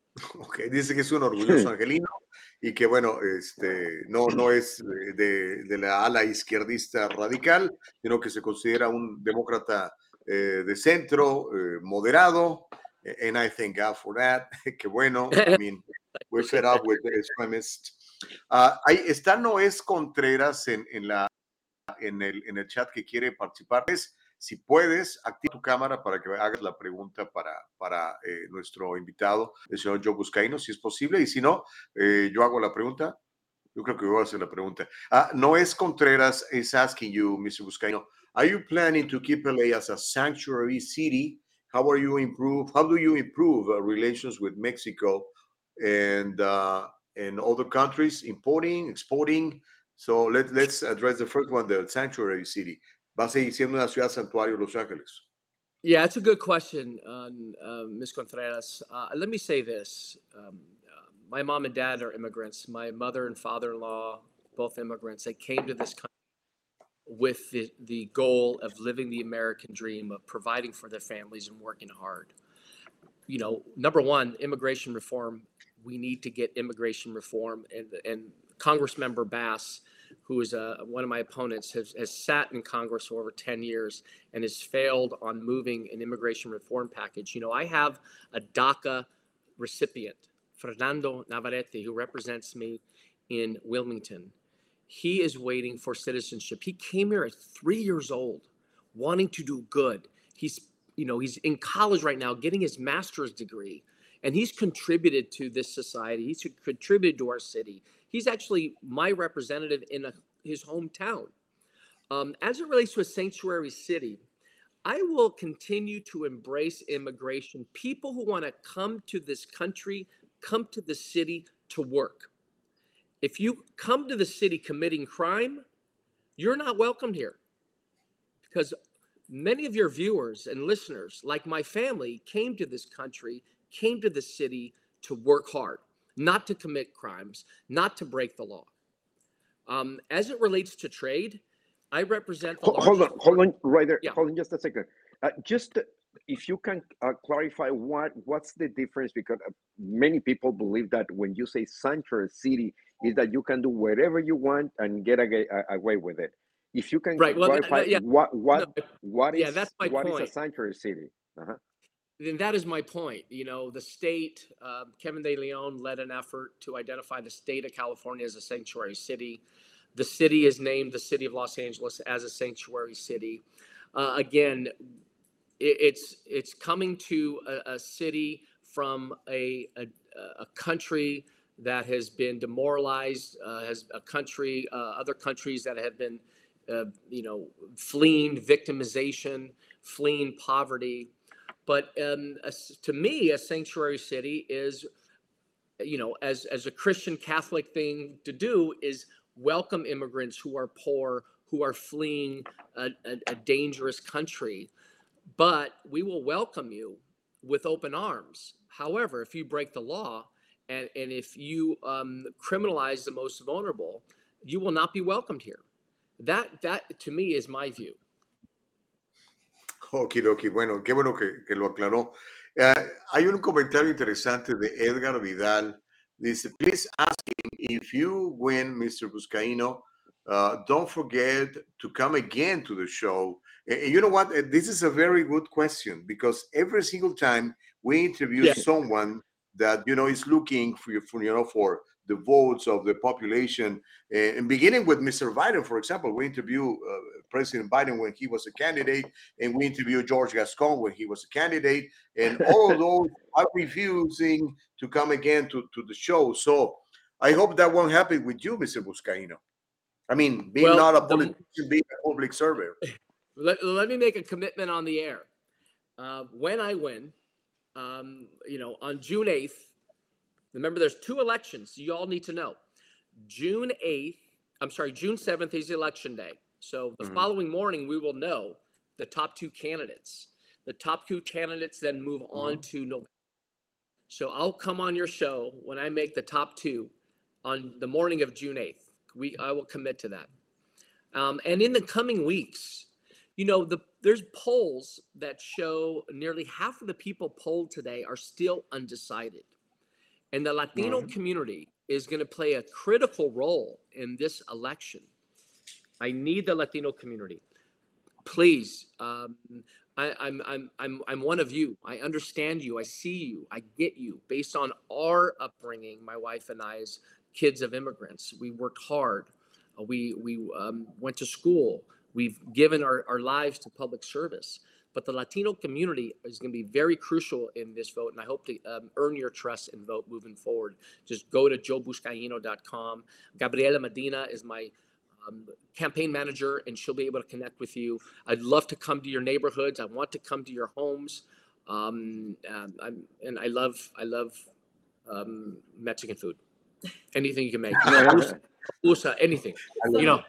Okay, dice que es un orgulloso angelino y que bueno, este, no, no es de, de la ala izquierdista radical, sino que se considera un demócrata eh, de centro, eh, moderado, and I thank God for that. Que bueno, I mean, we're fed up with the extremists. Uh, ahí está Noés Contreras en, en, la, en, el, en el chat que quiere participar. Es, si puedes, activa tu cámara para que hagas la pregunta para, para eh, nuestro invitado, el señor Joe Vizcaino, si es posible, y si no, eh, yo hago la pregunta. Yo creo que voy a hacer la pregunta. Uh, Noés Contreras is asking you, Mister Vizcaino, are you planning to keep L A as a sanctuary city? How are you improve? How do you improve uh, relations with Mexico and uh, and other countries, importing, exporting? So let, let's address the first one, the sanctuary city. ¿Va a seguir siendo una ciudad santuario Los Ángeles? Yeah, it's a good question, uh, uh, Miz Contreras. Uh, let me say this. Um, uh, my mom and dad are immigrants. My mother and father-in-law, both immigrants. They came to this country with the, the goal of living the American dream, of providing for their families and working hard. You know, number one, immigration reform. We need to get immigration reform. And, and Congressmember Bass, who is uh, one of my opponents, has, has sat in Congress for over ten years and has failed on moving an immigration reform package. You know, I have a DACA recipient, Fernando Navarrete, who represents me in Wilmington. He is waiting for citizenship. He came here at three years old, wanting to do good. He's, you know, he's in college right now, getting his master's degree, and he's contributed to this society. He's contributed to our city. He's actually my representative in a, his hometown. Um, as it relates to a sanctuary city, I will continue to embrace immigration. People who want to come to this country, come to the city to work. If you come to the city committing crime, you're not welcomed here. Because many of your viewers and listeners, like my family, came to this country, came to the city to work hard, not to commit crimes, not to break the law. Um, as it relates to trade, I represent the Hold, hold on, hold on, right there. Yeah. Hold on just a second. Uh, just if you can uh, clarify what what's the difference, because many people believe that when you say sanctuary city, is that you can do whatever you want and get a, a, away with it. if you can Right. Well, th- clarify th- yeah. what what No, what yeah, is that's my what is a point. sanctuary city? Uh-huh. Then that is my point. You know, the state, uh, Kevin De Leon led an effort to identify the state of California as a sanctuary city. The city is named the city of Los Angeles as a sanctuary city. Uh, again, it, it's it's coming to a, a city from a, a a country that has been demoralized, uh, has a country, uh, other countries that have been, uh, you know, fleeing victimization, fleeing poverty. But um, a s to me, a sanctuary city is, you know, as as a Christian Catholic thing to do is welcome immigrants who are poor, who are fleeing a, a, a dangerous country. But we will welcome you with open arms. However, if you break the law and, and if you um, criminalize the most vulnerable, you will not be welcomed here. That, that to me is my view. Okidoki, bueno, qué bueno que, que lo aclaró. Eh, hay un comentario interesante de Edgar Vidal. Dice, please ask him if you win, mister Buscaino, uh, don't forget to come again to the show. And, and you know what? This is a very good question because every single time we interview Yeah. someone that, you know, is looking for, for you know, for the votes of the population, uh, and beginning with mister Biden, for example, we interview uh, President Biden when he was a candidate, and we interviewed George Gascon when he was a candidate, and all of those are refusing to come again to, to the show. So I hope that won't happen with you, mister Buscaino. I mean, being Well, not a the- politician, being a public servant. Let, let me make a commitment on the air. Uh, when I win, um, you know, on June eighth, remember there's two elections you all need to know. June eighth, I'm sorry, June seventh is election day. So the Mhm. following morning, we will know the top two candidates. The top two candidates then move on to November. So I'll come on your show when I make the top two on the morning of June eighth. We, I will commit to that. Um, and in the coming weeks, you know, the there's polls that show nearly half of the people polled today are still undecided. And the Latino Mhm. community is going to play a critical role in this election. I need the Latino community. Please, um, I, I'm, I'm, I'm, I'm one of you. I understand you. I see you. I get you. Based on our upbringing, my wife and I, as kids of immigrants, we worked hard. Uh, we we um, went to school. We've given our, our lives to public service. But the Latino community is going to be very crucial in this vote, and I hope to um, earn your trust and vote moving forward. Just go to joe buscaino dot com. Gabriela Medina is my um, campaign manager, and she'll be able to connect with you. I'd love to come to your neighborhoods. I want to come to your homes, um, um, I'm, and I love I love um, Mexican food. Anything you can make, papusa, papusa, anything. You know,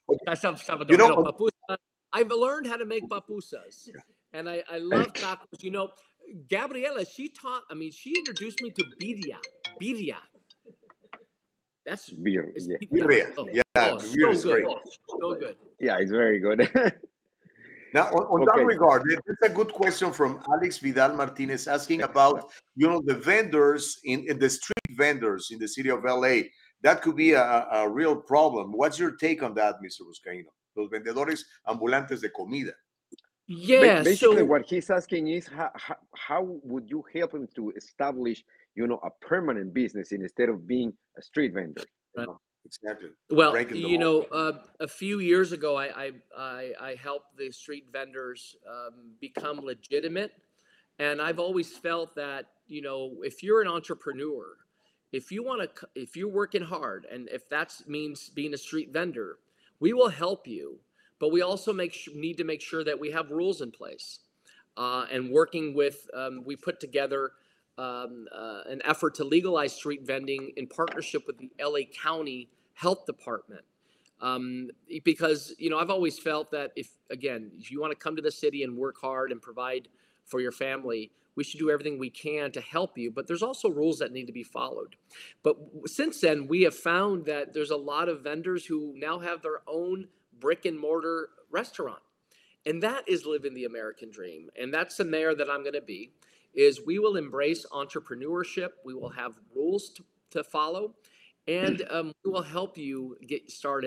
You know, papusa. I've learned how to make papusas, and I, I love tacos. You know, Gabriela, she taught, I mean, she introduced me to birria. Birria. That's Beer, it's yeah. birria. Birria, Oh, yeah, oh, birria is so good. great. So good. Yeah, it's very good. Now, on, on Okay. that regard, there's a good question from Alex Vidal Martinez asking about, you know, the vendors in, in the street vendors in the city of L A. That could be a, a real problem. What's your take on that, mister Buscaino? Los vendedores ambulantes de comida. Ba- Yeah. Basically, So what he's asking is how, how, how would you help him to establish, you know, a permanent business instead of being a street vendor? You Right. know? Exactly. well, Breaking the you law. know, uh, a few years ago, I I I, I helped the street vendors um, become legitimate, and I've always felt that, you know, if you're an entrepreneur, if you want to, if you're working hard, and if that means being a street vendor, we will help you. But we also make su- need to make sure that we have rules in place, uh, and working with. Um, we put together um, uh, an effort to legalize street vending in partnership with the L A County Health Department. Um, because, you know, I've always felt that if, again, if you want to come to the city and work hard and provide for your family, we should do everything we can to help you. But there's also rules that need to be followed. But w- since then, we have found that there's a lot of vendors who now have their own brick and mortar restaurant. And that is living the American dream. And that's the mayor that I'm going to be, is we will embrace entrepreneurship. We will have rules to, to follow, and um, we will help you get started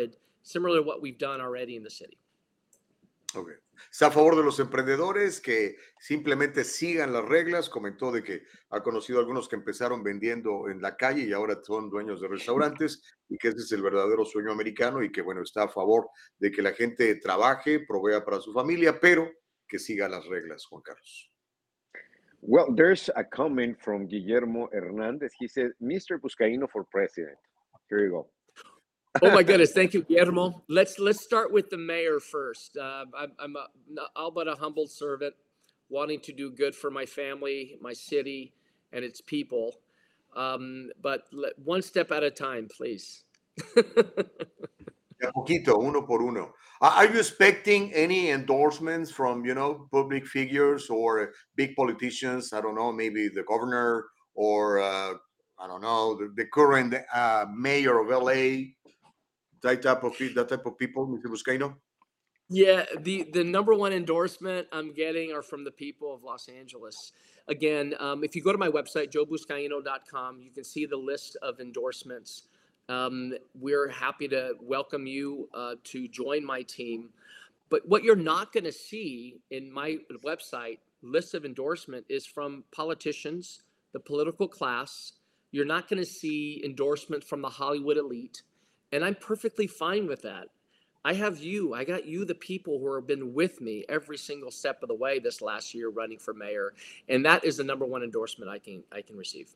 similar to what we've done already in the city. Okay. Está a favor de los emprendedores que simplemente sigan las reglas. Comentó de que ha conocido algunos que empezaron vendiendo en la calle y ahora son dueños de restaurantes y que ese es el verdadero sueño americano y que, bueno, está a favor de que la gente trabaje, provea para su familia, pero que siga las reglas, Juan Carlos. Well, there's a comment from Guillermo Hernandez. He said, Mister Buscaino for president. Here you go. Oh my goodness! Thank you, Guillermo. Let's let's start with the mayor first. Uh, I'm I'm a, all but a humble servant, wanting to do good for my family, my city, and its people. Um, but let, one step at a time, please. De a poquito, uno por uno. Are you expecting any endorsements from, you know, public figures or big politicians? I don't know, maybe the governor or, uh, I don't know, the, the current uh, mayor of L A, that type of, that type of people, Mister Buscaino? Yeah, the, the number one endorsement I'm getting are from the people of Los Angeles. Again, um, if you go to my website, joe buscaino dot com, you can see the list of endorsements. Um, we're happy to welcome you uh, to join my team. But what you're not going to see in my website list of endorsement is from politicians, the political class. You're not going to see endorsement from the Hollywood elite. And I'm perfectly fine with that. I have you. I got you, the people who have been with me every single step of the way this last year running for mayor. And that is the number one endorsement I can I can receive.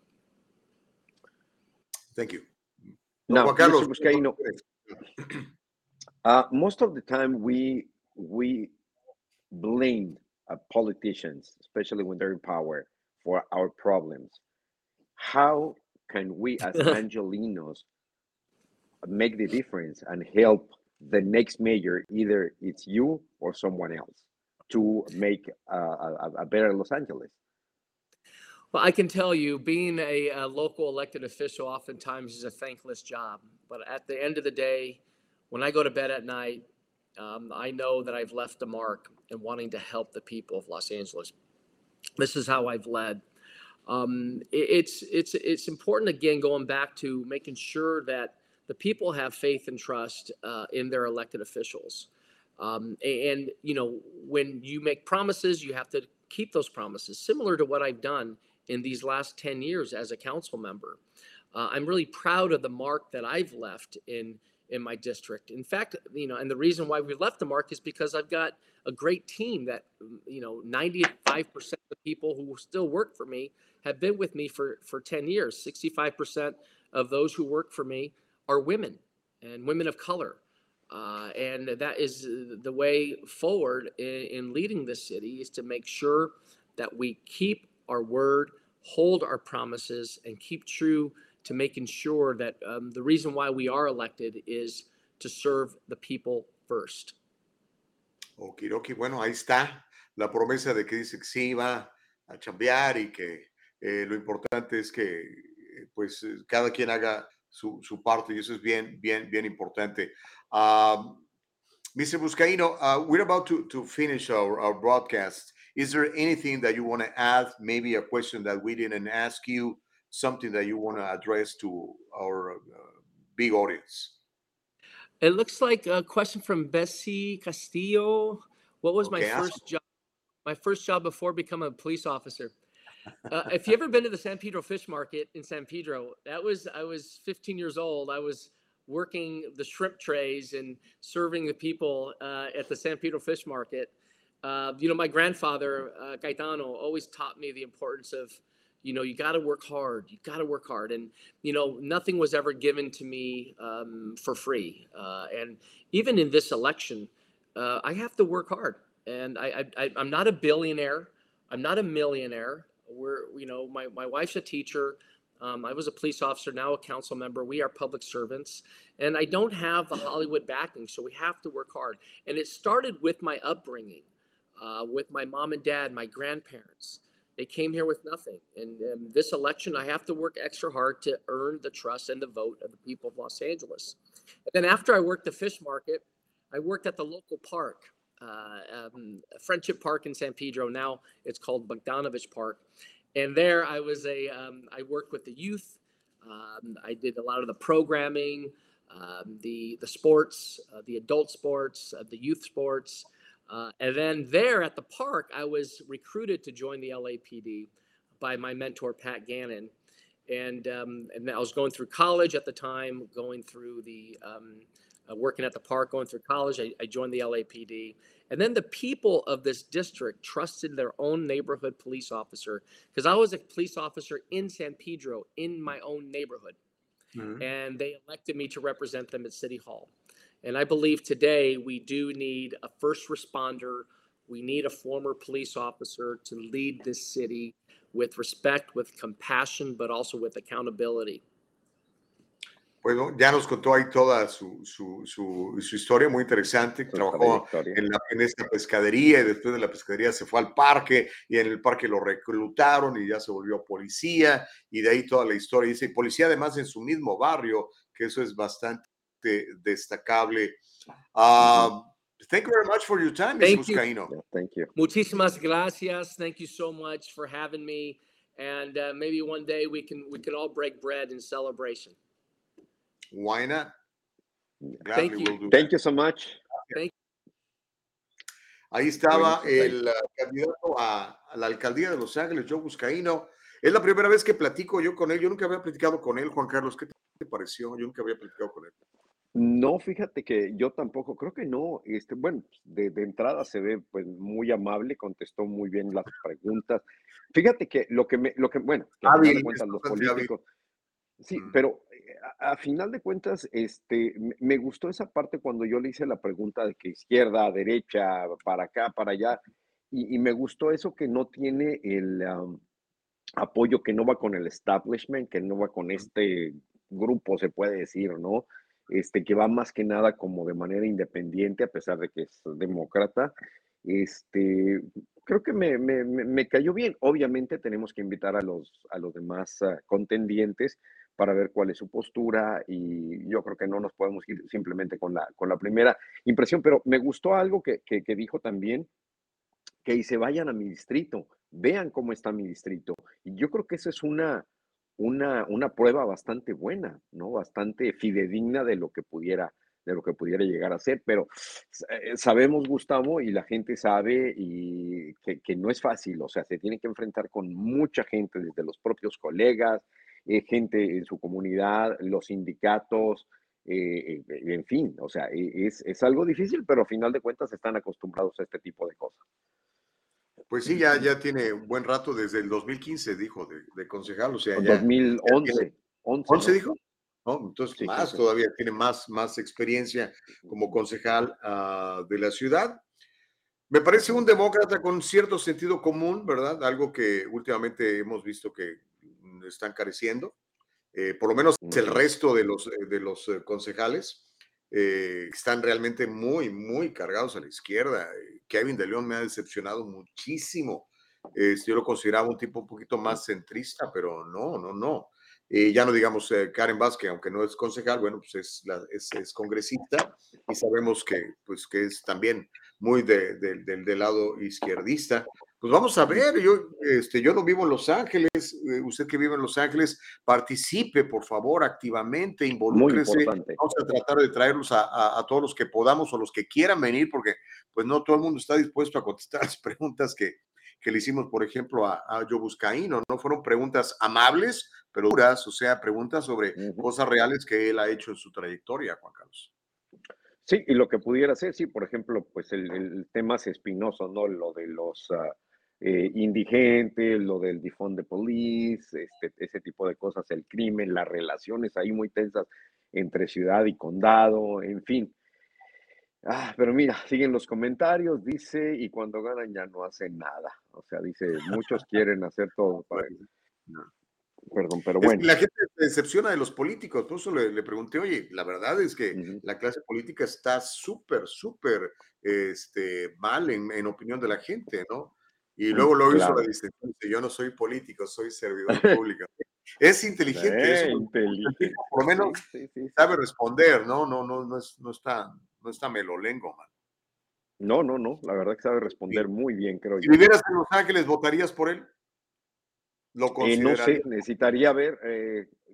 Thank you. Now, Mister Buscaino, uh, most of the time we we blame uh, politicians, especially when they're in power, for our problems. How can we as Angelinos make the difference and help the next mayor, either it's you or someone else, to make uh, a, a better Los Angeles? Well, I can tell you, being a, a local elected official oftentimes is a thankless job. But at the end of the day, when I go to bed at night, um, I know that I've left a mark in wanting to help the people of Los Angeles. This is how I've led. Um, it, it's it's it's important, again, going back to making sure that the people have faith and trust uh, in their elected officials. Um, and, you know, when you make promises, you have to keep those promises, similar to what I've done in these last ten years as a council member. Uh, I'm really proud of the mark that I've left in, in my district. In fact, you know, and the reason why we left the mark is because I've got a great team that, you know, ninety-five percent of the people who still work for me have been with me for, for ten years. sixty-five percent of those who work for me are women and women of color. Uh, and that is the way forward in, in leading this city, is to make sure that we keep our word, hold our promises, and keep true to making sure that um, the reason why we are elected is to serve the people first. Okidoki, bueno, ahí está la promesa de que dice que sí va a chambear y que eh, lo importante es que eh, pues cada quien haga su, su parte, y eso es bien, bien, bien importante. Um, Mister Buscaino, uh, we're about to, to finish our, our broadcast. Is there anything that you want to add? Maybe a question that we didn't ask you, something that you want to address to our uh, big audience? It looks like a question from Bessie Castillo. What was Okay, my first job? My first job before becoming a police officer. Uh, if you ever been to the San Pedro Fish Market in San Pedro, that was, I was fifteen years old. I was working the shrimp trays and serving the people uh, at the San Pedro Fish Market. Uh, you know, my grandfather, uh, Gaetano, always taught me the importance of, you know, you got to work hard. You got to work hard. And, you know, nothing was ever given to me um, for free. Uh, and even in this election, uh, I have to work hard. And I, I, I'm not a billionaire. I'm not a millionaire. We're, you know, my, my wife's a teacher. Um, I was a police officer, now a council member. We are public servants. And I don't have the Hollywood backing, so we have to work hard. And it started with my upbringing, uh, with my mom and dad, my grandparents. They came here with nothing. And um, this election, I have to work extra hard to earn the trust and the vote of the people of Los Angeles. And then after I worked the fish market, I worked at the local park, uh, um, Friendship Park in San Pedro. Now it's called Bogdanovich Park. And there I was a, um, I worked with the youth. Um, I did a lot of the programming. um, the the sports, uh, the adult sports, uh, the youth sports. Uh, and then there at the park, I was recruited to join the L A P D by my mentor, Pat Gannon. And, um, and I was going through college at the time, going through the, um, uh, working at the park, going through college. I, I joined the L A P D. And then the people of this district trusted their own neighborhood police officer, because I was a police officer in San Pedro in my own neighborhood. Mm-hmm. And they elected me to represent them at City Hall. And I believe today we do need a first responder. We need a former police officer to lead this city with respect, with compassion, but also with accountability. Bueno, ya nos contó ahí toda su, su, su, su historia, muy interesante. Su Trabajó en, la, en esta pescadería y después de la pescadería se fue al parque y en el parque lo reclutaron y ya se volvió policía y de ahí toda la historia. Dice, policía además en su mismo barrio, que eso es bastante destacable. Uh, thank you very much for your time, Miz Vizcaíno. Yeah, thank you. Muchísimas gracias. Thank you so much for having me. And uh, maybe one day we can we can all break bread in celebration. Why not? Gladly Thank you. We'll do Thank that. you so much. Thank Ahí estaba el uh, candidato a, a la alcaldía de Los Ángeles, Joe Vizcaíno. Es la primera vez que platico yo con él. Yo nunca había platicado con él, Juan Carlos. ¿Qué te pareció? Yo nunca había platicado con él. No, fíjate que yo tampoco, creo que no, este, bueno, de, de entrada se ve pues muy amable, contestó muy bien las preguntas. Fíjate que lo que me, lo que, bueno, que a final de cuentas los políticos, sí, mm. pero a, a final de cuentas, este, me, me gustó esa parte cuando yo le hice la pregunta de que izquierda, derecha, para acá, para allá, y, y me gustó eso que no tiene el um, apoyo, que no va con el establishment, que no va con este grupo, se puede decir, ¿no? Este, que va más que nada como de manera independiente, a pesar de que es demócrata. Este, creo que me, me, me cayó bien. Obviamente tenemos que invitar a los, a los demás uh, contendientes para ver cuál es su postura y yo creo que no nos podemos ir simplemente con la, con la primera impresión, pero me gustó algo que, que, que dijo también, que se vayan a mi distrito, vean cómo está mi distrito. Y yo creo que esa es una... Una, una prueba bastante buena, ¿no? Bastante fidedigna de lo que pudiera, de lo que pudiera llegar a ser, pero eh, sabemos, Gustavo, y la gente sabe y que, que no es fácil, o sea, se tiene que enfrentar con mucha gente, desde los propios colegas, eh, gente en su comunidad, los sindicatos, eh, eh, en fin, o sea, es, es algo difícil, pero a final de cuentas están acostumbrados a este tipo de cosas. Pues sí, ya, ya tiene un buen rato, desde el dos mil quince, dijo, de, de concejal, o sea, ya... dos mil once. Ya tiene, once, ¿once ¿no? dijo? ¿No? Entonces, sí, más sí, todavía, tiene más, más experiencia como concejal uh, de la ciudad. Me parece un demócrata con cierto sentido común, ¿verdad? Algo que últimamente hemos visto que están careciendo. Eh, por lo menos el resto de los, de los uh, concejales. Eh, están realmente muy, muy cargados a la izquierda. Kevin de León me ha decepcionado muchísimo. Eh, yo lo consideraba un tipo un poquito más centrista, pero no, no, no. Eh, ya no digamos eh, Karen Vázquez, aunque no es concejal, bueno, pues es, la, es, es congresista y sabemos que, pues, que es también muy de, de, de, del lado izquierdista. Pues vamos a ver, yo, este, yo no vivo en Los Ángeles, eh, usted que vive en Los Ángeles, participe, por favor, activamente, involúcrese. Vamos a tratar de traerlos a, a, a todos los que podamos o los que quieran venir, porque pues no todo el mundo está dispuesto a contestar las preguntas que, que le hicimos, por ejemplo, a, a Joe Vizcaíno. No fueron preguntas amables, pero duras, o sea, preguntas sobre uh-huh. cosas reales que él ha hecho en su trayectoria, Juan Carlos. Sí, y lo que pudiera ser, sí, por ejemplo, pues el, el tema es espinoso, ¿no? Lo de los... Uh, Eh, indigentes, lo del defund the police, este, ese tipo de cosas, el crimen, las relaciones ahí muy tensas entre ciudad y condado, en fin. Ah, pero mira, siguen los comentarios, dice, y cuando ganan ya no hacen nada. O sea, dice, muchos quieren hacer todo para... No. Perdón, pero bueno. Es que la gente se decepciona de los políticos, por eso le, le pregunté, oye, la verdad es que uh-huh. la clase política está súper, súper este, mal en, en opinión de la gente, ¿no? Y luego lo claro. hizo la distinción, yo no soy político, soy servidor público. Es inteligente sí, eso, inteligente. por lo menos sí, sí, sí, sabe responder, ¿no? No, no, no, es, no, está, no está melolengo, man. No, no, no, la verdad que sabe responder sí. muy bien, creo si yo. Si vivieras en Los Ángeles, ¿votarías por él? ¿Lo eh, no sé, necesitaría ver... Eh,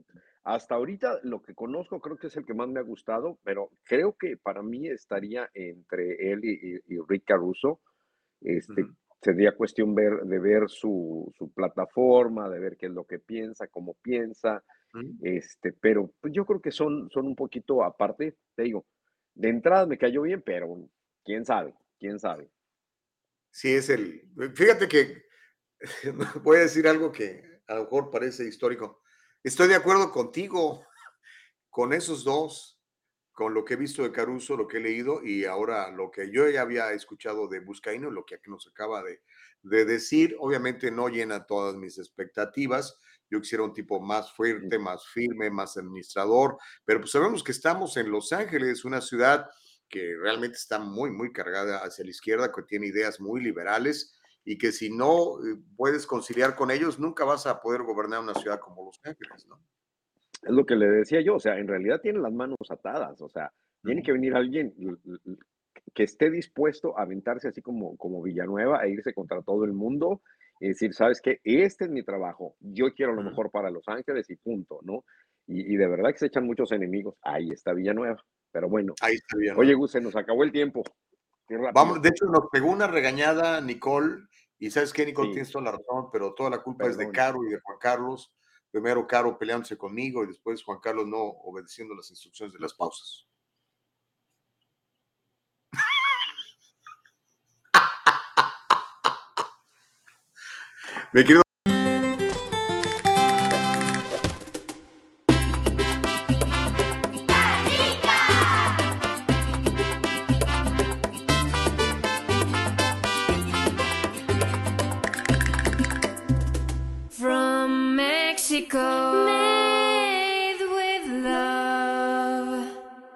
hasta ahorita lo que conozco creo que es el que más me ha gustado, pero creo que para mí estaría entre él y, y, y Rick Caruso. Este, Ujú. Sería cuestión ver, de ver su, su plataforma, de ver qué es lo que piensa, cómo piensa, Ujú. este, pero pues, yo creo que son, son un poquito aparte, te digo, de entrada me cayó bien, pero quién sabe, quién sabe. Sí, es el. Fíjate que voy a decir algo que a lo mejor parece histórico. Estoy de acuerdo contigo con esos dos, con lo que he visto de Caruso, lo que he leído y ahora lo que yo ya había escuchado de Buscaino, lo que aquí nos acaba de, de decir. Obviamente no llena todas mis expectativas. Yo quisiera un tipo más fuerte, más firme, más administrador, pero pues sabemos que estamos en Los Ángeles, una ciudad que realmente está muy, muy cargada hacia la izquierda, que tiene ideas muy liberales y que si no eh, puedes conciliar con ellos, nunca vas a poder gobernar una ciudad como Los Ángeles, ¿no? Es lo que le decía yo, o sea, en realidad tiene las manos atadas, o sea, tiene Ujú. que venir alguien l- l- que esté dispuesto a aventarse así como, como Villanueva e irse contra todo el mundo y decir, ¿sabes qué? Este es mi trabajo, yo quiero lo Ujú. mejor para Los Ángeles y punto, ¿no? Y, y de verdad que se echan muchos enemigos, ahí está Villanueva, pero bueno, Ahí está bien, oye, ¿no? Gus, se nos acabó el tiempo, qué Vamos, rápido, de hecho, nos pegó una regañada Nicole, y sabes qué, Nicole, sí, tienes toda la razón, pero toda la culpa es de perdón. Caro y de Juan Carlos. Primero Caro peleándose conmigo y después Juan Carlos no obedeciendo las instrucciones de las pausas. Mi querido. From Mexico, made with love.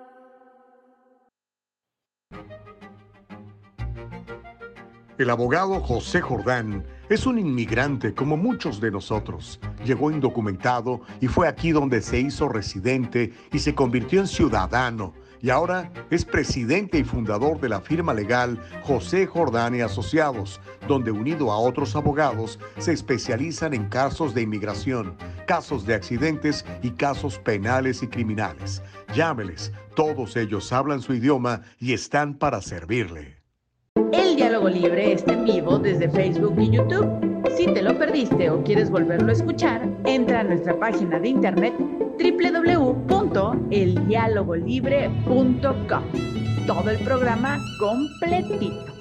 El abogado José Jordán es un inmigrante como muchos de nosotros. Llegó indocumentado y fue aquí donde se hizo residente y se convirtió en ciudadano. Y ahora es presidente y fundador de la firma legal José Jordán y Asociados, donde unido a otros abogados se especializan en casos de inmigración, casos de accidentes y casos penales y criminales. Llámeles, todos ellos hablan su idioma y están para servirle. El Diálogo Libre está en vivo desde Facebook y YouTube. Si te lo perdiste o quieres volverlo a escuchar, entra a nuestra página de internet doble u doble u doble u punto el diálogo libre punto com. Todo el programa completito.